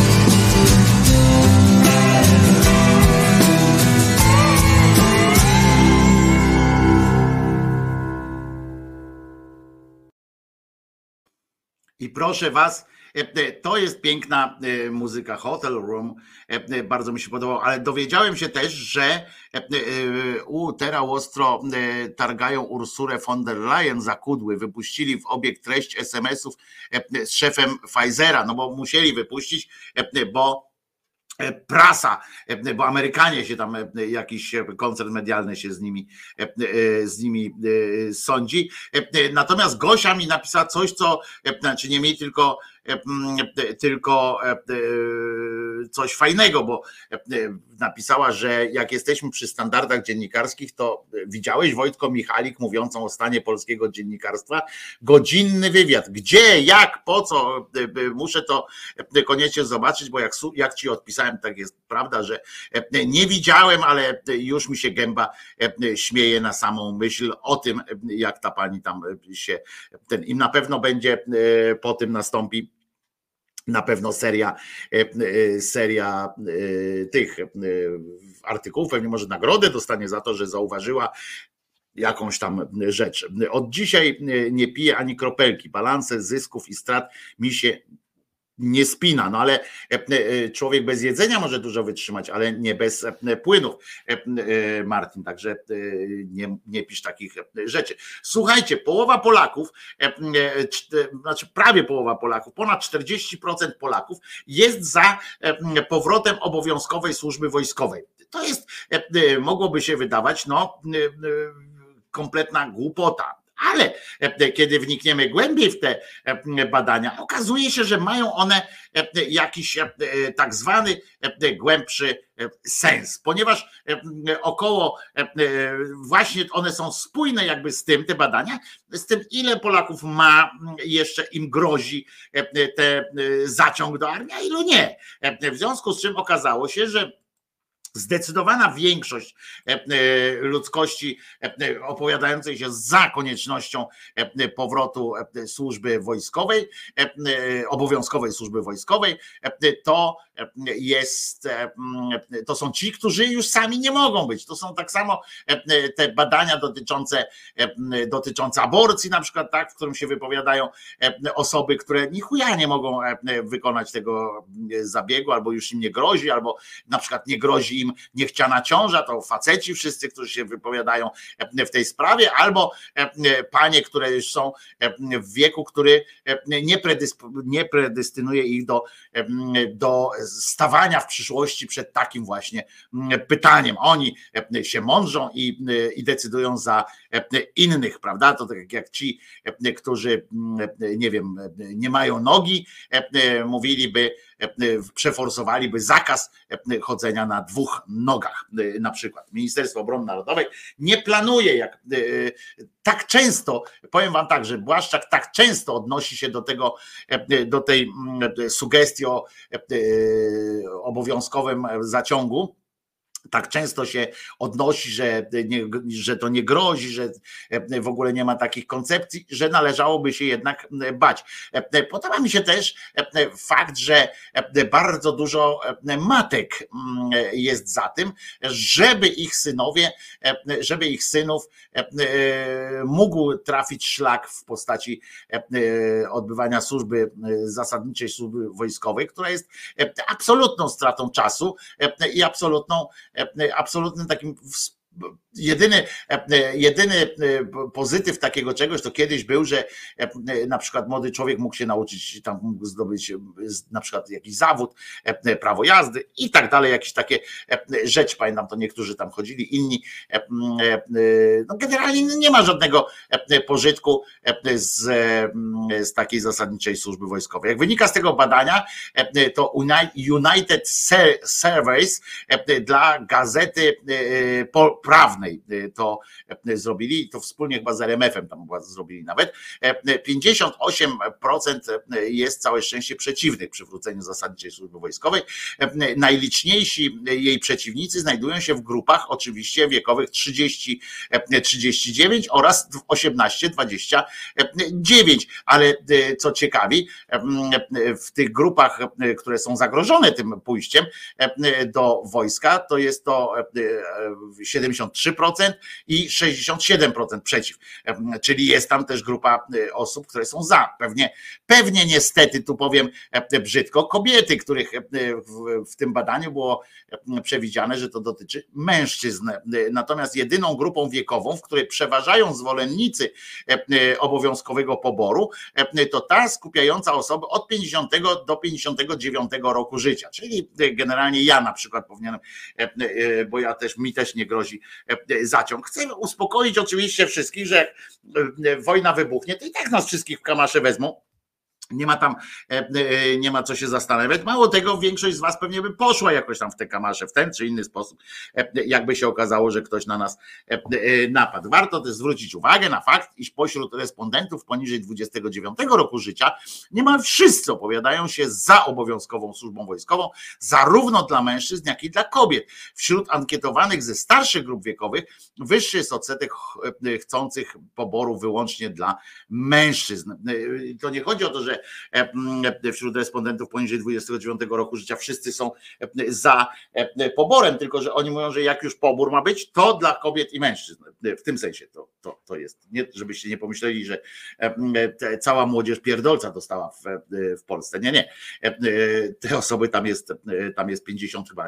I proszę was, to jest piękna muzyka, Hotel Room, bardzo mi się podobało, ale dowiedziałem się też, że teraz ostro targają Ursulę von der Leyen za kudły, wypuścili w obieg treść SMS-ów z szefem Pfizera, no bo musieli wypuścić, bo prasa, bo Amerykanie się tam, jakiś koncern medialny się z nimi sądzi. Natomiast Gosia mi napisała coś, co, znaczy nie mi, tylko coś fajnego, bo napisała, że jak jesteśmy przy standardach dziennikarskich, to widziałeś Wojtko Michalik mówiącą o stanie polskiego dziennikarstwa? Godzinny wywiad. Gdzie, jak, po co? Muszę to koniecznie zobaczyć, bo jak ci odpisałem, tak jest prawda, że nie widziałem, ale już mi się gęba śmieje na samą myśl o tym, jak ta pani tam się, im na pewno będzie, po tym nastąpi na pewno seria tych artykułów, pewnie może nagrodę dostanie za to, że zauważyła jakąś tam rzecz. Od dzisiaj nie piję ani kropelki, balanse zysków i strat mi się nie spina, no ale człowiek bez jedzenia może dużo wytrzymać, ale nie bez płynów, Martin, także nie pisz takich rzeczy. Słuchajcie, połowa Polaków, znaczy prawie połowa Polaków, ponad 40% Polaków jest za powrotem obowiązkowej służby wojskowej. To jest, mogłoby się wydawać, no kompletna głupota. Ale kiedy wnikniemy głębiej w te badania, okazuje się, że mają one jakiś tak zwany głębszy sens, ponieważ około, właśnie one są spójne jakby z tym, te badania, z tym, ile Polaków ma, jeszcze im grozi ten zaciąg do armii, a ilu nie. W związku z czym okazało się, że zdecydowana większość ludzkości opowiadającej się za koniecznością powrotu służby wojskowej, obowiązkowej służby wojskowej, to są ci, którzy już sami nie mogą być. To są tak samo te badania dotyczące aborcji, na przykład, tak, w którym się wypowiadają osoby, które ni chuja nie mogą wykonać tego zabiegu, albo już im nie grozi, albo na przykład nie grozi im niechciana ciąża, to faceci wszyscy, którzy się wypowiadają w tej sprawie, albo panie, które już są w wieku, który nie predestynuje ich do stawania w przyszłości przed takim właśnie pytaniem. Oni się mądrzą i decydują za innych, prawda? To tak jak ci, którzy, nie wiem, nie mają nogi, mówiliby, przeforsowaliby zakaz chodzenia na dwóch nogach, na przykład. Ministerstwo Obrony Narodowej nie planuje, tak często, powiem wam tak, że Błaszczak tak często odnosi się do tej sugestii o obowiązkowym zaciągu, tak często się odnosi, że to nie grozi, że w ogóle nie ma takich koncepcji, że należałoby się jednak bać. Podoba mi się też fakt, że bardzo dużo matek jest za tym, żeby ich synów mógł trafić szlak w postaci odbywania zasadniczej służby wojskowej, która jest absolutną stratą czasu i absolutnym takim jedyny pozytyw takiego czegoś to kiedyś był, że na przykład młody człowiek mógł się nauczyć, tam mógł zdobyć na przykład jakiś zawód, prawo jazdy i tak dalej, jakieś takie rzeczy, pamiętam, to niektórzy tam chodzili, inni, no generalnie nie ma żadnego pożytku z takiej zasadniczej służby wojskowej. Jak wynika z tego badania, to United Surveys dla Gazety Prawnej to zrobili, to wspólnie chyba z RMF-em tam zrobili nawet. 58% jest całe szczęście przeciwnych przywróceniu zasadniczej służby wojskowej. Najliczniejsi jej przeciwnicy znajdują się w grupach oczywiście wiekowych 30-39 oraz 18-29, ale co ciekawi, w tych grupach, które są zagrożone tym pójściem do wojska, to jest to 73% i 67% przeciw. Czyli jest tam też grupa osób, które są za. Pewnie niestety, tu powiem brzydko, kobiety, których w tym badaniu było przewidziane, że to dotyczy mężczyzn. Natomiast jedyną grupą wiekową, w której przeważają zwolennicy obowiązkowego poboru, to ta skupiająca osoby od 50 do 59 roku życia. Czyli generalnie ja na przykład powinienem, bo mi też nie grozi zaciąg. Chcę uspokoić oczywiście wszystkich, że jak wojna wybuchnie, to i tak nas wszystkich w kamasze wezmą. Nie ma co się zastanawiać. Mało tego, większość z was pewnie by poszła jakoś tam w te kamasze w ten czy inny sposób, jakby się okazało, że ktoś na nas napadł. Warto też zwrócić uwagę na fakt, iż pośród respondentów poniżej 29 roku życia niemal wszyscy opowiadają się za obowiązkową służbą wojskową, zarówno dla mężczyzn, jak i dla kobiet. Wśród ankietowanych ze starszych grup wiekowych wyższy jest odsetek chcących poboru wyłącznie dla mężczyzn. To nie chodzi o to, że wśród respondentów poniżej 29 roku życia wszyscy są za poborem, tylko że oni mówią, że jak już pobór ma być, to dla kobiet i mężczyzn. W tym sensie to jest. Nie, żebyście nie pomyśleli, że cała młodzież pierdolca dostała w Polsce. Nie. Te osoby tam jest 50 chyba,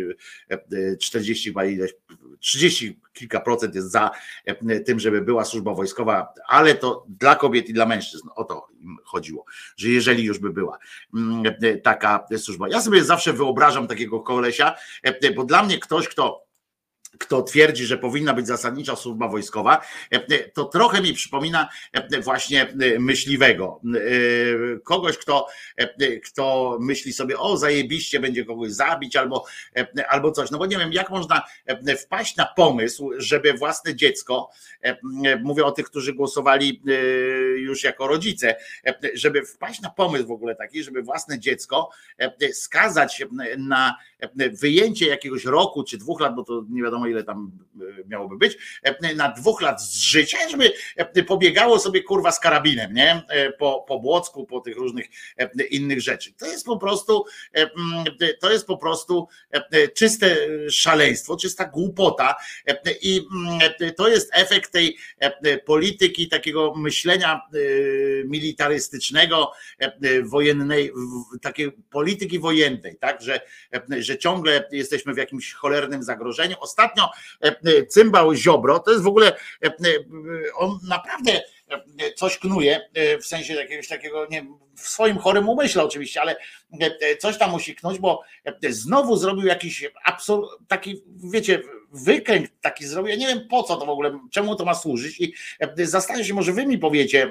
40 chyba ileś, 30 kilka procent jest za tym, żeby była służba wojskowa, ale to dla kobiet i dla mężczyzn. O to im chodziło, że jeżeli już by była taka służba. Ja sobie zawsze wyobrażam takiego kolesia, bo dla mnie ktoś, kto twierdzi, że powinna być zasadnicza służba wojskowa, to trochę mi przypomina właśnie myśliwego. Kogoś, kto myśli sobie, o zajebiście, będzie kogoś zabić albo coś. No bo nie wiem, jak można wpaść na pomysł, żeby własne dziecko, mówię o tych, którzy głosowali już jako rodzice, żeby wpaść na pomysł w ogóle taki, żeby własne dziecko skazać na wyjęcie jakiegoś roku czy 2 lat, bo to nie wiadomo ile tam miałoby być, na 2 lat z życia, żeby pobiegało sobie kurwa z karabinem, nie? Po Błocku, po tych różnych innych rzeczy. To jest po prostu czyste szaleństwo, czysta głupota i to jest efekt tej polityki, takiego myślenia militarystycznego, wojennej, takiej polityki wojennej, tak, że ciągle jesteśmy w jakimś cholernym zagrożeniu. Ostatnio cymbał Ziobro, to jest w ogóle, on naprawdę coś knuje, w sensie jakiegoś takiego, nie, w swoim chorym umyśle oczywiście, ale coś tam musi knuć, bo znowu zrobił jakiś taki, wiecie, wykręg taki zrobił. Ja nie wiem po co to w ogóle, czemu to ma służyć i zastanawiam się, może wy mi powiecie,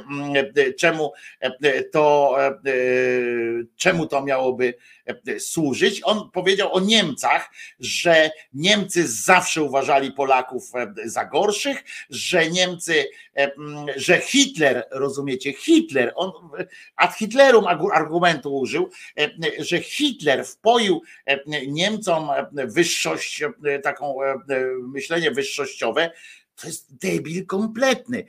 czemu to miałoby służyć. On powiedział o Niemcach, że Niemcy zawsze uważali Polaków za gorszych, że Hitler, rozumiecie, Hitler, on ad Hitlerum argumentu użył, że Hitler wpoił Niemcom wyższość, taką myślenie wyższościowe. To jest debil kompletny.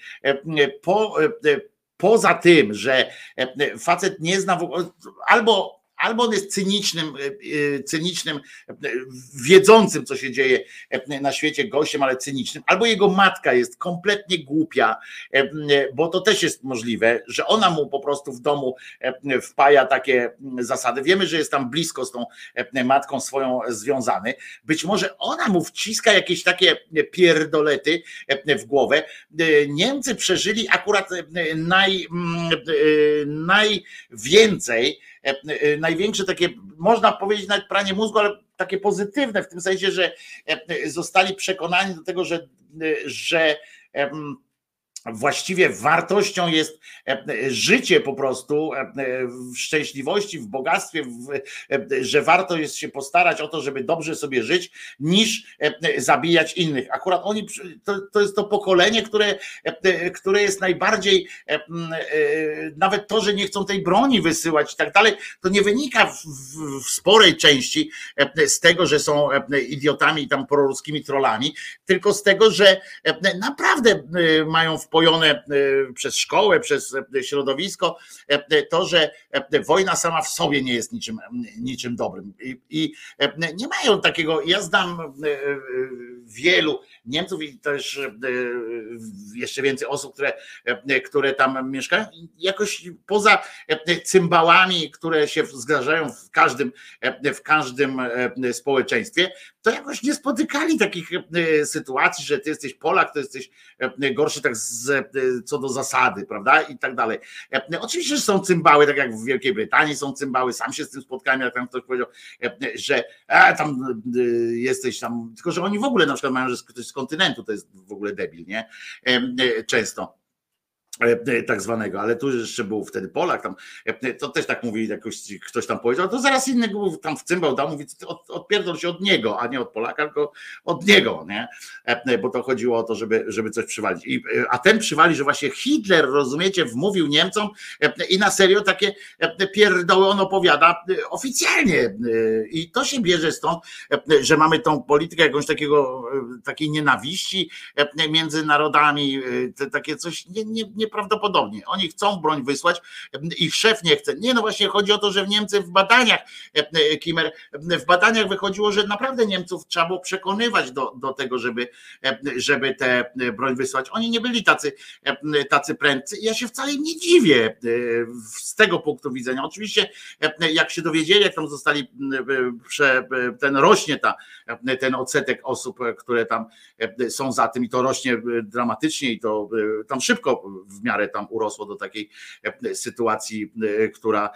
Poza tym, że facet nie zna w ogóle, albo on jest cynicznym, wiedzącym, co się dzieje na świecie gościem, ale cynicznym, albo jego matka jest kompletnie głupia, bo to też jest możliwe, że ona mu po prostu w domu wpaja takie zasady. Wiemy, że jest tam blisko z tą matką swoją związany. Być może ona mu wciska jakieś takie pierdolety w głowę. Niemcy przeżyli akurat największe takie, można powiedzieć nawet pranie mózgu, ale takie pozytywne w tym sensie, że zostali przekonani do tego, że właściwie wartością jest życie po prostu w szczęśliwości, w bogactwie, że warto jest się postarać o to, żeby dobrze sobie żyć, niż zabijać innych. Akurat oni, to jest to pokolenie, które jest najbardziej, nawet to, że nie chcą tej broni wysyłać i tak dalej, to nie wynika w sporej części z tego, że są idiotami i tam proruskimi trollami, tylko z tego, że naprawdę mają wpojone przez szkołę, przez środowisko, to, że wojna sama w sobie nie jest niczym dobrym. I nie mają takiego, ja znam wielu Niemców i też jeszcze więcej osób, które tam mieszkają, jakoś poza cymbałami, które się zdarzają w każdym społeczeństwie, to jakoś nie spotykali takich sytuacji, że ty jesteś Polak, to jesteś gorszy tak co do zasady, prawda? I tak dalej. Oczywiście, że są cymbały, tak jak w Wielkiej Brytanii są cymbały, sam się z tym spotkałem, jak tam ktoś powiedział, że tam jesteś tam, tylko że oni w ogóle na przykład mają, że ktoś z kontynentu to jest w ogóle debil, nie? Często. Tak zwanego, ale tu jeszcze był wtedy Polak, tam, to też tak mówi, jakoś ktoś tam powiedział, to zaraz innego tam wcymbał, dał, mówi, odpierdol się od niego, a nie od Polaka, tylko od niego, nie? Bo to chodziło o to, żeby coś przywalić. A ten przywali, że właśnie Hitler, rozumiecie, wmówił Niemcom i na serio takie pierdoły on opowiada oficjalnie i to się bierze stąd, że mamy tą politykę jakąś takiej nienawiści między narodami, takie coś nieprawdopodobnie. Oni chcą broń wysłać, ich szef nie chce. Nie, no właśnie chodzi o to, że w Niemcy w badaniach, Kimmer, w badaniach wychodziło, że naprawdę Niemców trzeba było przekonywać do tego, żeby tę broń wysłać. Oni nie byli tacy prędcy. Ja się wcale im nie dziwię z tego punktu widzenia. Oczywiście jak się dowiedzieli, jak tam zostali, rośnie ten odsetek osób, które tam są za tym i to rośnie dramatycznie i to tam szybko w miarę tam urosło do takiej sytuacji, która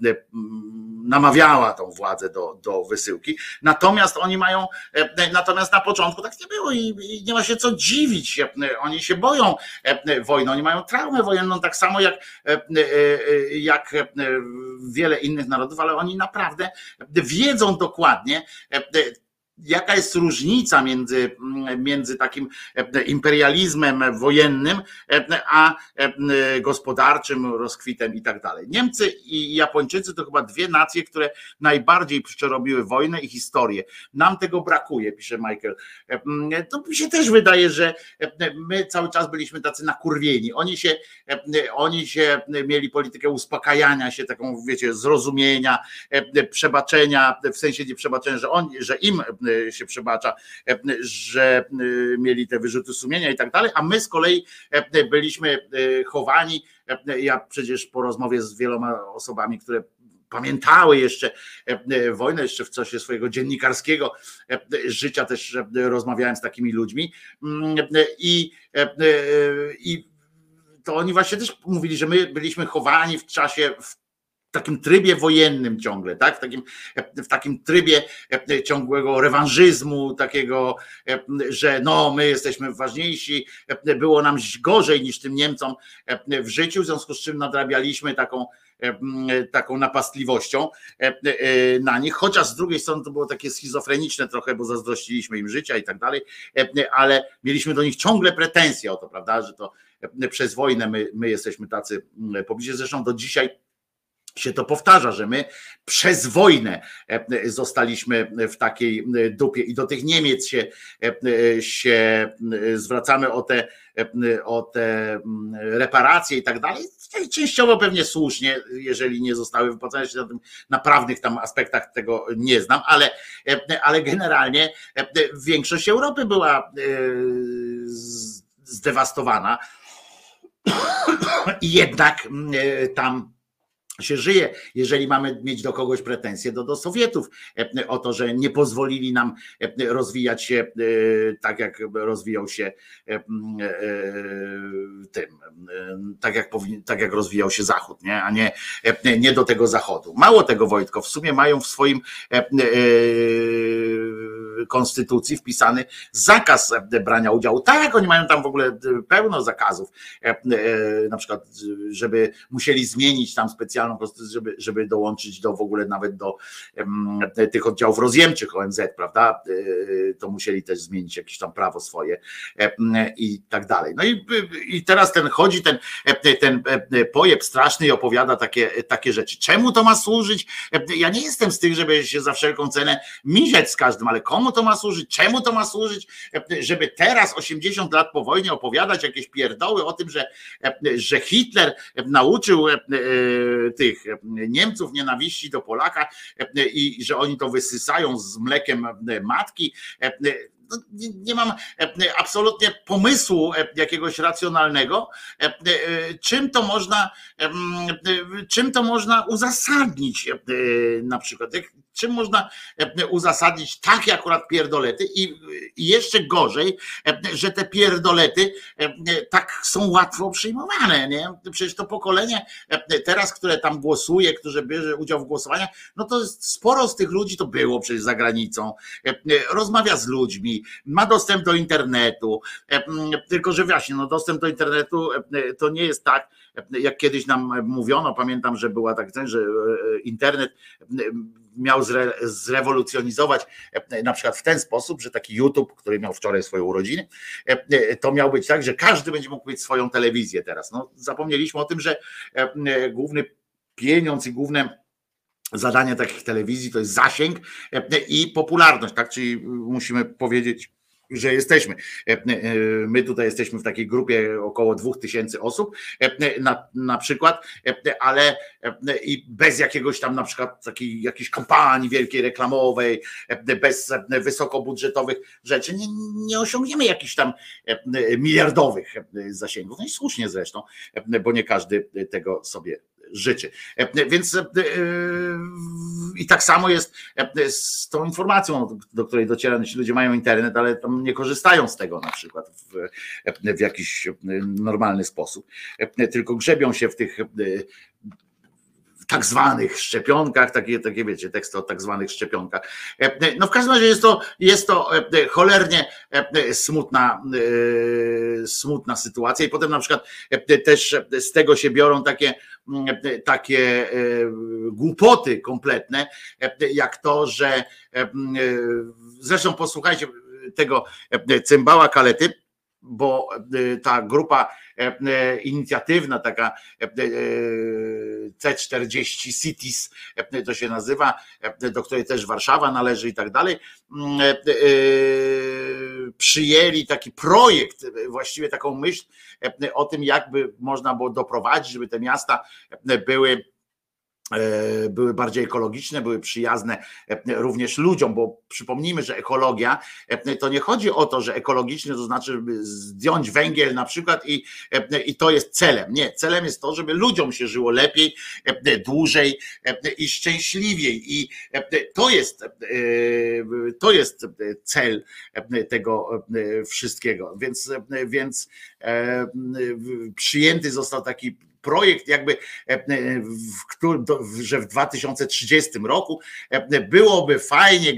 namawiała tą władzę do wysyłki. Natomiast oni mają, natomiast na początku tak nie było i nie ma się co dziwić. Oni się boją wojny, oni mają traumę wojenną tak samo jak wiele innych narodów, ale oni naprawdę wiedzą dokładnie, jaka jest różnica między takim imperializmem wojennym, a gospodarczym rozkwitem i tak dalej. Niemcy i Japończycy to chyba dwie nacje, które najbardziej przerobiły wojnę i historię. Nam tego brakuje, pisze Michael. To mi się też wydaje, że my cały czas byliśmy tacy nakurwieni. Oni się mieli politykę uspokajania się, taką, wiecie, zrozumienia, przebaczenia, w sensie nie przebaczenia, że im się przebacza, że mieli te wyrzuty sumienia i tak dalej, a my z kolei byliśmy chowani. Ja przecież po rozmowie z wieloma osobami, które pamiętały jeszcze wojnę, jeszcze w czasie swojego dziennikarskiego życia też rozmawiałem z takimi ludźmi i to oni właśnie też mówili, że my byliśmy chowani w takim trybie wojennym ciągle, tak? W takim trybie ciągłego rewanżyzmu, takiego, że no my jesteśmy ważniejsi, było nam gorzej niż tym Niemcom w życiu, w związku z czym nadrabialiśmy taką napastliwością na nich, chociaż z drugiej strony to było takie schizofreniczne trochę, bo zazdrościliśmy im życia i tak dalej, ale mieliśmy do nich ciągle pretensje o to, prawda, że to przez wojnę my jesteśmy tacy pobliżej, zresztą do dzisiaj się to powtarza, że my przez wojnę zostaliśmy w takiej dupie i do tych Niemiec się zwracamy o te reparacje i tak dalej. Częściowo pewnie słusznie, jeżeli nie zostały wypłacone, się na prawnych tam aspektach tego nie znam, ale generalnie większość Europy była zdewastowana i jednak tam się żyje, jeżeli mamy mieć do kogoś pretensje, do Sowietów o to, że nie pozwolili nam rozwijać się tak, jak rozwijał się tak jak rozwijał się Zachód, nie? A nie do tego Zachodu. Mało tego, Wojtko, w sumie mają w swoim konstytucji wpisany zakaz brania udziału. Tak, oni mają tam w ogóle pełno zakazów, na przykład, żeby musieli zmienić tam specjalną konstytucję, żeby dołączyć w ogóle nawet do tych oddziałów rozjemczych ONZ, prawda? To musieli też zmienić jakieś tam prawo swoje i tak dalej. No i teraz chodzi ten pojeb straszny i opowiada takie rzeczy. Czemu to ma służyć? Ja nie jestem z tych, żeby się za wszelką cenę miziać z każdym, ale komu to ma służyć? Czemu to ma służyć? Żeby teraz 80 lat po wojnie opowiadać jakieś pierdoły o tym, że Hitler nauczył tych Niemców nienawiści do Polaka i że oni to wysysają z mlekiem matki. Nie mam absolutnie pomysłu jakiegoś racjonalnego, czym to można uzasadnić na przykład. Czym można uzasadnić takie akurat pierdolety i jeszcze gorzej, że te pierdolety tak są łatwo przyjmowane, nie? Przecież to pokolenie teraz, które tam głosuje, które bierze udział w głosowaniach, no to sporo z tych ludzi to było przecież za granicą, rozmawia z ludźmi, ma dostęp do internetu, tylko że właśnie, no dostęp do internetu to nie jest tak, jak kiedyś nam mówiono, pamiętam, że była tak, że internet miał zrewolucjonizować na przykład w ten sposób, że taki YouTube, który miał wczoraj swoje urodziny, to miał być tak, że każdy będzie mógł mieć swoją telewizję teraz. No, zapomnieliśmy o tym, że główny pieniądz i główne zadanie takich telewizji to jest zasięg i popularność, tak? Czyli musimy powiedzieć, że jesteśmy. My tutaj jesteśmy w takiej grupie około 2000 osób na przykład, ale i bez jakiegoś tam na przykład takiej jakiejś kampanii wielkiej reklamowej, bez wysokobudżetowych rzeczy nie osiągniemy jakichś tam miliardowych zasięgów. No i słusznie zresztą, bo nie każdy tego sobie życzy. Więc i tak samo jest z tą informacją, do której dociera, ci ludzie mają internet, ale tam nie korzystają z tego na przykład w jakiś normalny sposób, tylko grzebią się w tych tak zwanych szczepionkach, takie wiecie, teksty o tak zwanych szczepionkach. No w każdym razie jest to cholernie smutna sytuacja i potem na przykład też z tego się biorą takie głupoty kompletne, jak to, że zresztą posłuchajcie tego cymbała Kalety, bo ta grupa inicjatywna, taka C40 Cities to się nazywa, do której też Warszawa należy i tak dalej, przyjęli taki projekt, właściwie taką myśl o tym, jakby można było doprowadzić, żeby te miasta były bardziej ekologiczne, były przyjazne również ludziom, bo przypomnijmy, że ekologia to nie chodzi o to, że ekologiczny to znaczy, żeby zdjąć węgiel na przykład i to jest celem. Nie, celem jest to, żeby ludziom się żyło lepiej, dłużej i szczęśliwiej i to jest cel tego wszystkiego, więc przyjęty został taki projekt jakby, że w 2030 roku byłoby fajnie,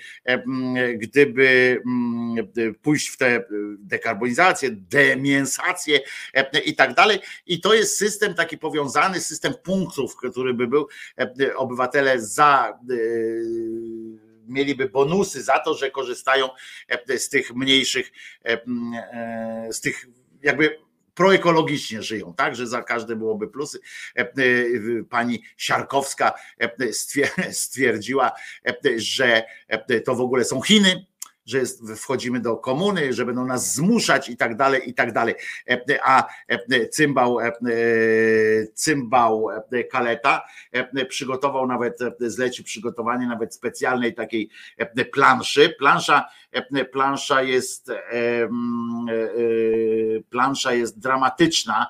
gdyby pójść w tę dekarbonizację, demięsację i tak dalej. I to jest system taki powiązany, system punktów, który by był, obywatele mieliby bonusy za to, że korzystają z tych mniejszych, z tych jakby proekologicznie żyją, tak, że za każde byłoby plusy. Pani Siarkowska stwierdziła, że to w ogóle są Chiny, że wchodzimy do komuny, że będą nas zmuszać i tak dalej, i tak dalej. A cymbał Kaleta przygotował nawet, zlecił przygotowanie nawet specjalnej takiej planszy. Plansza jest dramatyczna,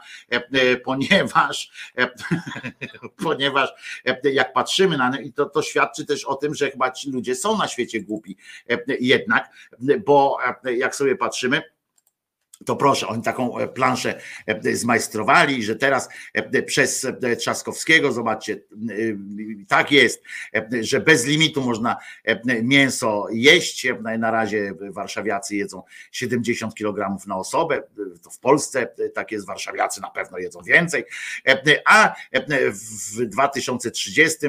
ponieważ jak patrzymy na nie, to świadczy też o tym, że chyba ci ludzie są na świecie głupi jednak, bo jak sobie patrzymy, to proszę, oni taką planszę zmajstrowali, że teraz przez Trzaskowskiego, zobaczcie, tak jest, że bez limitu można mięso jeść. Na razie warszawiacy jedzą 70 kg na osobę, to w Polsce tak jest, warszawiacy na pewno jedzą więcej, a w 2030,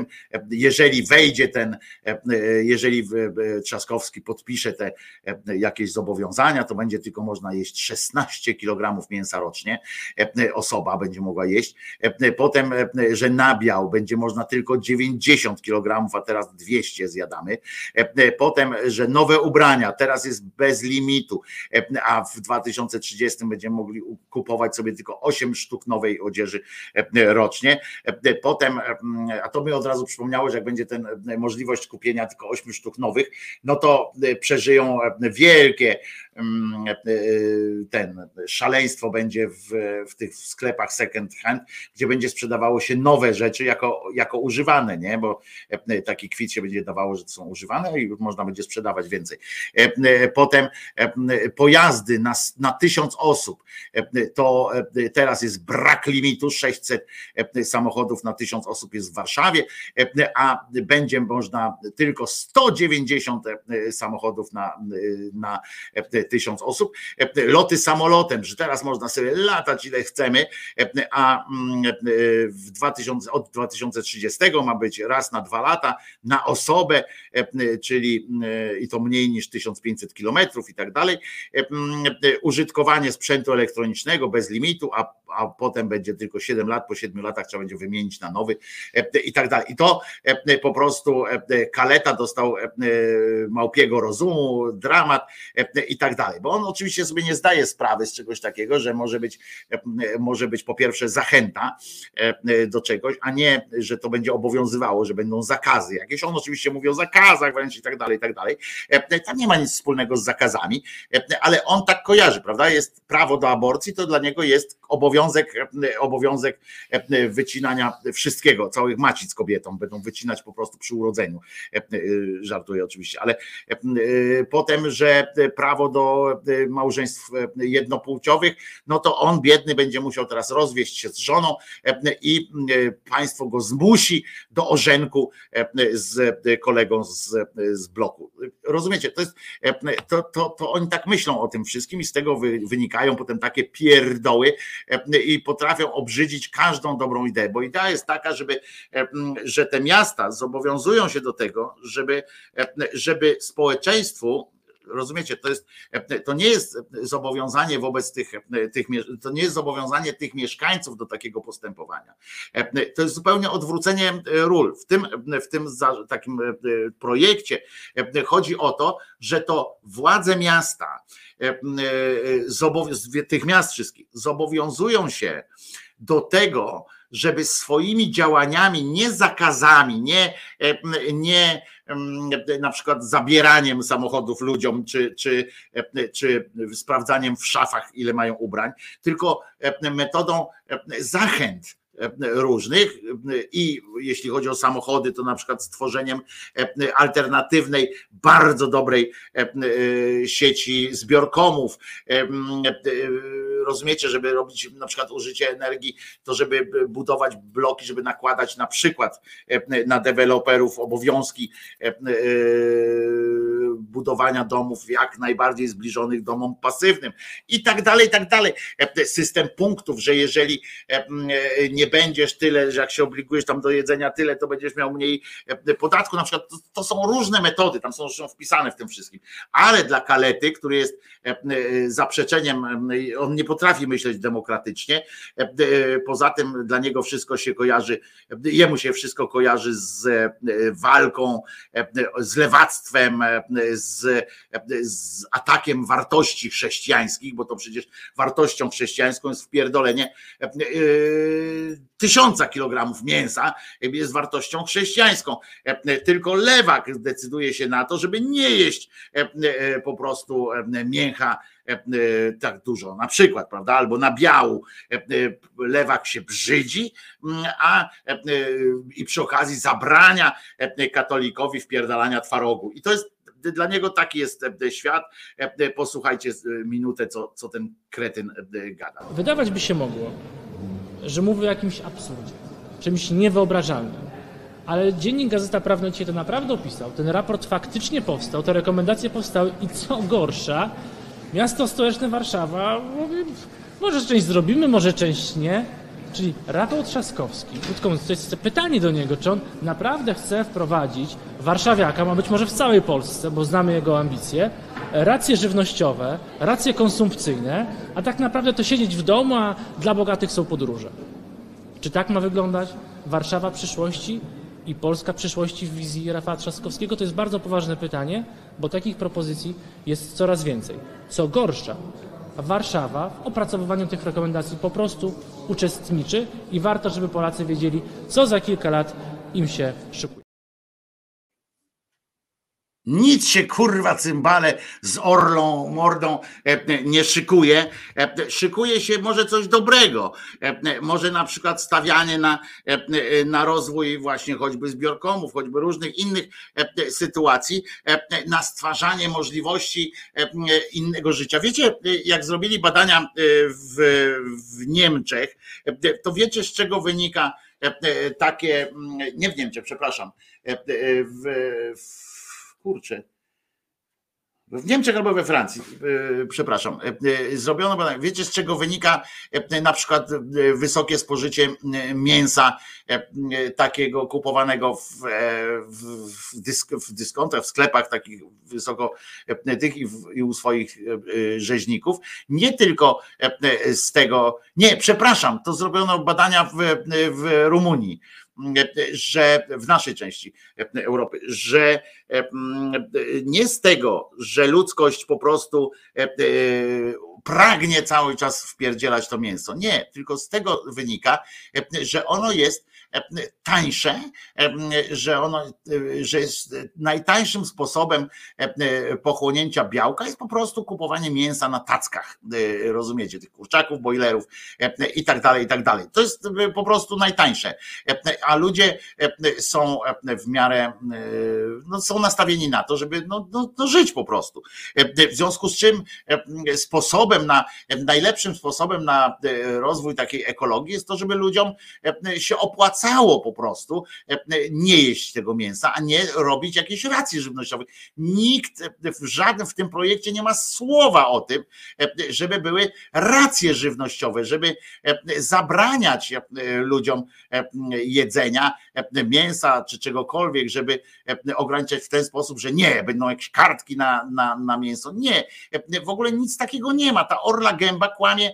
jeżeli Trzaskowski podpisze te jakieś zobowiązania, to będzie tylko można jeść 16 kg mięsa rocznie osoba będzie mogła jeść. Potem, że nabiał będzie można tylko 90 kg, a teraz 200 zjadamy. Potem, że nowe ubrania teraz jest bez limitu, a w 2030 będziemy mogli kupować sobie tylko 8 sztuk nowej odzieży rocznie. Potem, a to mi od razu przypomniało, że jak będzie możliwość kupienia tylko 8 sztuk nowych, no to przeżyją wielkie szaleństwo będzie w tych sklepach second hand, gdzie będzie sprzedawało się nowe rzeczy jako używane, nie? Bo taki kwit się będzie dawało, że to są używane i już można będzie sprzedawać więcej. Potem pojazdy na 1000 osób, to teraz jest brak limitu, 600 samochodów na 1000 osób jest w Warszawie, a będzie można tylko 190 samochodów na 1000 osób. Loty samolotem, że teraz można sobie latać ile chcemy, a od 2030 ma być raz na 2 lata na osobę, czyli i to mniej niż 1500 kilometrów i tak dalej. Użytkowanie sprzętu elektronicznego bez limitu, a potem będzie tylko 7 lat, po 7 latach trzeba będzie wymienić na nowy i tak dalej. I to po prostu Kaleta dostał małpiego rozumu, dramat i tak dalej, bo on oczywiście sobie nie zdaje sprawy z czegoś takiego, że może być po pierwsze zachęta do czegoś, a nie, że to będzie obowiązywało, że będą zakazy jakieś. On oczywiście mówi o zakazach wręcz i tak dalej, i tak dalej. Tam nie ma nic wspólnego z zakazami, ale on tak kojarzy, prawda? Jest prawo do aborcji, to dla niego jest obowiązek wycinania wszystkiego, całych macic kobietom będą wycinać po prostu przy urodzeniu. Żartuję oczywiście, ale potem, że prawo do małżeństw jednopłciowych, no to on biedny będzie musiał teraz rozwieść się z żoną i państwo go zmusi do ożenku z kolegą z bloku. Rozumiecie? To oni tak myślą o tym wszystkim i z tego wynikają potem takie pierdoły i potrafią obrzydzić każdą dobrą ideę, bo idea jest taka, że te miasta zobowiązują się do tego, żeby społeczeństwu, rozumiecie, to nie jest zobowiązanie wobec to nie jest zobowiązanie tych mieszkańców do takiego postępowania. To jest zupełnie odwrócenie ról. W tym takim projekcie chodzi o to, że to władze miasta, tych miast wszystkich zobowiązują się do tego, żeby swoimi działaniami, nie zakazami, nie na przykład zabieraniem samochodów ludziom, czy sprawdzaniem w szafach, ile mają ubrań, tylko metodą zachęt różnych i jeśli chodzi o samochody, to na przykład stworzeniem alternatywnej, bardzo dobrej sieci zbiorkomów. Rozumiecie, żeby robić na przykład użycie energii, to żeby budować bloki, żeby nakładać na przykład na deweloperów obowiązki budowania domów jak najbardziej zbliżonych domom pasywnym i tak dalej, i tak dalej. System punktów, że jeżeli nie będziesz tyle, że jak się obligujesz tam do jedzenia tyle, to będziesz miał mniej podatku. Na przykład to są różne metody, tam są wpisane w tym wszystkim. Ale dla Kalety, który jest zaprzeczeniem, on nie potrafi myśleć demokratycznie, poza tym dla niego wszystko się kojarzy, jemu się wszystko kojarzy z walką, z lewactwem, z atakiem wartości chrześcijańskich, bo to przecież wartością chrześcijańską jest wpierdolenie 1000 kilogramów mięsa, jest wartością chrześcijańską. Tylko lewak decyduje się na to, żeby nie jeść po prostu mięcha tak dużo, na przykład, prawda, albo nabiału. Lewak się brzydzi, i przy okazji zabrania katolikowi wpierdalania twarogu. I to jest dla niego taki jest świat. Posłuchajcie minutę, co ten kretyn gada. Wydawać by się mogło, że mówię o jakimś absurdzie, czymś niewyobrażalnym. Ale Dziennik Gazeta Prawna dzisiaj to naprawdę opisał. Ten raport faktycznie powstał, te rekomendacje powstały i co gorsza, miasto stołeczne Warszawa mówi, może część zrobimy, może część nie. Czyli Rafał Trzaskowski, krótko mówiąc, to jest pytanie do niego, czy on naprawdę chce wprowadzić warszawiaka, ma być może w całej Polsce, bo znamy jego ambicje, racje żywnościowe, racje konsumpcyjne, a tak naprawdę to siedzieć w domu, a dla bogatych są podróże. Czy tak ma wyglądać Warszawa przyszłości i Polska przyszłości w wizji Rafała Trzaskowskiego? To jest bardzo poważne pytanie, bo takich propozycji jest coraz więcej. Co gorsza, Warszawa w opracowywaniu tych rekomendacji po prostu uczestniczy i warto, żeby Polacy wiedzieli, co za kilka lat im się szykuje. Nic się kurwa cymbale z orlą mordą nie szykuje. Szykuje się może coś dobrego. Może na przykład stawianie na rozwój właśnie choćby zbiorkomów, choćby różnych innych sytuacji, na stwarzanie możliwości innego życia. Wiecie, jak zrobili badania w Niemczech, to wiecie, z czego wynika takie, nie w Niemczech, przepraszam, w Niemczech albo we Francji, przepraszam, zrobiono badanie. Wiecie, z czego wynika na przykład wysokie spożycie mięsa takiego kupowanego w dyskontach, w sklepach takich wysoko tych i u swoich rzeźników. Nie tylko z tego, nie, przepraszam, to zrobiono badania w Rumunii, że w naszej części Europy, że nie z tego, że ludzkość po prostu pragnie cały czas wpierdzielać to mięso. Nie, tylko z tego wynika, że ono jest tańsze, że jest najtańszym sposobem pochłonięcia białka jest po prostu kupowanie mięsa na tackach, rozumiecie, tych kurczaków, bojlerów i tak dalej, i tak dalej. To jest po prostu najtańsze, a ludzie są w miarę, no, są nastawieni na to, żeby żyć po prostu. W związku z czym najlepszym sposobem na rozwój takiej ekologii jest to, żeby ludziom się opłacało po prostu nie jeść tego mięsa, a nie robić jakiejś racji żywnościowej. Nikt w tym projekcie nie ma słowa o tym, żeby były racje żywnościowe, żeby zabraniać ludziom jedzenia mięsa czy czegokolwiek, żeby ograniczać w ten sposób, że nie, będą jakieś kartki na mięso. Nie, w ogóle nic takiego nie ma. Ta orla gęba kłamie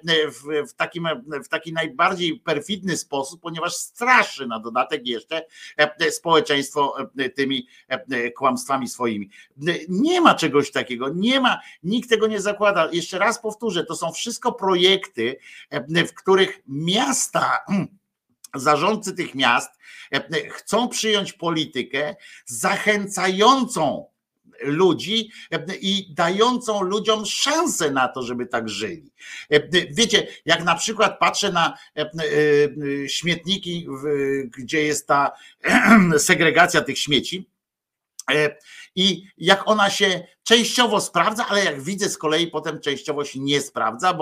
w taki najbardziej perfidny sposób, ponieważ straszy na dodatek jeszcze społeczeństwo tymi kłamstwami swoimi. Nie ma czegoś takiego, nie ma, nikt tego nie zakłada. Jeszcze raz powtórzę, to są wszystko projekty, w których miasta, zarządcy tych miast chcą przyjąć politykę zachęcającą ludzi i dającą ludziom szansę na to, żeby tak żyli. Wiecie, jak na przykład patrzę na śmietniki, gdzie jest ta segregacja tych śmieci, i jak ona się częściowo sprawdza, ale jak widzę z kolei potem częściowo się nie sprawdza,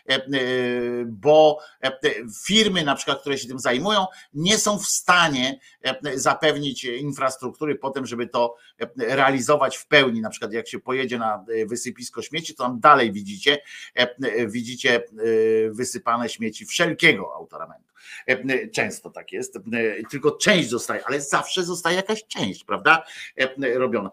bo firmy na przykład, które się tym zajmują, nie są w stanie zapewnić infrastruktury potem, żeby to realizować w pełni. Na przykład jak się pojedzie na wysypisko śmieci, to tam dalej widzicie wysypane śmieci wszelkiego autoramentu. Często tak jest, tylko część zostaje, ale zawsze zostaje jakaś część, prawda, robiona.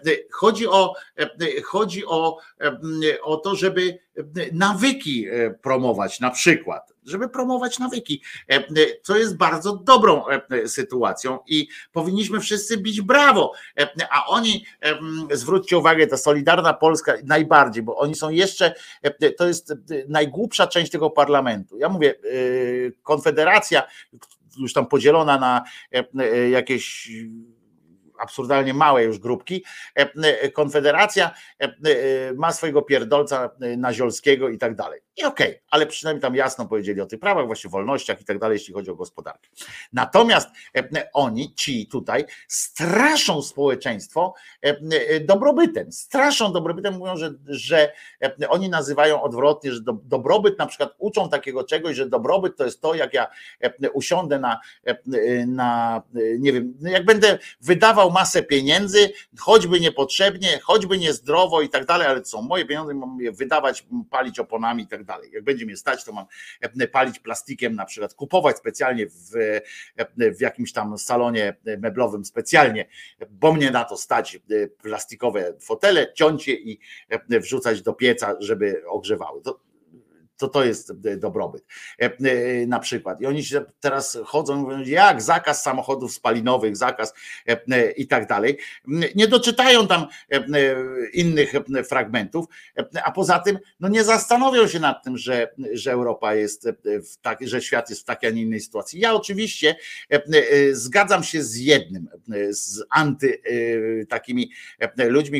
Chodzi o to, żeby nawyki promować, na przykład, żeby promować nawyki, co jest bardzo dobrą sytuacją i powinniśmy wszyscy bić brawo, a oni, zwróćcie uwagę, ta Solidarna Polska najbardziej, bo oni są jeszcze, to jest najgłupsza część tego parlamentu. Ja mówię, Konfederacja, już tam podzielona na jakieś absurdalnie małe już grupki, Konfederacja ma swojego pierdolca Naziolskiego i tak dalej. I okej, ale przynajmniej tam jasno powiedzieli o tych prawach, właśnie wolnościach i tak dalej, jeśli chodzi o gospodarkę. Natomiast oni, ci tutaj, straszą społeczeństwo dobrobytem, mówią, że oni nazywają odwrotnie, że dobrobyt, na przykład uczą takiego czegoś, że dobrobyt to jest to, jak ja usiądę na nie wiem, jak będę wydawał masę pieniędzy, choćby niepotrzebnie, choćby niezdrowo i tak dalej, ale to są moje pieniądze, mam je wydawać, palić oponami i tak dalej. Jak będzie mnie stać, to mam palić plastikiem, na przykład kupować specjalnie w jakimś tam salonie meblowym specjalnie, bo mnie na to stać, plastikowe fotele, ciąć je i wrzucać do pieca, żeby ogrzewały. To jest dobrobyt na przykład. I oni się teraz chodzą, mówią, jak zakaz samochodów spalinowych, zakaz i tak dalej. Nie doczytają tam innych fragmentów, a poza tym no nie zastanowią się nad tym, że Europa jest że świat jest w takiej, a nie innej sytuacji. Ja oczywiście zgadzam się z jednym, z takimi ludźmi,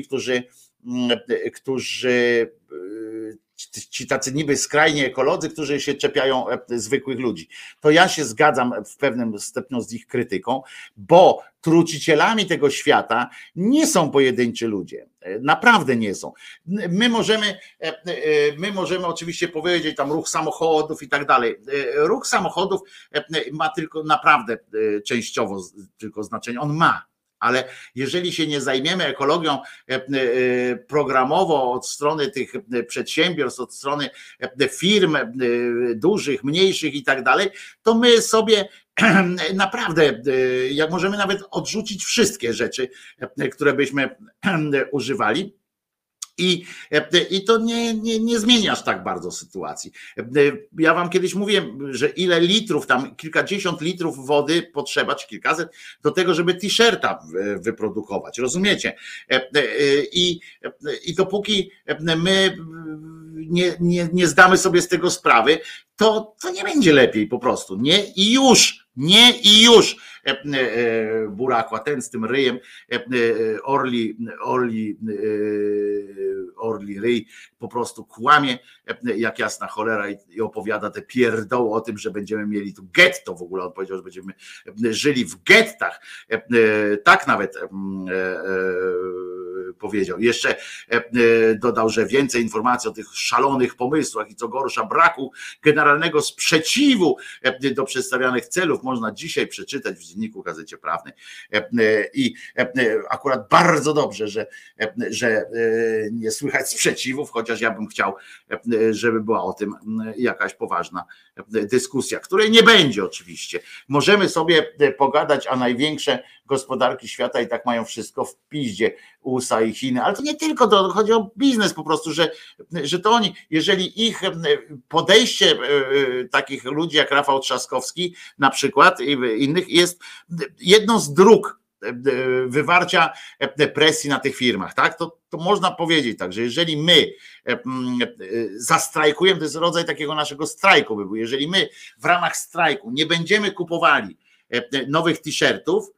którzy ci tacy niby skrajnie ekolodzy, którzy się czepiają zwykłych ludzi. To ja się zgadzam w pewnym stopniu z ich krytyką, bo trucicielami tego świata nie są pojedynczy ludzie. Naprawdę nie są. My możemy oczywiście powiedzieć tam ruch samochodów i tak dalej. Ruch samochodów ma tylko naprawdę częściowo tylko znaczenie. On ma. Ale jeżeli się nie zajmiemy ekologią programowo od strony tych przedsiębiorstw, od strony firm dużych, mniejszych i tak dalej, to my sobie naprawdę, jak możemy nawet odrzucić wszystkie rzeczy, które byśmy używali. I to nie zmienia aż tak bardzo sytuacji. Ja wam kiedyś mówiłem, że ile litrów, tam kilkadziesiąt litrów wody potrzeba, czy kilkaset, do tego, żeby t-shirta wyprodukować. Rozumiecie? I dopóki my nie zdamy sobie z tego sprawy, to nie będzie lepiej po prostu. Nie i już. Burakła, ten z tym ryjem, orli ryj po prostu kłamie jak jasna cholera i opowiada te pierdoły o tym, że będziemy mieli tu getto, w ogóle on powiedział, że będziemy żyli w gettach, tak nawet powiedział. Jeszcze dodał, że więcej informacji o tych szalonych pomysłach i co gorsza braku generalnego sprzeciwu do przedstawianych celów można dzisiaj przeczytać w Dzienniku Gazecie Prawnej. I akurat bardzo dobrze, że nie słychać sprzeciwów, chociaż ja bym chciał, żeby była o tym jakaś poważna dyskusja, której nie będzie oczywiście. Możemy sobie pogadać, a największe gospodarki świata i tak mają wszystko w piździe, USA i Chiny, ale to nie tylko to, chodzi o biznes po prostu, że to oni, jeżeli ich podejście takich ludzi jak Rafał Trzaskowski na przykład i innych jest jedną z dróg wywarcia presji na tych firmach, tak? To można powiedzieć tak, że jeżeli my zastrajkujemy, to jest rodzaj takiego naszego strajku by był, jeżeli my w ramach strajku nie będziemy kupowali nowych t-shirtów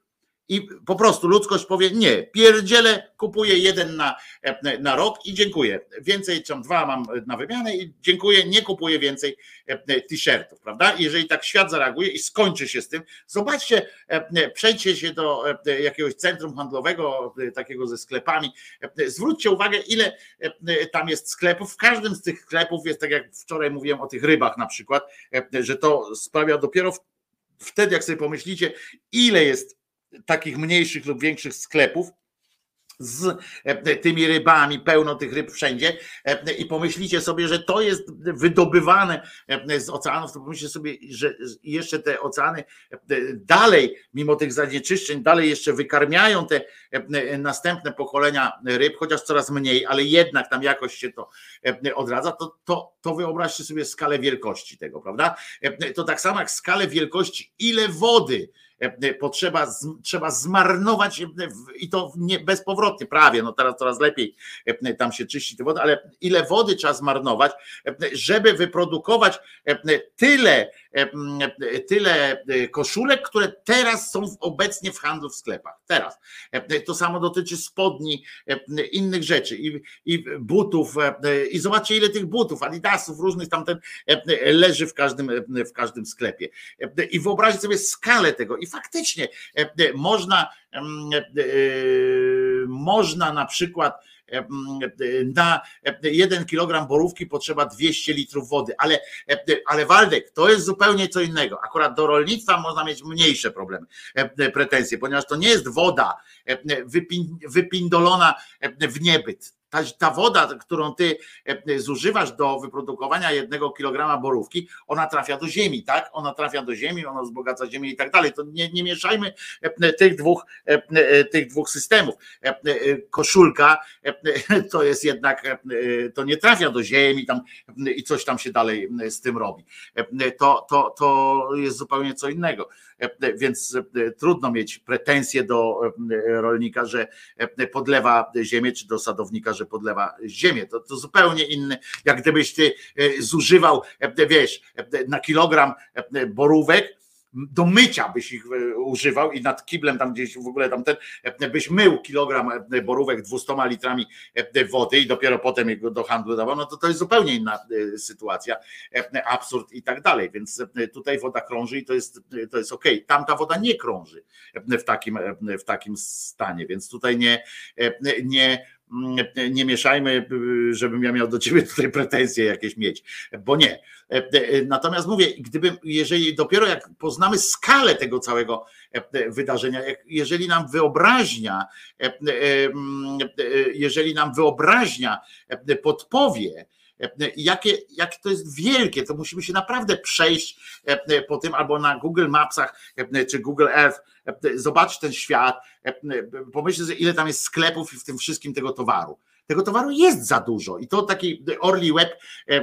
I po prostu ludzkość powie nie, pierdzielę, kupuję jeden na rok i dziękuję. Więcej, czy 2 mam na wymianę i dziękuję, nie kupuję więcej t-shirtów, prawda? Jeżeli tak świat zareaguje i skończy się z tym, zobaczcie, przejdźcie się do jakiegoś centrum handlowego, takiego ze sklepami, zwróćcie uwagę, ile tam jest sklepów. W każdym z tych sklepów jest, tak jak wczoraj mówiłem o tych rybach na przykład, że to sprawia dopiero wtedy, jak sobie pomyślicie, ile jest takich mniejszych lub większych sklepów z tymi rybami, pełno tych ryb wszędzie i pomyślicie sobie, że to jest wydobywane z oceanów, to pomyślcie sobie, że jeszcze te oceany dalej, mimo tych zanieczyszczeń, dalej jeszcze wykarmiają te następne pokolenia ryb, chociaż coraz mniej, ale jednak tam jakoś się to odradza, to wyobraźcie sobie skalę wielkości tego, prawda? To tak samo jak skalę wielkości, ile wody trzeba zmarnować i to nie bezpowrotnie, prawie, no teraz coraz lepiej tam się czyści tę wodę, ale ile wody trzeba zmarnować, żeby wyprodukować tyle koszulek, które teraz są obecnie w handlu w sklepach. Teraz. To samo dotyczy spodni, innych rzeczy i butów i zobaczcie, ile tych butów, adidasów różnych tamten leży w każdym sklepie. I wyobraźcie sobie skalę tego i faktycznie można na przykład na 1 kilogram borówki potrzeba 200 litrów wody, ale Waldek, to jest zupełnie co innego. Akurat do rolnictwa można mieć mniejsze problemy, pretensje, ponieważ to nie jest woda wypindolona w niebyt. Ta woda, którą ty zużywasz do wyprodukowania 1 kilograma borówki, ona trafia do ziemi, tak? Ona trafia do ziemi, ona wzbogaca ziemię i tak dalej. To nie mieszajmy tych dwóch systemów. Koszulka to jest jednak, to nie trafia do ziemi tam i coś tam się dalej z tym robi. To jest zupełnie co innego. Więc trudno mieć pretensje do rolnika, że podlewa ziemię, czy do sadownika, że podlewa ziemię. To zupełnie inny, jak gdybyś ty zużywał, wiesz, na kilogram borówek, do mycia byś ich używał i nad kiblem tam gdzieś w ogóle byś mył kilogram borówek 200 litrami wody i dopiero potem go do handlu dawał, no to jest zupełnie inna sytuacja, absurd i tak dalej, więc tutaj woda krąży i to jest okej. Tamta woda nie krąży w takim stanie, więc tutaj nie mieszajmy, żebym ja miał do ciebie tutaj pretensje jakieś mieć, bo nie. Natomiast mówię, jeżeli dopiero jak poznamy skalę tego całego wydarzenia, jeżeli nam wyobraźnia podpowie, jakie to jest wielkie, to musimy się naprawdę przejść po tym albo na Google Mapsach czy Google Earth, zobaczyć ten świat, pomyśleć, ile tam jest sklepów i w tym wszystkim tego towaru. Tego towaru jest za dużo i to taki Orly Web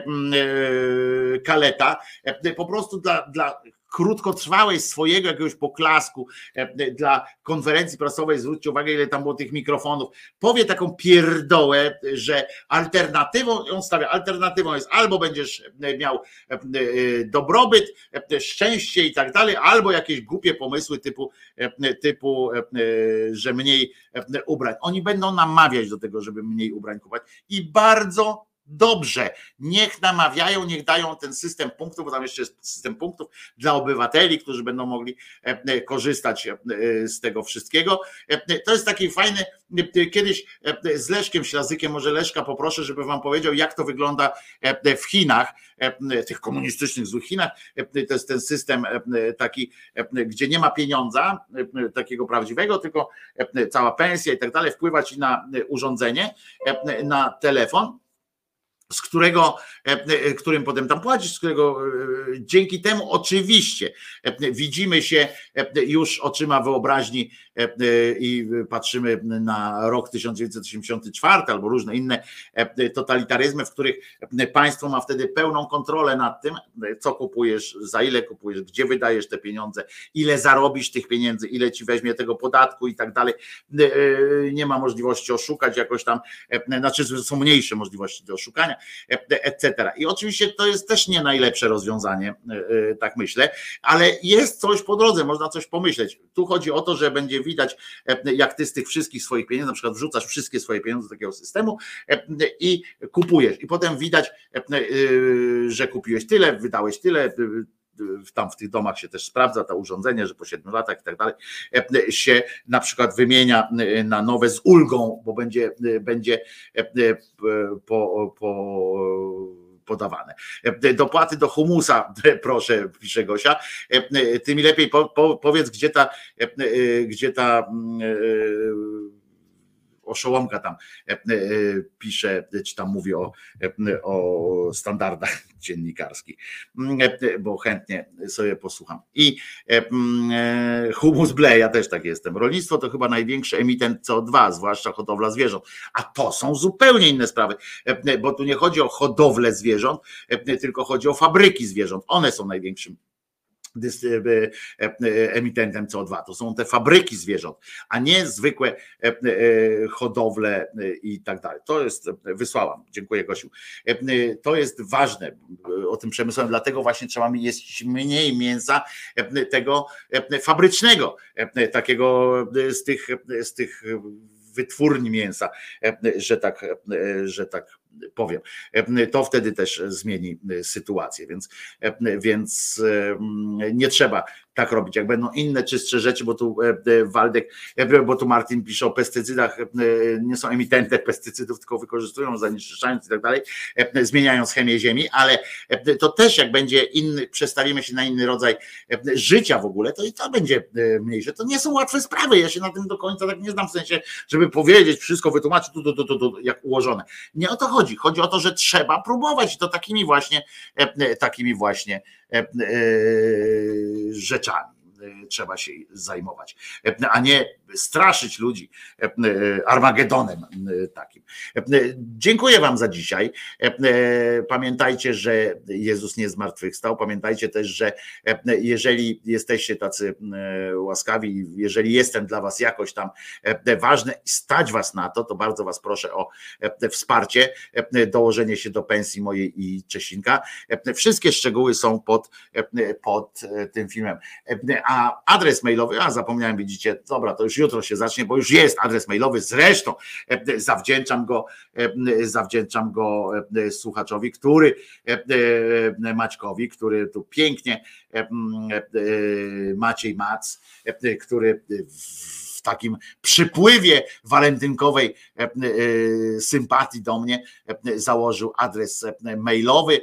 kaleta po prostu dla krótkotrwałej swojego jakiegoś poklasku dla konferencji prasowej, zwróćcie uwagę, ile tam było tych mikrofonów, powie taką pierdołę, że alternatywą jest albo będziesz miał dobrobyt, szczęście i tak dalej, albo jakieś głupie pomysły typu, że mniej ubrań. Oni będą namawiać do tego, żeby mniej ubrań kupować i bardzo dobrze, niech namawiają, niech dają ten system punktów, bo tam jeszcze jest system punktów dla obywateli, którzy będą mogli korzystać z tego wszystkiego. To jest taki fajny, kiedyś z Leszkiem Ślazykiem, może Leszka poproszę, żeby wam powiedział, jak to wygląda w Chinach, tych komunistycznych złych Chinach. To jest ten system taki, gdzie nie ma pieniądza takiego prawdziwego, tylko cała pensja i tak dalej wpływa ci na urządzenie, na telefon, którym potem tam płacisz, z którego dzięki temu oczywiście widzimy się już oczyma wyobraźni i patrzymy na rok 1984 albo różne inne totalitaryzmy, w których państwo ma wtedy pełną kontrolę nad tym, co kupujesz, za ile kupujesz, gdzie wydajesz te pieniądze, ile zarobisz tych pieniędzy, ile ci weźmie tego podatku i tak dalej. Nie ma możliwości oszukać jakoś tam, znaczy są mniejsze możliwości do oszukania, etc. I oczywiście to jest też nie najlepsze rozwiązanie, tak myślę, ale jest coś po drodze, można coś pomyśleć. Tu chodzi o to, że będzie widać, jak ty z tych wszystkich swoich pieniędzy, na przykład wrzucasz wszystkie swoje pieniądze do takiego systemu i kupujesz. I potem widać, że kupiłeś tyle, wydałeś tyle, tam w tych domach się też sprawdza to urządzenie, że po 7 latach i tak dalej się na przykład wymienia na nowe z ulgą, bo będzie podawane. Dopłaty do humusa, proszę, pisze Gosia. Ty mi lepiej powiedz, gdzie ta oszołomka tam pisze, czy tam mówi o standardach dziennikarskich, bo chętnie sobie posłucham. I humus ble, ja też tak jestem. Rolnictwo to chyba największy emitent CO2, zwłaszcza hodowla zwierząt. A to są zupełnie inne sprawy, bo tu nie chodzi o hodowlę zwierząt, tylko chodzi o fabryki zwierząt. One są największym emitentem CO2. To są te fabryki zwierząt, a nie zwykłe hodowle i tak dalej. To jest, wysłałam, dziękuję Gosiu. To jest ważne o tym przemysłowym, dlatego właśnie trzeba jeść mniej mięsa tego fabrycznego, takiego z tych wytwórni mięsa, że tak powiem. To wtedy też zmieni sytuację, więc nie trzeba tak robić. Jak będą inne czystsze rzeczy, bo tu Waldek, bo tu Martin pisze o pestycydach, nie są emitentem pestycydów, tylko wykorzystują, zanieczyszczając i tak dalej, zmieniając chemię ziemi, ale to też jak będzie inny, przestawimy się na inny rodzaj życia w ogóle, to i to będzie mniejsze. To nie są łatwe sprawy, ja się na tym do końca tak nie znam, w sensie, żeby powiedzieć, wszystko wytłumaczyć, jak ułożone. Nie o to chodzi. Chodzi o to, że trzeba próbować i to takimi właśnie rzeczami trzeba się zajmować, a nie straszyć ludzi Armagedonem takim. Dziękuję wam za dzisiaj. Pamiętajcie, że Jezus nie zmartwychwstał. Pamiętajcie też, że jeżeli jesteście tacy łaskawi, jeżeli jestem dla was jakoś tam ważny i stać was na to, to bardzo was proszę o wsparcie, dołożenie się do pensji mojej i Czesinka. Wszystkie szczegóły są pod tym filmem. A adres mailowy, zapomniałem, widzicie, dobra, to już jutro się zacznie, bo już jest adres mailowy, zresztą zawdzięczam go słuchaczowi, Maćkowi, który tu pięknie, Maciej Mac, który w takim przypływie walentynkowej sympatii do mnie założył adres mailowy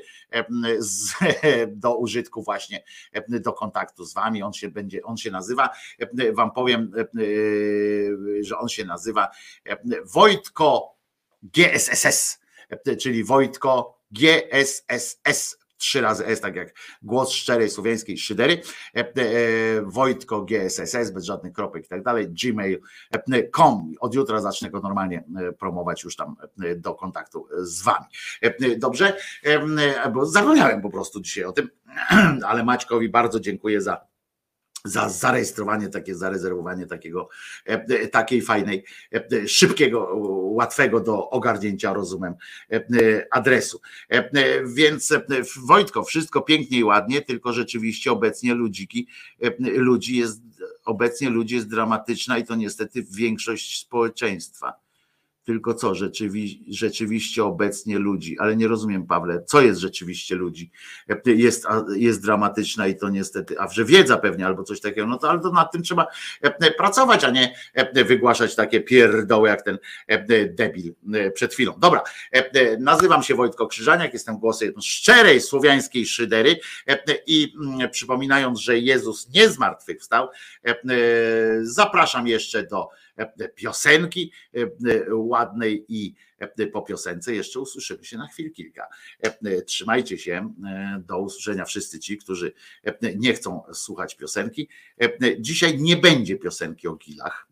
do użytku właśnie, do kontaktu z wami. On się nazywa, wam powiem, że on się nazywa Wojtko GSSS, czyli Wojtko GSSS. 3 razy S, tak jak głos szczerej słowiańskiej szydery, Wojtko GSSS, bez żadnych kropek i tak dalej, gmail.com. Od jutra zacznę go normalnie promować już tam do kontaktu z wami. Dobrze? Bo zapomniałem po prostu dzisiaj o tym, ale Maćkowi bardzo dziękuję za zarejestrowanie, zarezerwowanie takiej fajnej, szybkiego, łatwego do ogarnięcia, rozumem, adresu. Więc Wojtko, wszystko pięknie i ładnie, tylko rzeczywiście obecnie ludzi jest dramatyczna i to niestety większość społeczeństwa. Tylko co, rzeczywiście obecnie ludzi, ale nie rozumiem, Pawle, co jest rzeczywiście ludzi, jest dramatyczna i to niestety, że wiedza pewnie albo coś takiego, no to ale to nad tym trzeba pracować, a nie wygłaszać takie pierdoły jak ten debil przed chwilą. Dobra, nazywam się Wojtko Krzyżaniak, jestem głosem szczerej słowiańskiej szydery i przypominając, że Jezus nie zmartwychwstał, zapraszam jeszcze do piosenki ładnej i po piosence jeszcze usłyszymy się na chwilę kilka. Trzymajcie się, do usłyszenia wszyscy ci, którzy nie chcą słuchać piosenki. Dzisiaj nie będzie piosenki o gilach.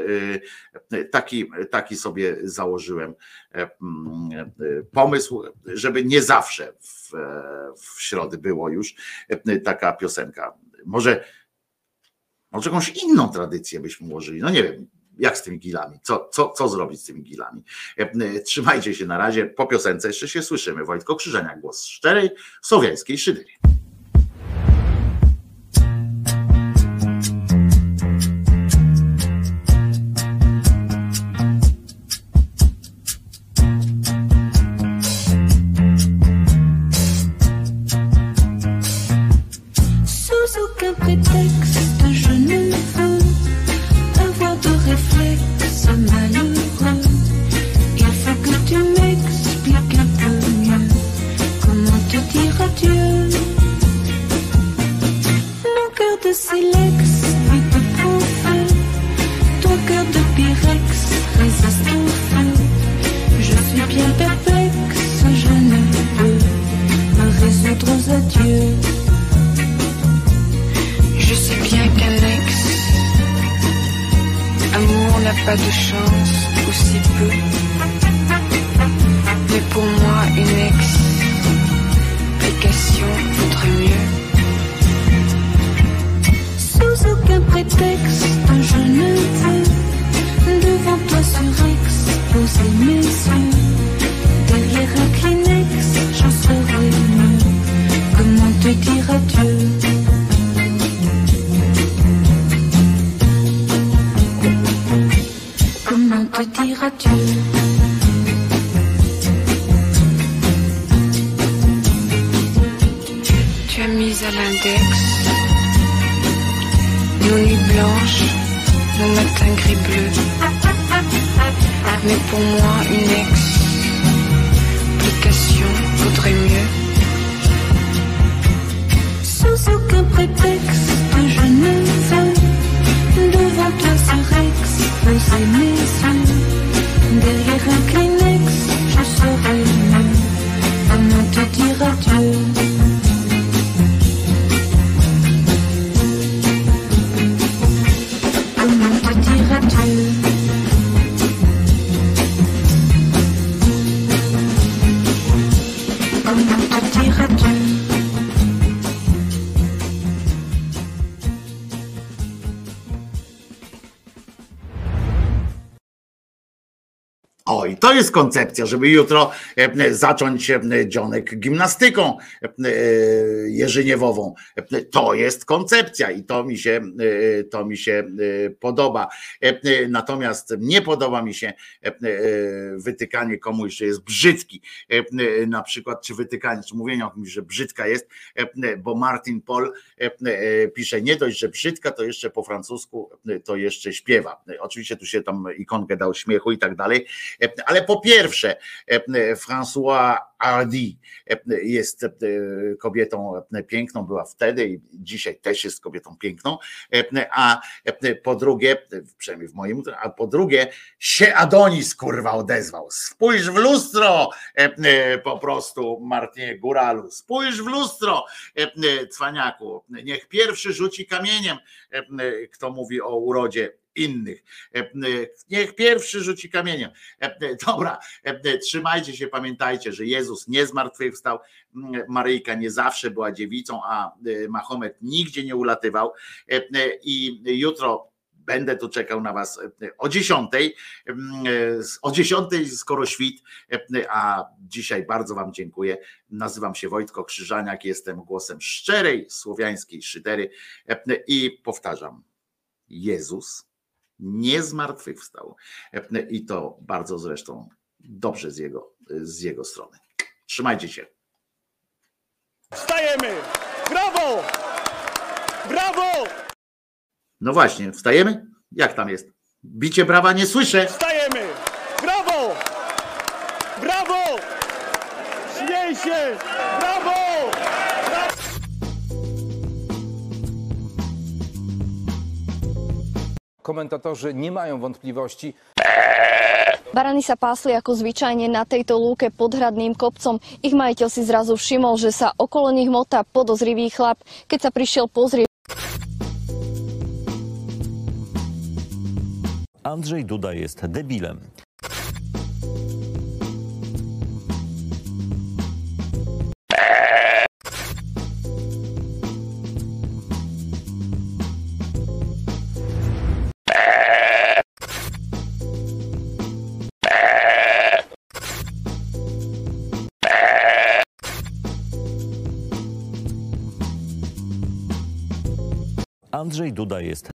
Taki sobie założyłem pomysł, żeby nie zawsze w środę było już taka piosenka. Może jakąś inną tradycję byśmy ułożyli, no nie wiem. Jak z tymi gilami? Co zrobić z tymi gilami? Trzymajcie się na razie. Po piosence jeszcze się słyszymy. Wojtko Krzyżaniak, głos szczerej słowiańskiej szydery. pas de chance, ou si peu. Mais pour moi, une explication vaudrait mieux. Sous aucun prétexte, je ne veux devant toi surexposer mes yeux. Derrière un Kleenex, j'en serai mieux. Comment te dire adieu? Comment te dire adieu? Tu as mis à l'index nos nuits blanches, nos matins gris-bleus. Mais pour moi, une explication vaudrait mieux. Sous aucun prétexte, je ne veux devant toi surexposer mes yeux. Derrière un Kleenex, je serai mieux. Comment te dire adieu? Comment te dire adieu? Comment te dire adieu? O, i to jest koncepcja, żeby jutro zacząć dzionek gimnastyką jerzyniewową. To jest koncepcja i to mi się podoba. Natomiast nie podoba mi się wytykanie komuś, że jest brzydki. Na przykład, czy wytykanie, czy mówienie o kimś, że brzydka jest, bo Martin Paul pisze, nie dość, że brzydka, to jeszcze po francusku to jeszcze śpiewa. Oczywiście tu się tam ikonkę dał śmiechu i tak dalej. Ale po pierwsze, François Hardy jest kobietą piękną, była wtedy i dzisiaj też jest kobietą piękną, a po drugie, przynajmniej w moim, a po drugie się Adonis kurwa odezwał. Spójrz w lustro, po prostu Martinie Góralu, spójrz w lustro, cwaniaku, niech pierwszy rzuci kamieniem, kto mówi o urodzie innych. Niech pierwszy rzuci kamieniem. Dobra, trzymajcie się, pamiętajcie, że Jezus nie zmartwychwstał, Maryjka nie zawsze była dziewicą, a Mahomet nigdzie nie ulatywał i jutro będę tu czekał na was o 10:00. O 10:00 skoro świt, a dzisiaj bardzo wam dziękuję. Nazywam się Wojtko Krzyżaniak, jestem głosem szczerej słowiańskiej szydery i powtarzam, Jezus nie zmartwychwstał i to bardzo zresztą dobrze z jego strony. Trzymajcie się. Wstajemy! Brawo! Brawo! No właśnie, wstajemy? Jak tam jest? Bicie brawa nie słyszę. Wstajemy! Brawo! Brawo! Śmiej się! Brawo! Komentatorzy nie mają wątpliwości. Barany sa pásli ako zvyčajne na tejto lúke pod hradným kopcom. Ich majiteľ si zrazu všimol, že sa okolo nich motá podozrivý chlap. Keď sa prišiel pozrieť... Andrzej Duda jest debilem. Andrzej Duda jest